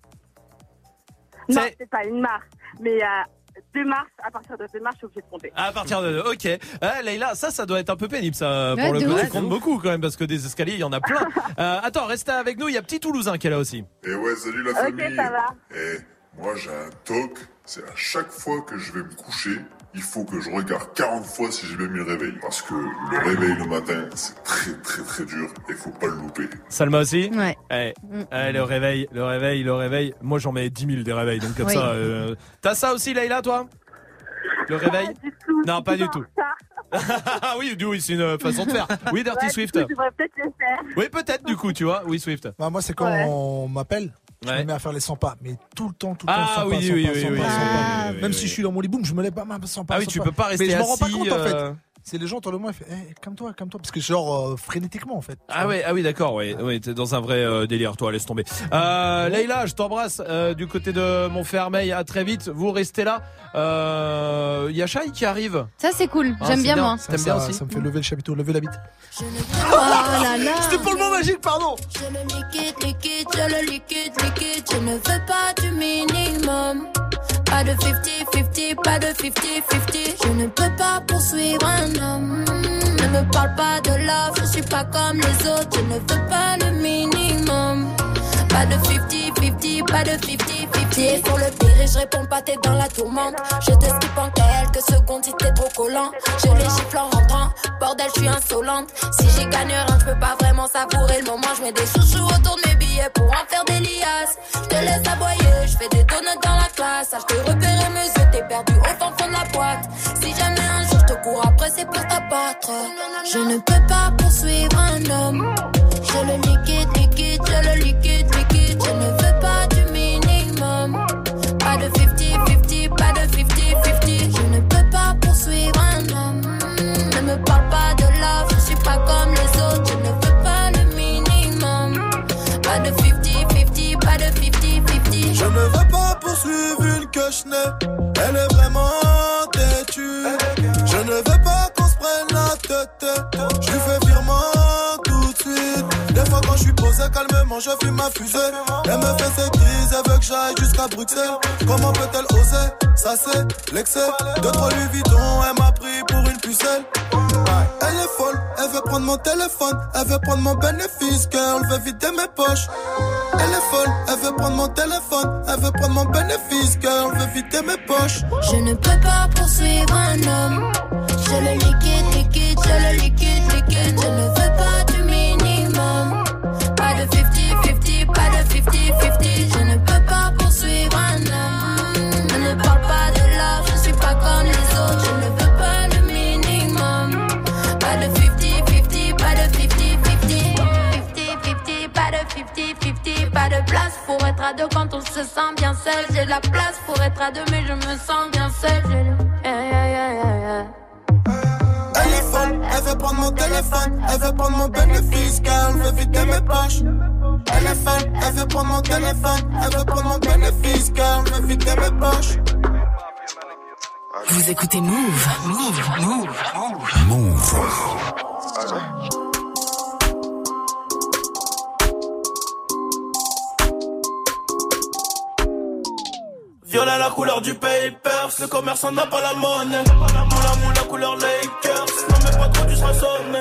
Non, C'est- c'est pas une marche. Mais euh, deux marches, à partir de deux marches, je suis obligée de compter. À partir de ok. Ah, Leïla, ça, ça doit être un peu pénible, ça. Ouais, Pour le de coup, ouf. tu comptes beaucoup quand même parce que des escaliers, il y en a plein. Euh, attends, restez avec nous. Il y a petit Toulousain qui est là aussi. Et ouais, salut la Ok, famille. ça va. Eh, moi j'ai un toc, c'est à chaque fois que je vais me coucher, il faut que je regarde quarante fois si j'ai bien mis le réveil. Parce que le réveil le matin, c'est très très très dur et faut pas le louper. Salma aussi. Ouais. Eh, Mm. eh, le réveil, le réveil, le réveil. Moi, j'en mets dix mille des réveils, donc comme Oui. ça. Euh... T'as ça aussi, Leïla, toi? Le réveil? Pas du tout. Non, pas du tout. Ça. Ah oui, du- oui, c'est une façon de faire. Oui, Dirty Ouais, Swift. du coup, je devrais peut-être le faire. Oui, peut-être du coup, tu vois. Oui, Swift. Bah, moi, c'est quand Ouais. on m'appelle, je Ouais. me mets à faire les cent pas, mais tout le temps, tout le temps, Ah cent oui, pas, cent oui, pas, oui, cent oui, pas, oui, cent oui, pas. oui, Même oui, si oui. je suis dans mon lit, boum, je me lève pas, même cent pas. Ah oui, cent tu pas. peux pas rester Mais je me rends pas assis, compte, en fait. euh, C'est les gens autour de moi, ils font, eh, calme-toi, calme-toi. Parce que genre, euh, frénétiquement, en fait. Ah ouais, ah oui, d'accord, ouais, ouais, t'es dans un vrai euh, délire, toi, laisse tomber. Euh, Leïla, je t'embrasse euh, du côté de Montfermeil. À très vite. Vous restez là. Euh, y a Shai qui arrive. Ça, c'est cool. Ah, J'aime c'est bien, bien. moi. Ça, T'aimes bien ça- aussi Ça me fait lever le chapiteau, lever la bite. Oh là là. C'était pour le mot magique, pardon. Je le liquide, liquide, je le liquide, liquide. Je ne veux pas du minimum. Pas de cinquante cinquante, pas de cinquante cinquante. Je ne peux pas poursuivre un homme. Ne me parle pas de love, je suis pas comme les autres. Je ne veux pas le minimum. Pas de cinquante cinquante, pas de cinquante cinquante. Pied sur le pire et je réponds pas, t'es dans la tourmente. Je te skip en quelques secondes si t'es trop collant. Je les gifle en rentrant, bordel, je suis insolente. Si j'y gagne rien, je peux pas vraiment savourer le moment. Je mets des chouchous autour de mes billets pour en faire des liasses. Je te laisse aboyer, je fais des donuts dans la classe. Ah, je te repérer mes yeux, t'es perdu au fin fond de la boîte. Si jamais un jour je te cours après, c'est pour t'abattre. Je ne peux pas poursuivre un homme. Je le liquide, liquide, je le liquide, liquide. Je ne veux pas du minimum. Pas de cinquante cinquante, pas de cinquante cinquante. Je ne peux pas poursuivre un homme. Ne me parle pas de love, je suis pas comme les autres. Je ne veux pas le minimum. Pas de cinquante cinquante, pas de cinquante cinquante. Je ne veux pas poursuivre une que je n'ai. Elle est vraiment têtue. Je ne veux pas qu'on se prenne la tête. Je lui fais virement tout de suite. Des fois quand je suis posé calmement, je fume ma fusée. Elle me fait ses crises, elle veut que j'aille jusqu'à Bruxelles. Comment peut-elle oser? Ça c'est l'excès. De trop lui vidon, elle m'a pris pour une pucelle. Elle est folle, elle veut prendre mon téléphone. Elle veut prendre mon bénéfice, girl, veut vider mes poches. Elle est folle, elle veut prendre mon téléphone. Elle veut prendre mon bénéfice, girl, veut vider mes poches. Je ne peux pas poursuivre un homme. Je le liquide, liquide, je le liquide, liquide. Je ne veux pas du minimum. Pas de cinquante cinquante, pas de cinquante cinquante. Je ne peux pas poursuivre un homme. Ne me parle pas pas de place pour être à deux quand on se sent bien seul. J'ai de la place pour être à deux, mais je me sens bien seul. J'ai le... yeah, yeah, yeah, yeah, yeah. Elle est folle, elle veut prendre mon téléphone, elle veut prendre mon bénéfice car elle veut vider mes poches. Elle est folle, elle veut prendre mon téléphone, elle veut prendre mon bénéfice car elle veut vider mes poches. Vous écoutez Move, Move, Move, Move. Move. Violet la couleur du papers, le commerçant n'a pas la monnaie. Moula moula couleur Lakers, non mais pas trop tu seras sonné.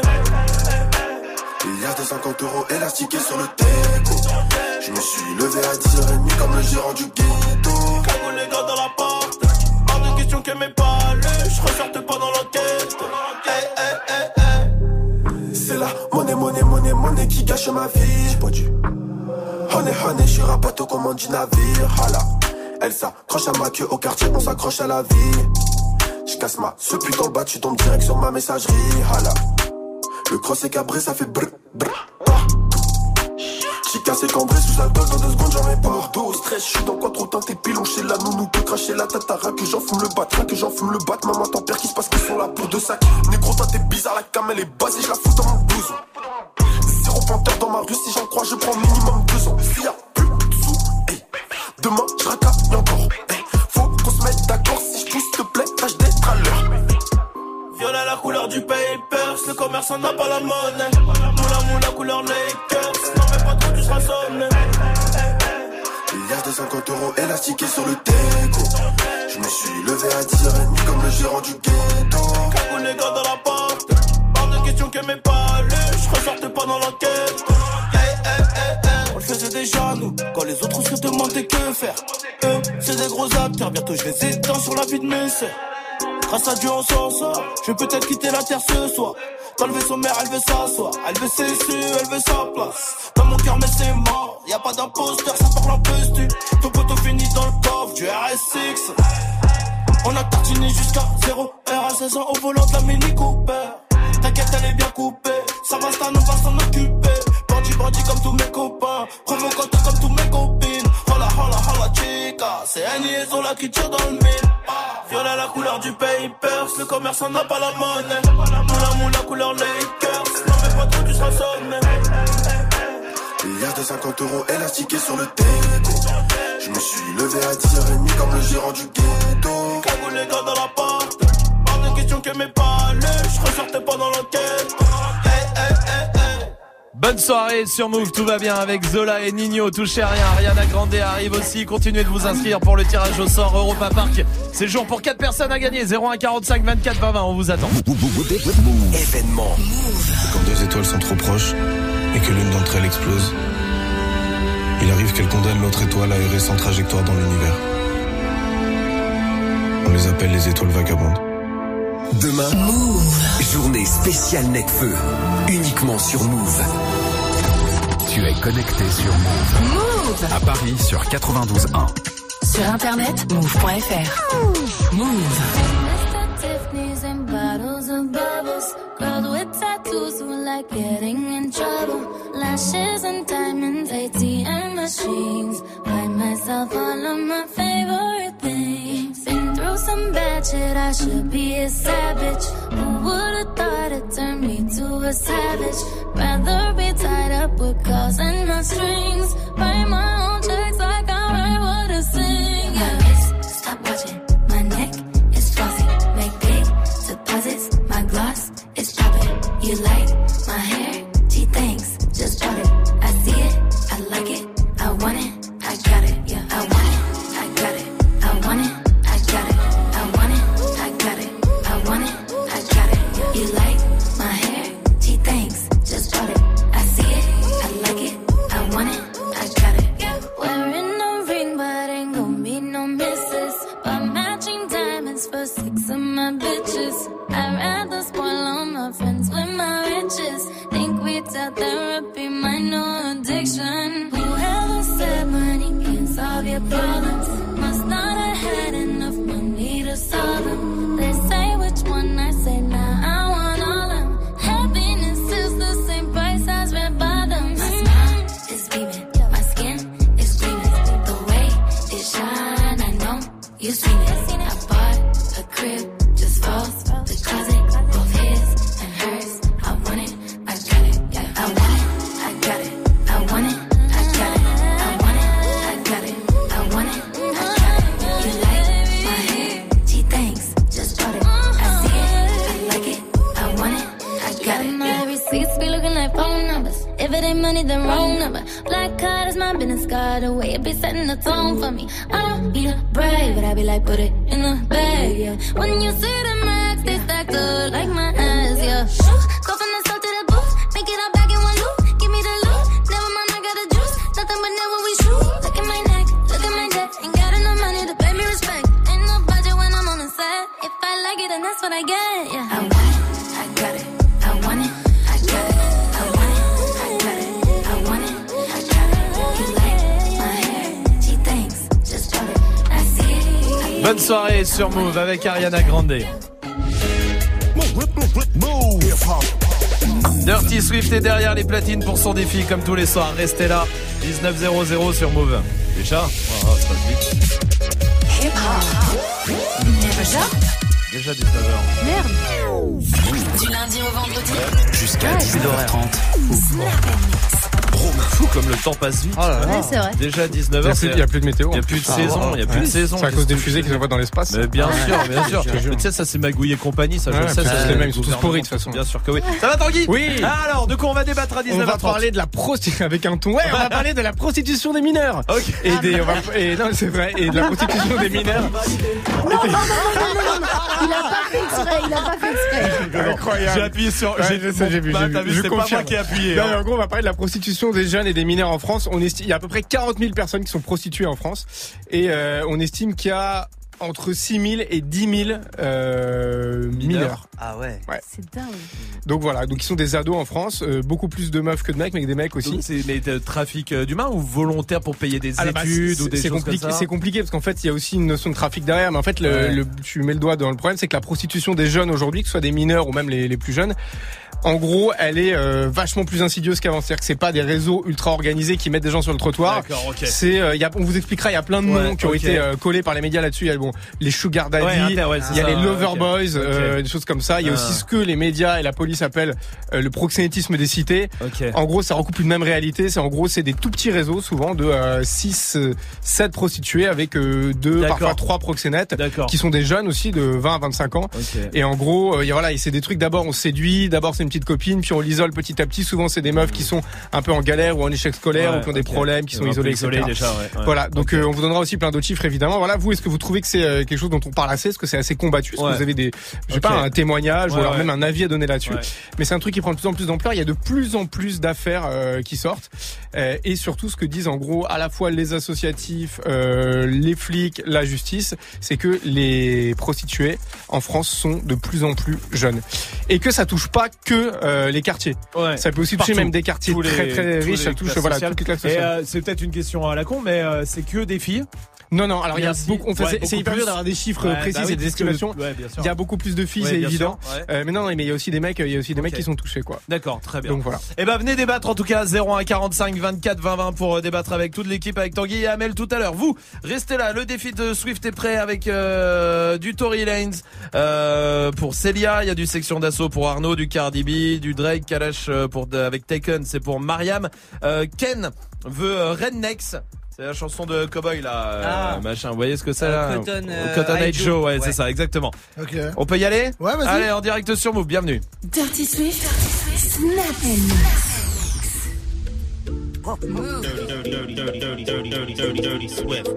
Il y a des cinquante euros élastiqués sur le teco. Je me suis levé à dix heures trente comme le gérant du ghetto. Cagou les gars dans la porte, hors de question que mes palais, je ressorte pas dans l'enquête. Hey, hey, hey, hey. C'est la monnaie, monnaie, monnaie, monnaie qui gâche ma vie. J'ai pas dû. Honey, honey, je suis rapato au commande du navire. Hala. Elle s'accroche à ma queue au quartier, on s'accroche à la vie. J'casse ma ce putain dans le bas, tu tombes direct sur ma messagerie. Hala. Le cross est cabré, ça fait brr brr partout. J'ai cassé cambré sous sa dose, dans deux secondes j'en ai pas. Mordo au stress, j'suis dans quoi trop teinté pilon chez la nounou peut cracher la tatara. Que j'en fume le bat, rien que j'en fume le bat. Maman t'en perds qui se passe qu'ils sont là pour deux sacs. Négro toi t'es bizarre, la cam elle est basée, j'la fous dans mon blouson. Zéro panthère dans ma rue, si j'en crois je prends minimum deux ans. S'il y a plus de sous, hey. Demain j'racaille encore, hey. Faut qu'on se mette d'accord, si j'pousse te plaît, tâche d'être à l'heure. Violet la couleur du papers, le commerçant n'a pas la monnaie. Moula moula couleur Lakers, non mais pas trop tu seras sonné. Il y a des cinquante euros élastiqués sur le teco. Je me suis levé à dix heures trente comme le gérant du ghetto. Cagou les gars dans la porte, hors de question que mes palais, je ressortais pas dans l'enquête. Hey, hey, hey, hey. On le faisait déjà nous, quand les autres se demandaient que faire. Eux, c'est des gros acteurs, bientôt je les éteins sur la vie de mes sœurs. Grâce à Dieu on s'en sort, je vais peut-être quitter la terre ce soir. Quand elle veut son mère, elle veut s'asseoir. Elle veut ses su, elle veut sa place. Dans mon cœur mais c'est mort, y'a pas d'imposteur, ça parle un peu stu. Ton poteau finit dans le coffre du R S X. On a tartiné jusqu'à zéro heure à seize ans au volant de la Mini Cooper. T'inquiète elle est bien coupée, ça va ça on va s'en occuper. Bandit bandit comme tous mes copains, provocant comme tous mes copines. Hola hola hola chica, c'est un liaison là qui tire dans le mille. Violet la couleur du papers, le commerçant n'a pas la monnaie. Moula moula couleur Lakers, non mais pas trop tu seras sonné. Il y a des cinquante euros élastiqués sur le teco. Je me suis levé à dix heures trente comme le gérant du ghetto. Cagou les gars dans la porte, hors de question que mes palais, je ressortais pas dans l'enquête. Hey, hey, hey, hey. Bonne soirée sur Move, tout va bien avec Zola et Nino, touchez à rien, Ariana Grande arrive aussi, continuez de vous inscrire pour le tirage au sort Europa Park. C'est jour pour quatre personnes à gagner, zéro un quarante-cinq vingt-quatre vingt vingt, on vous attend. Événement. Quand deux étoiles sont trop proches et que l'une d'entre elles explose, il arrive qu'elle condamne l'autre étoile à errer sans trajectoire dans l'univers. On les appelle les étoiles vagabondes. Demain, Move. Journée spéciale Necfeu, uniquement sur Move. Tu es connecté sur Move. Move. À Paris sur quatre-vingt-douze un. Sur internet, move point f r. Move. Tiffany's and bottles of bubbles. Girls with tattoos who like getting in trouble. Lashes and diamonds, A T M machines. Buy myself all of my favorite things. Been through some bad shit, I should be a savage. Who would've thought it turned me to a savage? Rather be tied up with calls and not strings. Write my own checks like I write what I sing. My wrist, stop watching. My neck is flossy. Make big deposits. My gloss is popping. You like my hair? Gee, thanks. Just bought it. I see it. I like it. I want it. I got it. Yeah, I want it. I got it. I want it. I got it. I want it. I got it. I want it. I got it. You like my hair? Gee, thanks. Just bought it. I see it. I like it. I want it. I got it. You seen it. I bought a crib just for the closet, both his and hers. I want it, I got it. Yeah, I want it, I got it. I want it, I got it. I want it, I got it. I want it, I got it. You like my hair? Gee, thanks. Just bought it. I see it, I like it. I want it, I got it. My receipts be looking like phone numbers. If it ain't money, then wrong number. Black card is my business card. The way it be setting the tone for me. I don't need a brag, but I be like, put it in the bag, yeah. When you see the max, they stack up like my ass, yeah. Go from the south to the booth, make it all back in one loop. Give me the loot, never mind, I got the juice. Nothing but never we shoot. Look at my neck, look at my neck. Ain't got enough money to pay me respect. Ain't no budget when I'm on the set. If I like it, then that's what I get, yeah. I want it, I got it. I want it, I got it. I want it, I got it. I want it, I got it. You like my hair? Gee, thanks. Just bought it. I see it. Bonne soirée sur Move avec Ariana Grande. Dirty Swift est derrière les platines pour son défi comme tous les soirs. Restez là, dix-neuf zéro zéro sur Move. Déjà oh, ça passe vite. Hip hop. Déjà Déjà dix-neuf heures. Merde. Du lundi au vendredi. Jusqu'à ouais, dix-neuf heures trente. Fou comme le temps passe vite. Oh là là. Ouais, c'est vrai. Déjà dix-neuf heures. Il n'y a plus de météo. Il n'y a plus de saison. Il n'y a plus de saison. C'est à cause des fusées qu'ils envoient dans l'espace. Mais bien sûr, bien sûr. Mais tu sais, ça c'est Magouille et compagnie. Ça, je le sais. C'est les mêmes. Ils sont tous pourris de toute façon. Bien sûr que oui. Ça va, Tanguy? Oui. Alors, de quoi on va débattre à dix-neuf heures trente? On va parler de la prostitution avec un ton. Ouais, on va parler de la prostitution des mineurs. Ok. Et des. Et non, c'est vrai. Et de la prostitution des mineurs. Non, non, non, non, non, non. Il a pas fait exprès. Il a pas fait exprès. Incroyable. J'ai appuyé sur. J'ai vu. J'ai vu. C'est pas moi qui ai appuyé. En gros, on va parler de la prostitution des jeunes et des mineurs en France. On estime, il y a à peu près quarante mille personnes qui sont prostituées en France et euh, on estime qu'il y a entre six mille et dix mille euh, mineurs. Ah ouais. ouais. C'est dingue. Donc voilà, donc ils sont des ados en France, euh, beaucoup plus de meufs que de mecs, mais des mecs aussi. Donc c'est mais de trafic d'humains ou volontaire pour payer des ah, études bah, ou des c'est choses compliqué, comme ça. C'est compliqué parce qu'en fait il y a aussi une notion de trafic derrière, mais en fait le, ouais. le, tu mets le doigt dans le problème, c'est que la prostitution des jeunes aujourd'hui, que ce soit des mineurs ou même les, les plus jeunes, en gros, elle est euh, vachement plus insidieuse qu'avant. C'est-à-dire que c'est pas des réseaux ultra organisés qui mettent des gens sur le trottoir. D'accord, ok. C'est, euh, y a, on vous expliquera, il y a plein de noms ouais, qui ont okay. été euh, collés par les médias là-dessus. Il y a bon, les sugar daddy, ouais, il ouais, y a ça, les lover okay. boys, euh, okay. des choses comme ça. Il y a ah. aussi ce que les médias et la police appellent euh, le proxénétisme des cités. Okay. En gros, ça recoupe une même réalité. C'est en gros, c'est des tout petits réseaux, souvent de euh, six, sept prostituées avec euh, deux, D'accord. parfois trois proxénètes, D'accord. qui sont des jeunes aussi de vingt à vingt-cinq ans. Okay. Et en gros, euh, voilà, et c'est des trucs. D'abord, on séduit. D'abord, c'est une petite copine, puis on l'isole petit à petit. Souvent, c'est des meufs qui sont un peu en galère ou en échec scolaire ouais, ou qui ont des okay. problèmes, qui sont un isolés, isolés et cetera. déjà, ouais, ouais. Voilà. Donc, okay. euh, on vous donnera aussi plein d'autres chiffres, évidemment. Voilà. Vous, est-ce que vous trouvez que c'est euh, quelque chose dont on parle assez? Est-ce que c'est assez combattu? Est-ce ouais. que vous avez des, je sais okay. pas, un témoignage ouais, ou alors ouais. même un avis à donner là-dessus? Ouais. Mais c'est un truc qui prend de plus en plus d'ampleur. Il y a de plus en plus d'affaires euh, qui sortent. Euh, et surtout, ce que disent en gros à la fois les associatifs, euh, les flics, la justice, c'est que les prostituées en France sont de plus en plus jeunes. Et que ça touche pas que euh, les quartiers. Ouais. Ça peut aussi toucher Partout. même des quartiers tous très les, très riches. Ça touche voilà, toutes les classes sociales. Et euh, c'est peut-être une question à la con, mais euh, c'est que des filles. Non, non, alors il y a Merci. beaucoup, enfin, ouais, c'est, beaucoup c'est hyper plus. dur d'avoir des chiffres ouais, précis bah oui, et des estimations. Que, ouais, bien sûr. Il y a beaucoup plus de filles, ouais, c'est bien évident. Sûr, ouais. euh, mais non, non, mais il y a aussi des mecs, il y a aussi des okay. mecs qui sont touchés, quoi. D'accord, très bien. Donc voilà. Et ben venez débattre en tout cas zéro un quarante-cinq vingt-quatre vingt vingt pour débattre avec toute l'équipe, avec Tanguy et Amel tout à l'heure. Vous restez là, le défi de Swift est prêt avec euh, du Tory Lanez euh, pour Célia, il y a du Section d'Assaut pour Arnaud, du Cardi B, du Drake, Kalash pour avec Taken, c'est pour Mariam. Euh, Ken veut euh, Rednecks. C'est la chanson de Cowboy là, euh, ah. machin. Vous voyez ce que c'est là? euh, Cotton, euh, Cotton Eye Joe, Joe, ouais, ouais, c'est ça, exactement. Ok. On peut y aller? Ouais, vas-y. Allez, en direct sur Move, bienvenue. Dirty Swift, Snap and Move. Dirty, dirty, dirty, dirty, dirty, dirty, dirty, dirty, dirty Swift.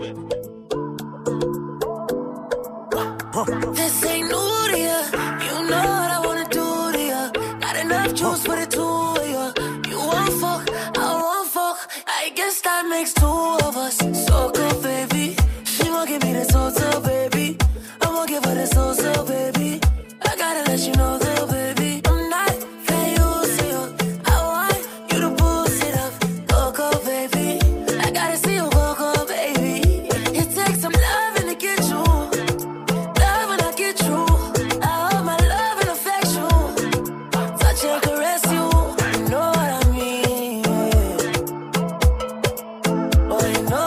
This ain't new to ya. You know what I wanna do to ya. Got enough juice for the two of ya. You want fuck, I want fuck. I guess that makes two of us. So good, baby. She won't give me the so-so, baby. I won't give her the so-so, baby. I gotta let you know that, baby. I'm not famous, I want you to boost it up. Go, go, baby. I gotta see you go, go, baby. It takes some loving to get you. Love when I get you. I hold my love and affection. Touch and caress you. You know what I mean. Oh, you know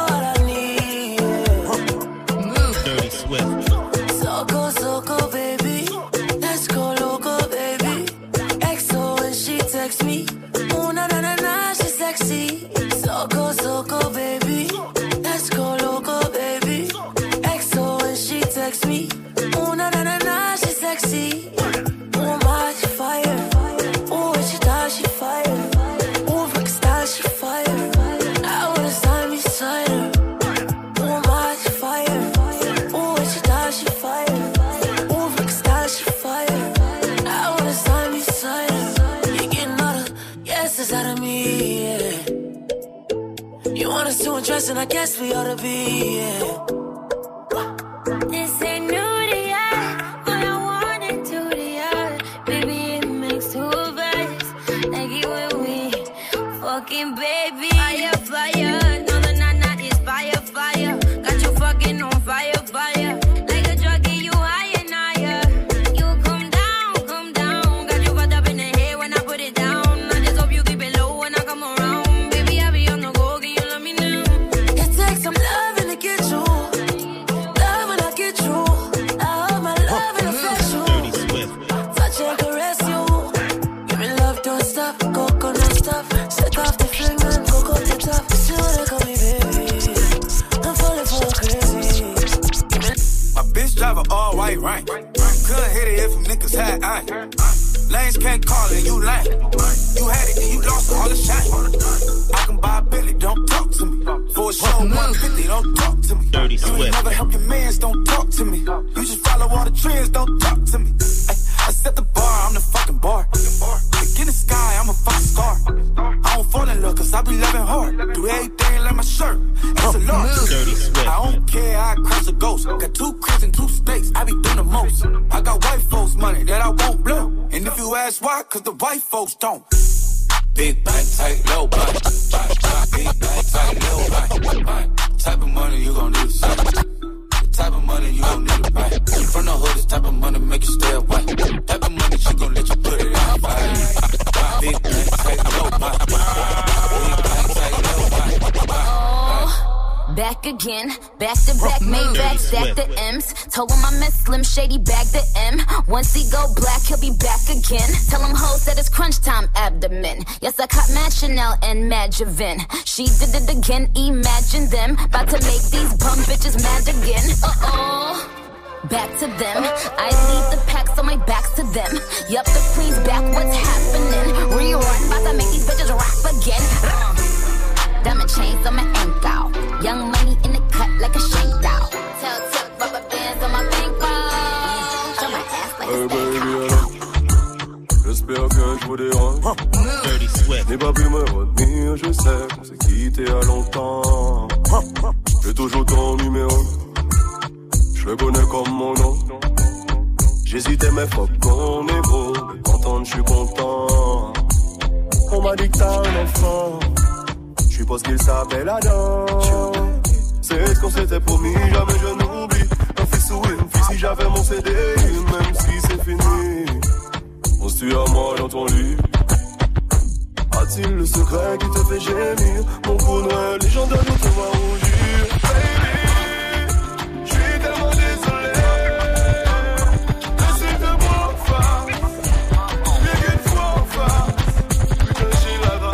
you undressed and I guess we ought to be, yeah. This ain't new to ya, but I want it to the ya. Baby, it makes two of us, like it when we fucking baby. Fire, fire, no, the nana is fire, fire. Got you fucking on fire, fire. Like a drug, get you higher and higher. You come down, come down. Got you fucked up in the head when I put it down. I just hope you keep it low when I come around. Baby, I be on the go, can you love me now? It takes some loving to get you. Love when I get you. I hold my love and affect you. Touch and caress you. Give me love, don't stop. Coconut stuff. Set off the flame and cocoa to top. See what they call me, baby. I'm falling for crazy. My bitch drive a all white rank. Couldn't hit it if niggas had iron. Lanes can't call it, you lame. You had it and you lost all the shine. I can buy a Billy, don't talk to me. For a show, one fifty, don't talk to me. Dirty you ain't never help your mans, don't talk to me. You just follow all the trends, don't talk to me. Ay, I set the bar, I'm the fucking bar. Like in the sky, I'm a fucking star. I don't fall in love, cause I be loving hard. Do everything like my shirt, it's a large. I don't care, I cross a ghost. Got two cribs in two states, I be doing the most. I got white folks money that I won't blow. And if you ask why, cause the white folks don't. Big bank, tight, low bank. Big bank, tight, low bank. Type of money you gon' need to see. The type of money you gon' need to buy. From the hood, this type of money make you stay away. Type of money she gon' let you put it in your body. Big bank, tight, low bank. Big bank, tight, low bank. Back again, back to back, made back, stack the M's. Told him I met Slim Shady, bag the M. Once he go black, he'll be back again. Tell him hoes that it's crunch time abdomen. Yes, I caught Mad Chanel and Mad Javin. She did it again, imagine them. About to make these bum bitches mad again. Uh-oh. Back to them. I lead the pack, so my back's to them. Yup, the queen's back, what's happening? Rerun, about to make these bitches rap again. Uh. Diamond chains on my ankle. Young money in the cut like a shank doll. Tell tip rubber bands on my bankroll. Show my ass like hey, a baby, j'espère que je vous dérange. N'ai pas pu me retenir, je sais qu'on s'est quitté à longtemps. J'ai toujours ton numéro, je le connais comme mon nom. J'hésitais mais fuck qu'on est beau. De t'entendre je suis content. On m'a dit que t'as un enfant. Je suppose qu'il s'appelle Adam. C'est ce qu'on s'était promis, jamais je n'oublie. Un fils ou une fille si j'avais mon C D, même si c'est fini. On se tue à moi dans ton lit. A-t-il le secret qui te fait gémir? Mon coup noir, les gens de nous te voient rougir. Baby, je suis tellement désolé. Laissez de moi faire. Bien qu'une fois enfin. Putain, j'ai la drague.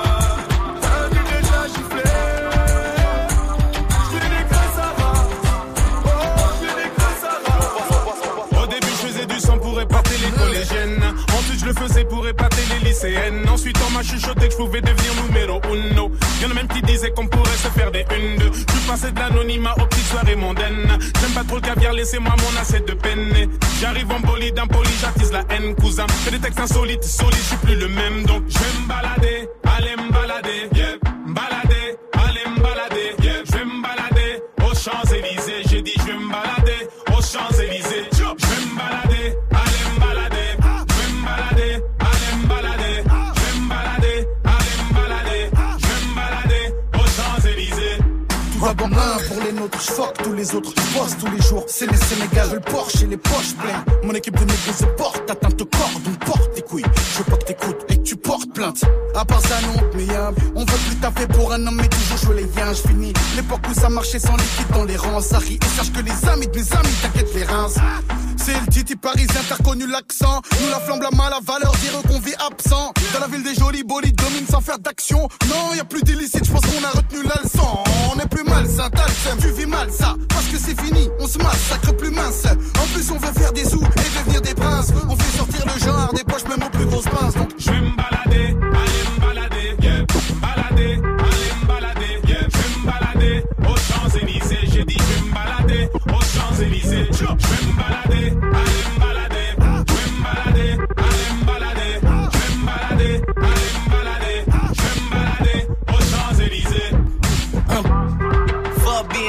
Je le faisais pour épater les lycéennes. Ensuite on m'a chuchoté que je pouvais devenir numéro uno. Y'en a même qui disaient qu'on pourrait se faire des une deux. Je suis passé de l'anonymat aux petites soirées mondaines. J'aime pas trop le caviar, laissez-moi mon assiette de penne. J'arrive en bolide, impoli, j'attise la haine, cousin. Fais des textes insolites, solides, je suis plus le même. Donc je vais me balader, aller me balader, yeah. Me balader, aller me balader, yeah. Je vais me balader aux Champs-Élysées. J'ai dit je vais me balader aux Champs-Élysées. Je vais me balader, aller me balader. Allez me balader, je vais me balader, allez me balader, je vais me balader aux Champs-Élysées. Tout va bon, un pour les nôtres, je fuck tous les autres, je bosse tous les jours, c'est les Sénégal, le Porsche et les poches pleines. Mon équipe de négros se porte, atteinte au corps, donc porte tes couilles. Je veux pas que t'écoutes et que tu portes plainte. À part ça, non, mais y'a, on veut plus taffer pour un homme, mais toujours jouer les liens, je finis. L'époque où ça marchait sans liquide dans les rangs, ça rit. Et sache que les amis de mes amis t'inquiètent les reins. C'est le titi parisien, t'as reconnu l'accent. Nous la flamme, la mal à valeur, dire qu'on vit absent. Dans la ville des jolis bolides, domine sans faire d'action. Non, y a plus d'illicite, je pense qu'on a retenu la leçon. On est plus malsain, t'as le seum, tu vis mal ça. Parce que c'est fini, on se massacre plus mince. En plus on veut faire des sous et devenir des princes. On fait sortir le genre des poches même aux plus grosses pinces. Donc je vais me balader, aller me balader, yeah. Me balader, aller me balader, yeah. Je vais me balader aux Champs-Élysées. J'ai dit je vais me balader aux Champs-Élysées. Je vais me balader, aller me balader, je vais me balader, aller me balader, je vais me balader, aller me balader, je vais me balader aux Champs-Élysées. Un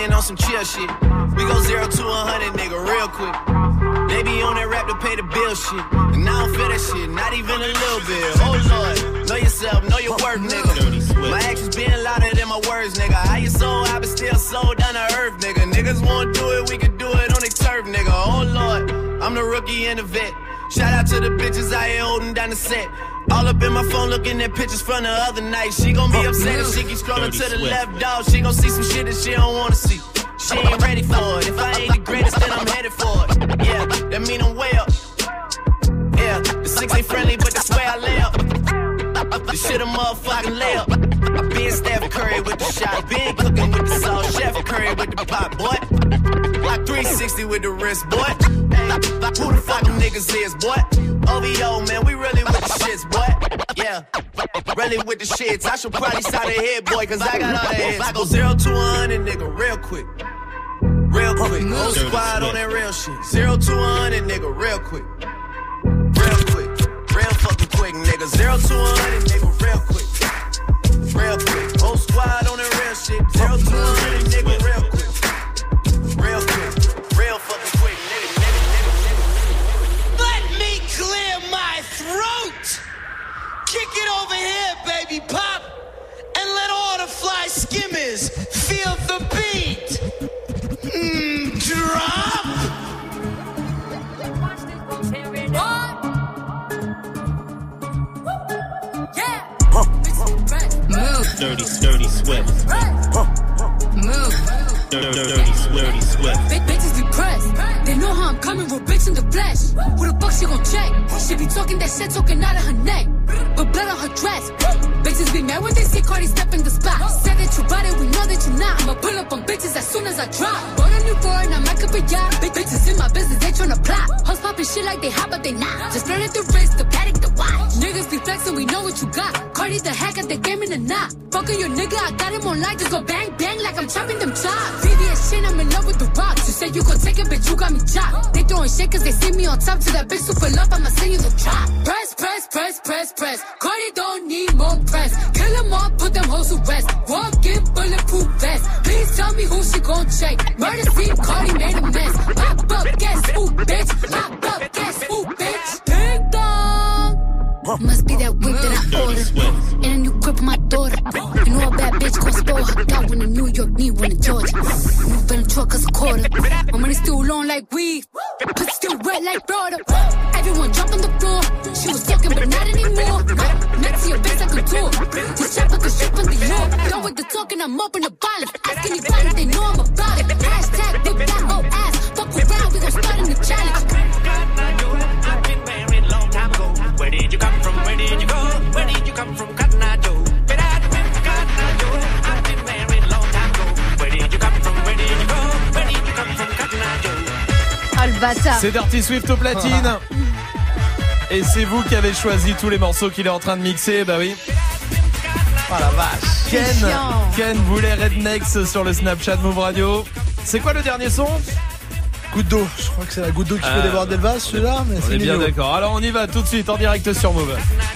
talking on some chill shit. We go zero to a hundred, nigga, real quick. They be on that rap to pay the bill shit. And I don't feel that shit, not even a little bit. Oh Lord, know yourself, know your worth, nigga. My actions being louder than my words, nigga. How you so high but still so down to earth, nigga. Niggas won't do it, we can do it on their turf, nigga. Oh Lord, I'm the rookie and the vet. Shout out to the bitches out here holding down the set. All up in my phone looking at pictures from the other night. She gon' be upset if she keep scrolling to the left, dog. She gon' see some shit that she don't wanna see. She ain't ready for it. If I ain't the greatest, then I'm headed for it. Yeah, that mean I'm way up. Yeah, the six ain't friendly, but that's where I lay up. The shit a motherfucking lay up. I been Steph Curry with the shot. Been cooking with the sauce. Chef Curry with the pot, boy. Like three sixty with the wrist, boy. Who the fuck them niggas is, boy? O V O, man, we really with the shits, boy. Yeah, really with the shits. I should probably start a hit, boy, cause I got all the hits. I go zero to a hundred, nigga, real quick. Real quick. Whole squad on that real shit. Zero to a hundred, nigga, real quick. Real quick. Real fucking quick, nigga. Zero to a hundred, nigga, real quick. Real quick. Whole squad on that real shit. Zero to a hundred, nigga, real quick. Real quick. Real fucking quick, nigga, nigga, nigga, nigga. Let me clear my throat. Kick it over here, baby pop. And let all the fly skimmers feel the beat. Mm, drop. Move. Dirty, dirty sweat. Move. Dirty, dirty, dirty sweat. Big bitches be pressed. They know how I'm coming, real bitch in the flesh. Who the fuck she gon' check? She be talking that shit, talking out of her neck. But blood on her dress. Bitches be mad when they see Cardi step in the spot. Say that you bought it, we know that you not. I'ma pull up on bitches as soon as I drop. Bought a new foreign, I might up a yacht. Big bitches in my business, they tryna plot. Hoes poppin' shit like they hot, but they not. Just flirting the wrist, the paddock, the watch. Niggas be flexing, we know what you got. Cardi the hack at the game in the knot. Fuckin' your nigga, I got him on light. Just go bang, bang like I'm chopping them chops. V V S shit, I'm in love with the rocks. You said you gon' take it, bitch, you got me chopped. They throwing shit cause they see me on top. To that bitch super love, I'ma send you the drop. Press, press, press, press, press. Cardi don't need more press. Kill them all, put them hoes to rest. Walk in bulletproof vest. Please tell me who she gon' check. Murder scene, Cardi made a mess. Pop up, guess who, bitch? Pop up, guess who, bitch? Ding dong. Must be that whip that I ordered. And a new grip on my daughter. You know a bad bitch gon' spoil her. Got one in New York, need one in Georgia. New Venom truck cause a quarter. My money still long like weed. Pussy still wet like water. Everyone jump on the floor. She was talking but not anymore. Next to your face like a tour. This shit like a ship on the york. Done with the talking, I'm up in the bottom. Ask anybody if they know I'm about it. Hashtag whip that whole ass. Fuck around, we gon' start in the challenge. I've been married long time ago. Where did you come from? Where did you go? Where did you come from? Cotton Eye Joe. But I remember Cotton Eye Joe. I've been married long time ago. Where did you come from? Where did you go? Where did you come from? Cotton Eye Joe. Ah le bâtard. C'est Dirty Swift au platine. Et c'est vous qui avez choisi tous les morceaux qu'il est en train de mixer, bah oui. Oh la vache. Ken, Ken voulait Rednex sur le Snapchat Move Radio. C'est quoi le dernier son? Goutte d'eau, je crois que c'est la goutte d'eau qui peut déborder le vase, celui-là, mais on c'est est bien mignon. d'accord. Alors on y va tout de suite en direct sur Move.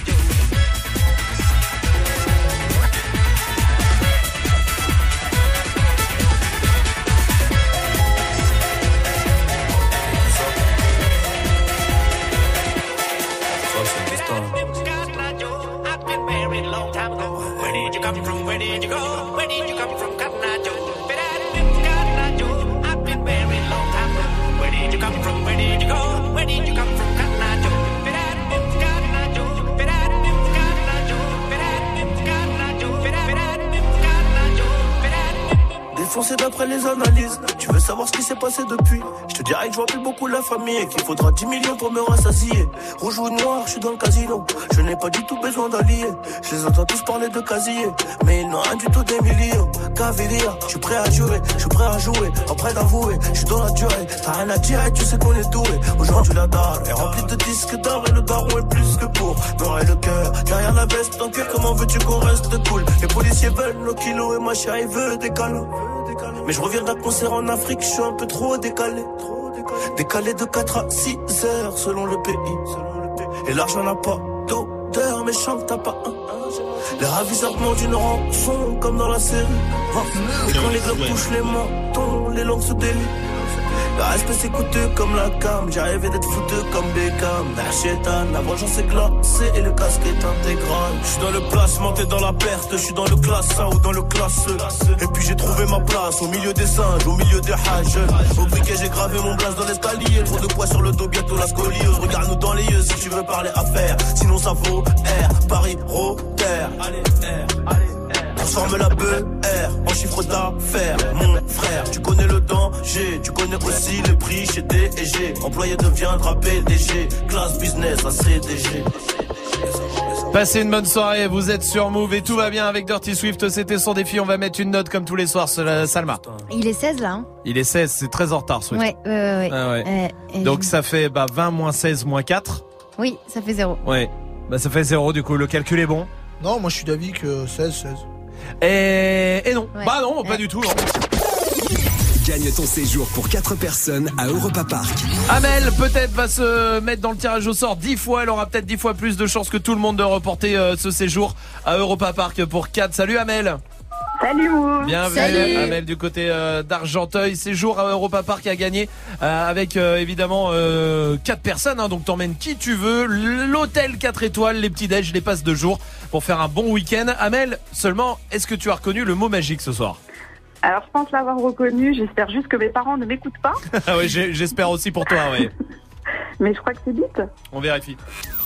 Défoncé d'après les analyses. Tu veux savoir ce qui s'est passé depuis? Je te dirais que je vois plus beaucoup la famille et qu'il faudra dix millions pour me rassasier. Rouge ou noir, je suis dans le casino. Je n'ai pas du tout besoin d'alliés. Je les entends tous parler de casier, mais ils n'ont rien du tout des millions. Cavalier, je suis prêt à jurer, je suis prêt à jouer, pas prêt d'avouer. Je suis dans la durée, t'as rien à dire et tu sais qu'on est doué. Aujourd'hui la dalle est remplie de disques d'or et le daron est plus que pour m'aurait le cœur derrière la veste en cuir. Comment veux-tu qu'on reste cool? Les policiers veulent nos kilos et ma chérie veut des câlins. Mais je reviens d'un concert en Afrique, je suis un peu trop décalé. Décalé de quatre à six heures selon le pays. Et l'argent n'a pas d'odeur, mais chante t'as pas un. Les ravisseurs demandent une rançon comme dans la série. Et quand les globes touchent les mentons, les langues se délient. Le respect c'est coûteux comme la cam. J'ai rêvé d'être foutu comme Beckham. Chétan, la vengeance est glacée et le casque est intégral. J'suis dans le placement, t'es dans la perte. J'suis dans le classe un ou dans le classe E. Et puis j'ai trouvé ma place au milieu des singes, au milieu des hages. Au briquet j'ai gravé mon blaze dans l'escalier. Trop de poids sur le dos, bientôt la scoliose. Regarde-nous dans les yeux si tu veux parler affaires. Sinon ça vaut R, Paris, Rotter. Allez, R, allez. Transforme la B R en chiffre d'affaires. Mon frère, tu connais le danger. Tu connais aussi le prix chez D et G. Employé deviendra P D G. Classe business à C D G. Passez une bonne soirée, vous êtes sur Move et tout va bien avec Dirty Swift. C'était son défi, on va mettre une note comme tous les soirs, Salma. Il est seize là hein. Il est seize, c'est très en retard Swift. Ouais, ouais, ouais. Ah ouais. Euh, et... Donc ça fait bah, vingt moins seize moins quatre. Oui, ça fait zéro. Ouais, bah ça fait zéro du coup, le calcul est bon. Non, moi je suis d'avis que seize, seize. Et, et non, ouais. bah non, ouais. pas du tout. Non. Gagne ton séjour pour quatre personnes à Europa Park. Amel peut-être va se mettre dans le tirage au sort dix fois. Elle aura peut-être dix fois plus de chances que tout le monde de reporter euh, ce séjour à Europa Park pour quatre. Salut Amel. Salut Mou. Bienvenue Salut. Amel du côté euh, d'Argenteuil. Séjour à Europa Park à gagner euh, avec euh, évidemment euh, quatre personnes. Hein, donc t'emmènes qui tu veux. L'hôtel quatre étoiles, les petits déj, les passes de jour pour faire un bon week-end. Amel, seulement, est-ce que tu as reconnu le mot magique ce soir? Alors, je pense l'avoir reconnu. J'espère juste que mes parents ne m'écoutent pas. Ah oui, j'espère aussi pour toi, oui. Mais je crois que c'est bite. On vérifie.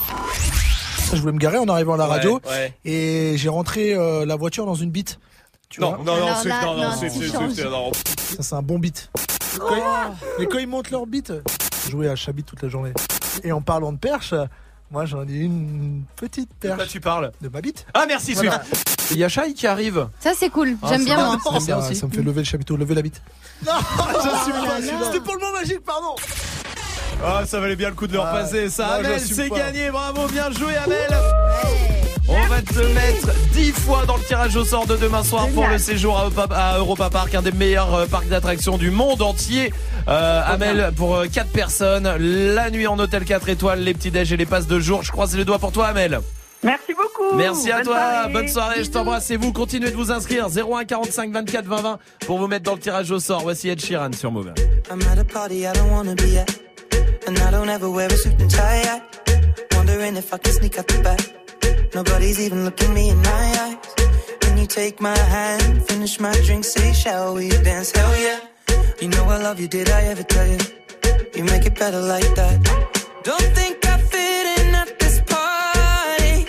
Je voulais me garer en arrivant à la Ouais, ouais, radio ouais. et j'ai rentré euh, la voiture dans une bite. Tu non, vois non, non, Alors c'est là, non, non, non, c'est tu c'est changes. c'est- non. Ça, c'est un bon beat. Quand ils- Mais quand ils montent leur beat, jouer à Chabit toute la journée. Et en parlant de perche, moi j'en ai une petite De perche. quoi tu parles? De ma bite. Ah merci Voilà. Swift. Il y a Shai qui arrive. Ça c'est cool, Ah, j'aime c'est bien bien. moi. J'aime bien ça, aussi. ça me fait lever le chapiteau, lever la bite. Non, j'assume Oh pas. là là. C'était pour le mot magique, pardon. Ah, ça valait bien le coup de le Ah, repasser. Ça, non, Amel, j'assume c'est pas. gagné. Bravo, bien joué, Amel. On va te mettre dix fois dans le tirage au sort de demain soir pour le séjour à Europa, à Europa Park, un des meilleurs euh, parcs d'attractions du monde entier. Euh, Amel, pour euh, quatre personnes, la nuit en hôtel quatre étoiles, les petits déj et les passes de jour. Je croise les doigts pour toi, Amel. Merci beaucoup. Merci à Bonne toi, soirée. bonne soirée, je t'embrasse et vous continuez de vous inscrire zéro un quarante-cinq vingt-quatre vingt vingt pour vous mettre dans le tirage au sort. Voici Ed Sheeran sur Move. I'm at a party I don't wanna be at, and I don't ever wear a suit and tie at. Wondering if I can sneak out the back. Nobody's even looking me in my eyes. When you take my hand, finish my drink, say shall we dance? Hell yeah. You know I love you, did I ever tell you? You make it better like that. Don't think I fit in at this party.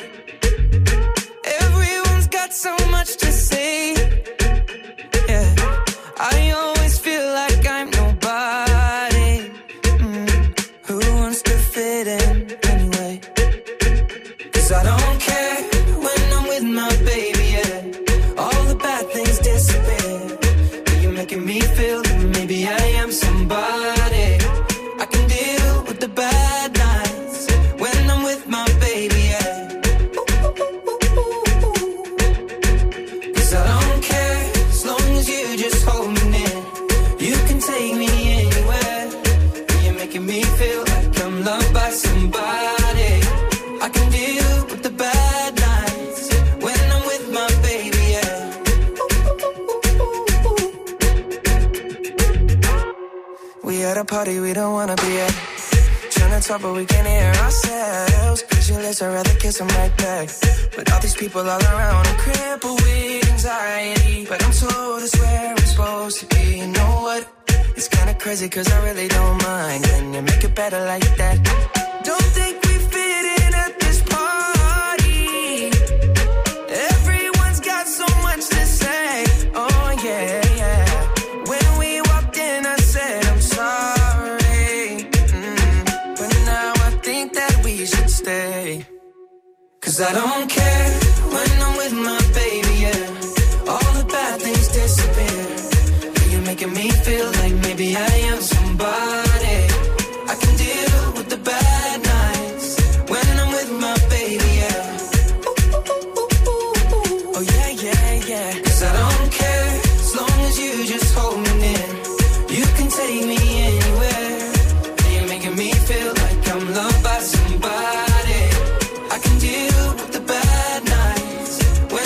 Everyone's got so much to say. Yeah, I always feel like I'm nobody. Mm. Who wants to fit in anyway? 'Cause I don't care when I'm with my baby, yeah. All the bad things disappear. You're making me feel that maybe I am somebody. I can deal with the bad nights when I'm with my baby, yeah. 'Cause I don't care as long as you just hold me near. You can take me anywhere. You're making me feel like I'm loved by somebody. I can deal with the bad nights when I'm with my baby, yeah. We at a party we don't wanna be at. Trying to talk but we can't hear ourselves. Pictureless, I'd rather kiss them right back. But all these people all around, I'm crippled with anxiety. But I'm told it's where I'm supposed to be. You know what? It's kinda crazy 'cause I really don't mind. Can you make it better like that? Don't think we fit in at this party. Everyone's got so much to say. Oh yeah, yeah. When we walked in I said I'm sorry. Mm. But now I think that we should stay. 'Cause I don't care when I'm with my baby, yeah. All the bad things disappear. You're making me feel like maybe I am somebody. I can deal with the bad nights when I'm with my baby, yeah. Oh yeah, yeah, yeah. 'Cause I don't care as long as you just hold me near. You can take me anywhere. You're making me feel like I'm loved by somebody. I can deal with the bad nights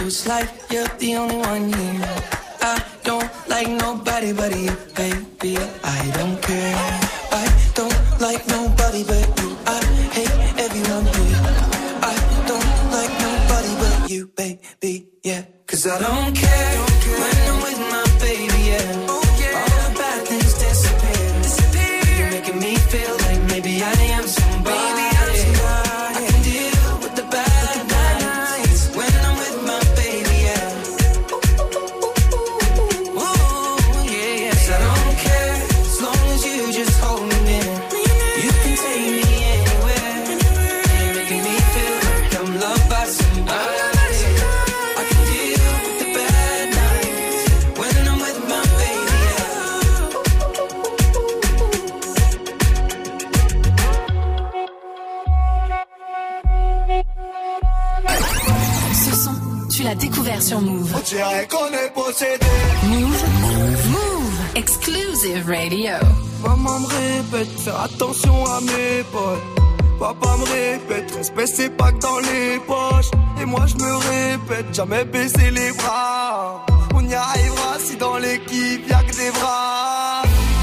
feels like you're the only one here. I don't like nobody but you, baby. I don't care. I don't like nobody but you. I hate everyone here. I don't like nobody but you, baby. Yeah, 'cause I don't care when I'm with my baby. Yeah, all the bad things disappear. Disappear. You're making me feel like maybe I am somebody. Maybe I'm somebody. I can deal with the bad nights when I'm with my baby. Yeah. Ooh, yeah, yeah. 'Cause I don't care as long as you just hold me near. You can take me anywhere. You're making me feel like I'm loved by somebody. I can deal with the bad nights when I'm with my baby. Ce son, tu l'as découvert sur Move. On dirait qu'on est possédé. Move. Move. Move. Exclusive Radio. Maman me répète, faire attention à mes potes. Papa me répète, respect c'est pas que dans les poches. Et moi je me répète, jamais baisser les bras. On y arrivera si dans l'équipe y'a que des bras.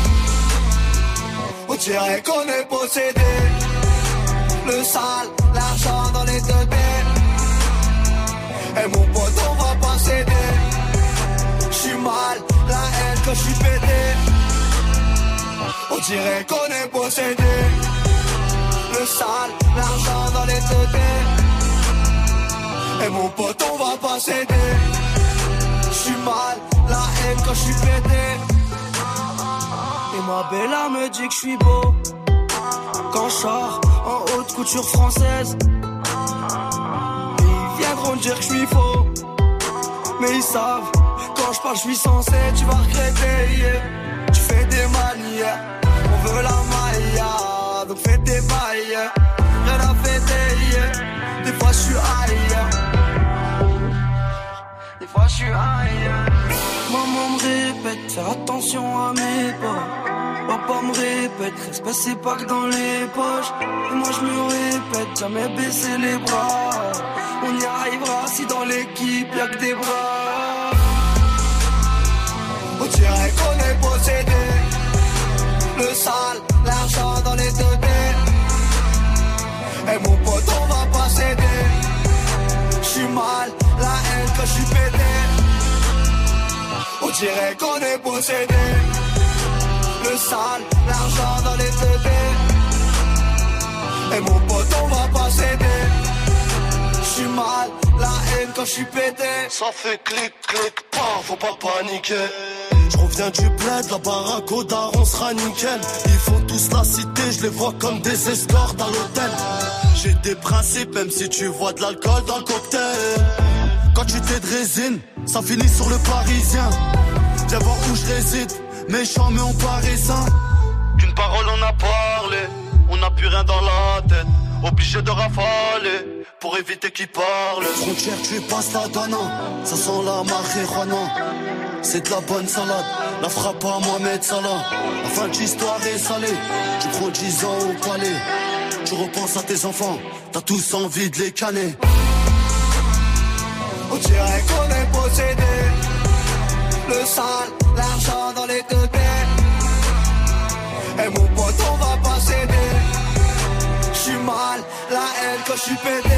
On dirait qu'on est possédé. Le sale, l'argent dans les deux baies. Et mon pote on va pas céder. J'suis mal, la haine quand j'suis pété. On dirait qu'on est possédé. Le sale, l'argent dans les teutés. Et mon pote on va pas céder. J'suis mal, la haine quand j'suis pété. Et ma bella me dit que j'suis beau quand j'sors en haute couture française. Et ils viendront dire que j'suis faux, mais ils savent, quand j'parle j'suis censé. Tu vas regretter, yeah. Tu fais des manières, on veut la maille, donc fais des bails, rien à fêter, yeah. Des fois j'suis ailleurs, des fois j'suis ailleurs. Maman me répète, faire attention à mes pas. Papa me répète, respect c'est pas que dans les poches. Et moi je me répète, jamais baisser les bras. On y arrivera si dans l'équipe y'a que des bras. On dirait qu'on est possédé. Le sale, l'argent dans les deux baies. Et mon pote on va pas céder. J'suis mal, la haine quand j'suis pété. On dirait qu'on est possédé. Le sale, l'argent dans les teutés. Et mon pote on va pas céder. J'suis mal, la haine quand j'suis pété. Ça fait clic clic, pas, faut pas paniquer. J'reviens du bled, la baraque au daron sera nickel. Ils font tous la cité, je les vois comme des escortes à l'hôtel. J'ai des principes, même si tu vois de l'alcool dans le cocktail. Quand tu t'es de résine, ça finit sur le parisien. Viens voir où je réside, méchant mais on paraît sain. Qu'une parole on a parlé, on n'a plus rien dans la tête. Obligé de rafaler, pour éviter qu'ils parlent. Frontière tu passes la dana, ça sent la marijuana. C'est de la bonne salade, la frappe à Mohamed Salah. La fin de l'histoire est salée, tu prends dix ans au palais. Tu repenses à tes enfants, t'as tous envie de les canner. On dirait qu'on est possédé. Le sale, l'argent dans les deux baies. Et mon pote on va pas céder. J'suis mal, la haine quand j'suis pété.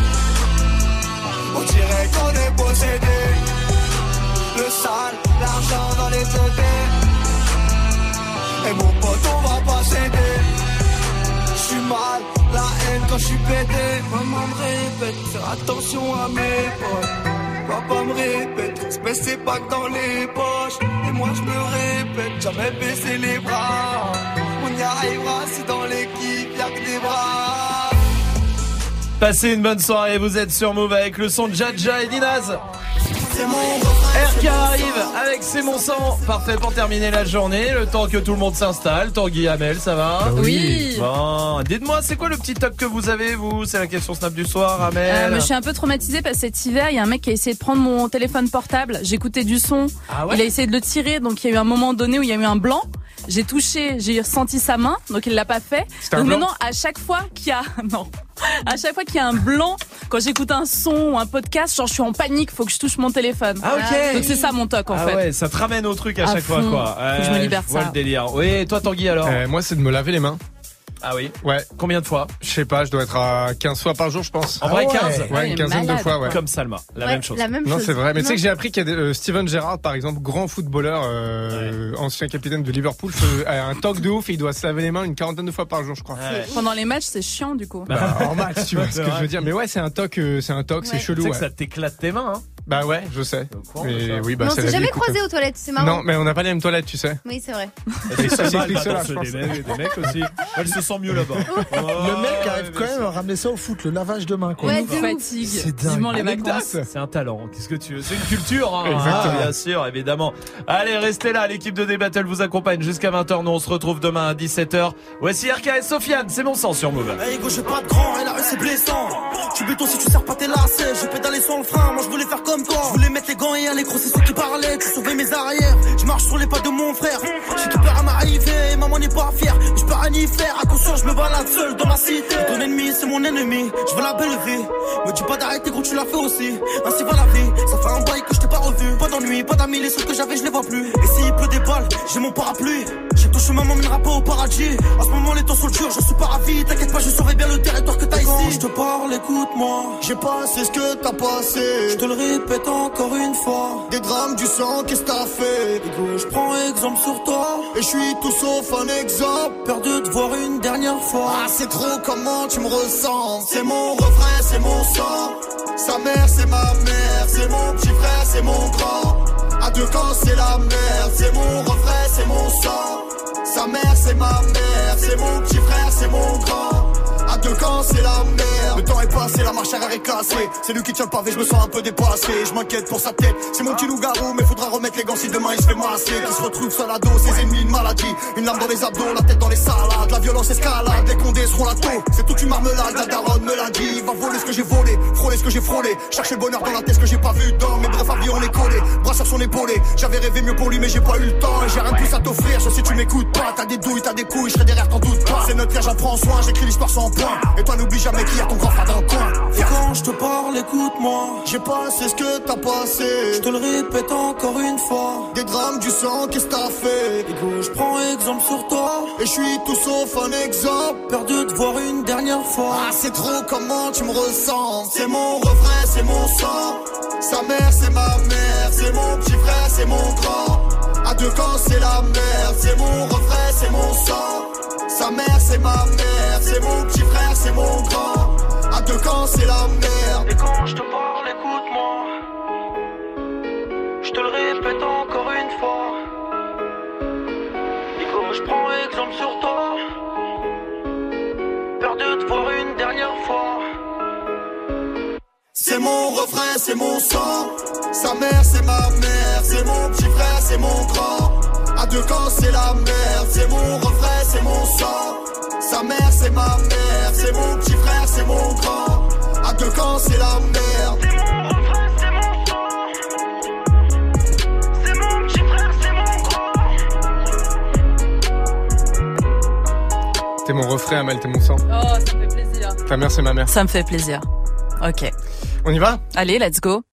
On dirait qu'on est possédé. Le sale, l'argent dans les deux baies. Et mon pote on va pas céder. J'suis mal, la haine quand j'suis pété. Maman me répète, faire attention à mes potes. Papa me répète, respect c'est pas que dans les poches. Et moi je me répète, jamais baisser les bras. On y arrivera si dans l'équipe y'a que des bras. Passez une bonne soirée, vous êtes sur Move avec le son de Jaja et Dinaz. R K arrive avec C'est mon sang. Parfait pour terminer la journée. Le temps que tout le monde s'installe. Tanguy, Amel, ça va? Oui. Bon, dites-moi, c'est quoi le petit top que vous avez, vous? C'est la question Snap du soir, Amel. Euh, je suis un peu traumatisée parce que cet hiver, il y a un mec qui a essayé de prendre mon téléphone portable. J'écoutais du son. Ah ouais? Il a essayé de le tirer, donc il y a eu un moment donné où il y a eu un blanc. J'ai touché, j'ai ressenti sa main, donc il l'a pas fait. C'était Donc un blanc? maintenant, à chaque fois qu'il y a, non, À chaque fois qu'il y a un blanc, quand j'écoute un son ou un podcast, genre je suis en panique, faut que je touche mon téléphone. Ah ok. Donc c'est ça mon toc en ah fait. ouais, ça te ramène au truc à, à chaque fond. fois quoi. Faut que je me libère je vois ça. le délire. Oui, et toi Tanguy alors euh, Moi, c'est de me laver les mains. Ah oui. Ouais. Combien de fois? Je sais pas, je dois être à quinze fois par jour, je pense. En vrai, ah ouais. quinze? Ouais, Ouais, une il est quinzaine malade, de fois, ouais. Comme Salma, la Ouais, même chose. La même Non, chose. c'est vrai. Mais tu Non. sais que j'ai appris qu'il y a des, euh, Steven Gerrard, par exemple, grand footballeur, euh, ancien capitaine de Liverpool, fait, a un toc de ouf et il doit se laver les mains une quarantaine de fois par jour, je crois. Ouais. Pendant les matchs, c'est chiant du coup. Bah, en match, tu vois ce C'est que je vrai. veux dire. Mais ouais, c'est un toc, euh, c'est un toc, Ouais. c'est Tu chelou. sais Ouais. que ça t'éclate tes mains, hein. Bah ouais, je sais. Au courant de Mais ça. oui, bah Mais on c'est s'est la jamais vie, écoute. croisés aux toilettes, c'est marrant. Non, mais on n'a pas les mêmes toilettes, tu sais. Oui, c'est vrai. Et ça, C'est va, explique elle va cela, je danser pense. des mecs, des mecs aussi. Elle se sent mieux là-bas. Le mec arrive quand même à ramener ça au foot, le lavage de mains, quoi. Ouais, On de ouf. fatigue. C'est dingue. Vivement les Anecdote. vacances. C'est un talent. Qu'est-ce que tu veux? C'est une culture, hein. Exactement. Ah, bien sûr, évidemment. Allez, restez là. L'équipe de D-Battle vous accompagne jusqu'à vingt heures. Nous, on se retrouve demain à dix-sept heures. Voici R K et Sofiane. C'est mon sang sur Move. Hey go, j'ai pas de grand et la rue c'est blessant. Tu béton si tu sers pas tes lacets. J'ai pédalé sur le frein, moi je voulais faire comme toi. Je voulais mettre les gants et aller gros, c'est ceux qui parlaient. Tu sauvais mes arrières. Je marche sur les pas de mon frère. J'ai tout peur à m'arriver, maman n'est pas fière. Je peux rien y faire, à conscience je me balade seul dans ma cité. Ton ennemi c'est mon ennemi, je veux la belle vie. Me dis pas d'arrêter gros, tu l'as fait aussi. Ainsi va la vie, ça fait un bail que je t'ai pas revu. Pas d'ennui, pas d'amis, les seuls que j'avais je les vois plus. Et s'il pleut des balles, j'ai mon parapluie. J'ai tout chemin m'emmènera pas au paradis. À ce moment les temps sont durs, je suis pas ravi. T'inquiète pas, je surveille bien le territoire que t'as ici. Quand je te parle, écoute-moi. J'ai passé ce que t'as passé. Je te le répète encore une fois. Des drames, du sang, qu'est-ce que t'as fait? Égo, je prends exemple sur toi. Et je suis tout sauf un exemple. Peur de te voir une dernière fois. Ah, c'est trop comment tu me ressens. C'est mon refrain, c'est mon sang. Sa mère, c'est ma mère. C'est mon petit frère, c'est mon grand. À deux camps, c'est la merde. C'est mon refrain, c'est mon sang. Sa mère, c'est ma mère. C'est mon petit frère, c'est mon grand. À deux camps, c'est la merde. Le temps est passé, la marche arrière est cassée. C'est lui qui tient le pavé, je me sens un peu dépassé. Je m'inquiète pour sa tête, c'est mon petit loup-garou. Mais faudra remettre les gants si demain il se fait masser. Qui se retrouve seul à dos, ses ennemis, une maladie. Une larme dans les abdos, la tête dans les salades. La violence escalade, les condés seront la taux. C'est toute une marmelade, la daronne me l'a dit. Va voler ce que j'ai volé, frôler ce que j'ai frôlé. Chercher le bonheur dans la tête, ce que j'ai pas vu dans. Mais bref, avis on est collé, bras sur son épaulé. J'avais rêvé mieux pour lui, mais j'ai pas eu le temps. Et j'ai rien de plus à t'offrir, sauf si tu m'écoutes pas. T'as des douilles, t'as des couilles, je serai derrière, t'en doute pas. C'est notre frère, j'en prends soin, j'écris l'histoire sans point. Et toi, n'oublie jamais qu'il y a ton grand frère dans le coin. Et quand je te parle, écoute-moi. J'ai passé ce que t'as passé. Je te le répète encore une fois. Des drames, du sang, qu'est-ce que t'as fait? Égo, je prends exemple sur toi. Et je suis tout sauf un exemple. Peur de te voir une dernière fois. Ah, c'est trop comment tu me ressens. C'est mon refrain, c'est mon sang. Sa mère, c'est ma mère. C'est mon petit frère, c'est mon grand. À deux camps, c'est la merde. C'est mon refrain, c'est mon sang. Sa mère, c'est ma mère. C'est mon petit frère, c'est mon grand. À deux camps, c'est la merde. Et quand je te parle, écoute-moi. Je te le répète encore une fois. Et quand je prends exemple sur toi. Peur de te voir une dernière fois. C'est mon refrain, c'est mon sang. Sa mère, c'est ma mère. C'est mon petit frère, c'est mon grand. À deux camps, c'est la merde. C'est mon refrain, c'est mon sang. Sa mère, c'est ma mère. C'est mon petit frère, c'est mon grand. À deux camps, c'est la merde. C'est mon refrain, c'est mon sang. C'est mon petit frère, c'est mon grand. T'es mon refrain, Amel, t'es mon sang. Oh, ça me fait plaisir. Ta mère, c'est ma mère. Ça me fait plaisir. Ok. On y va? Allez, let's go.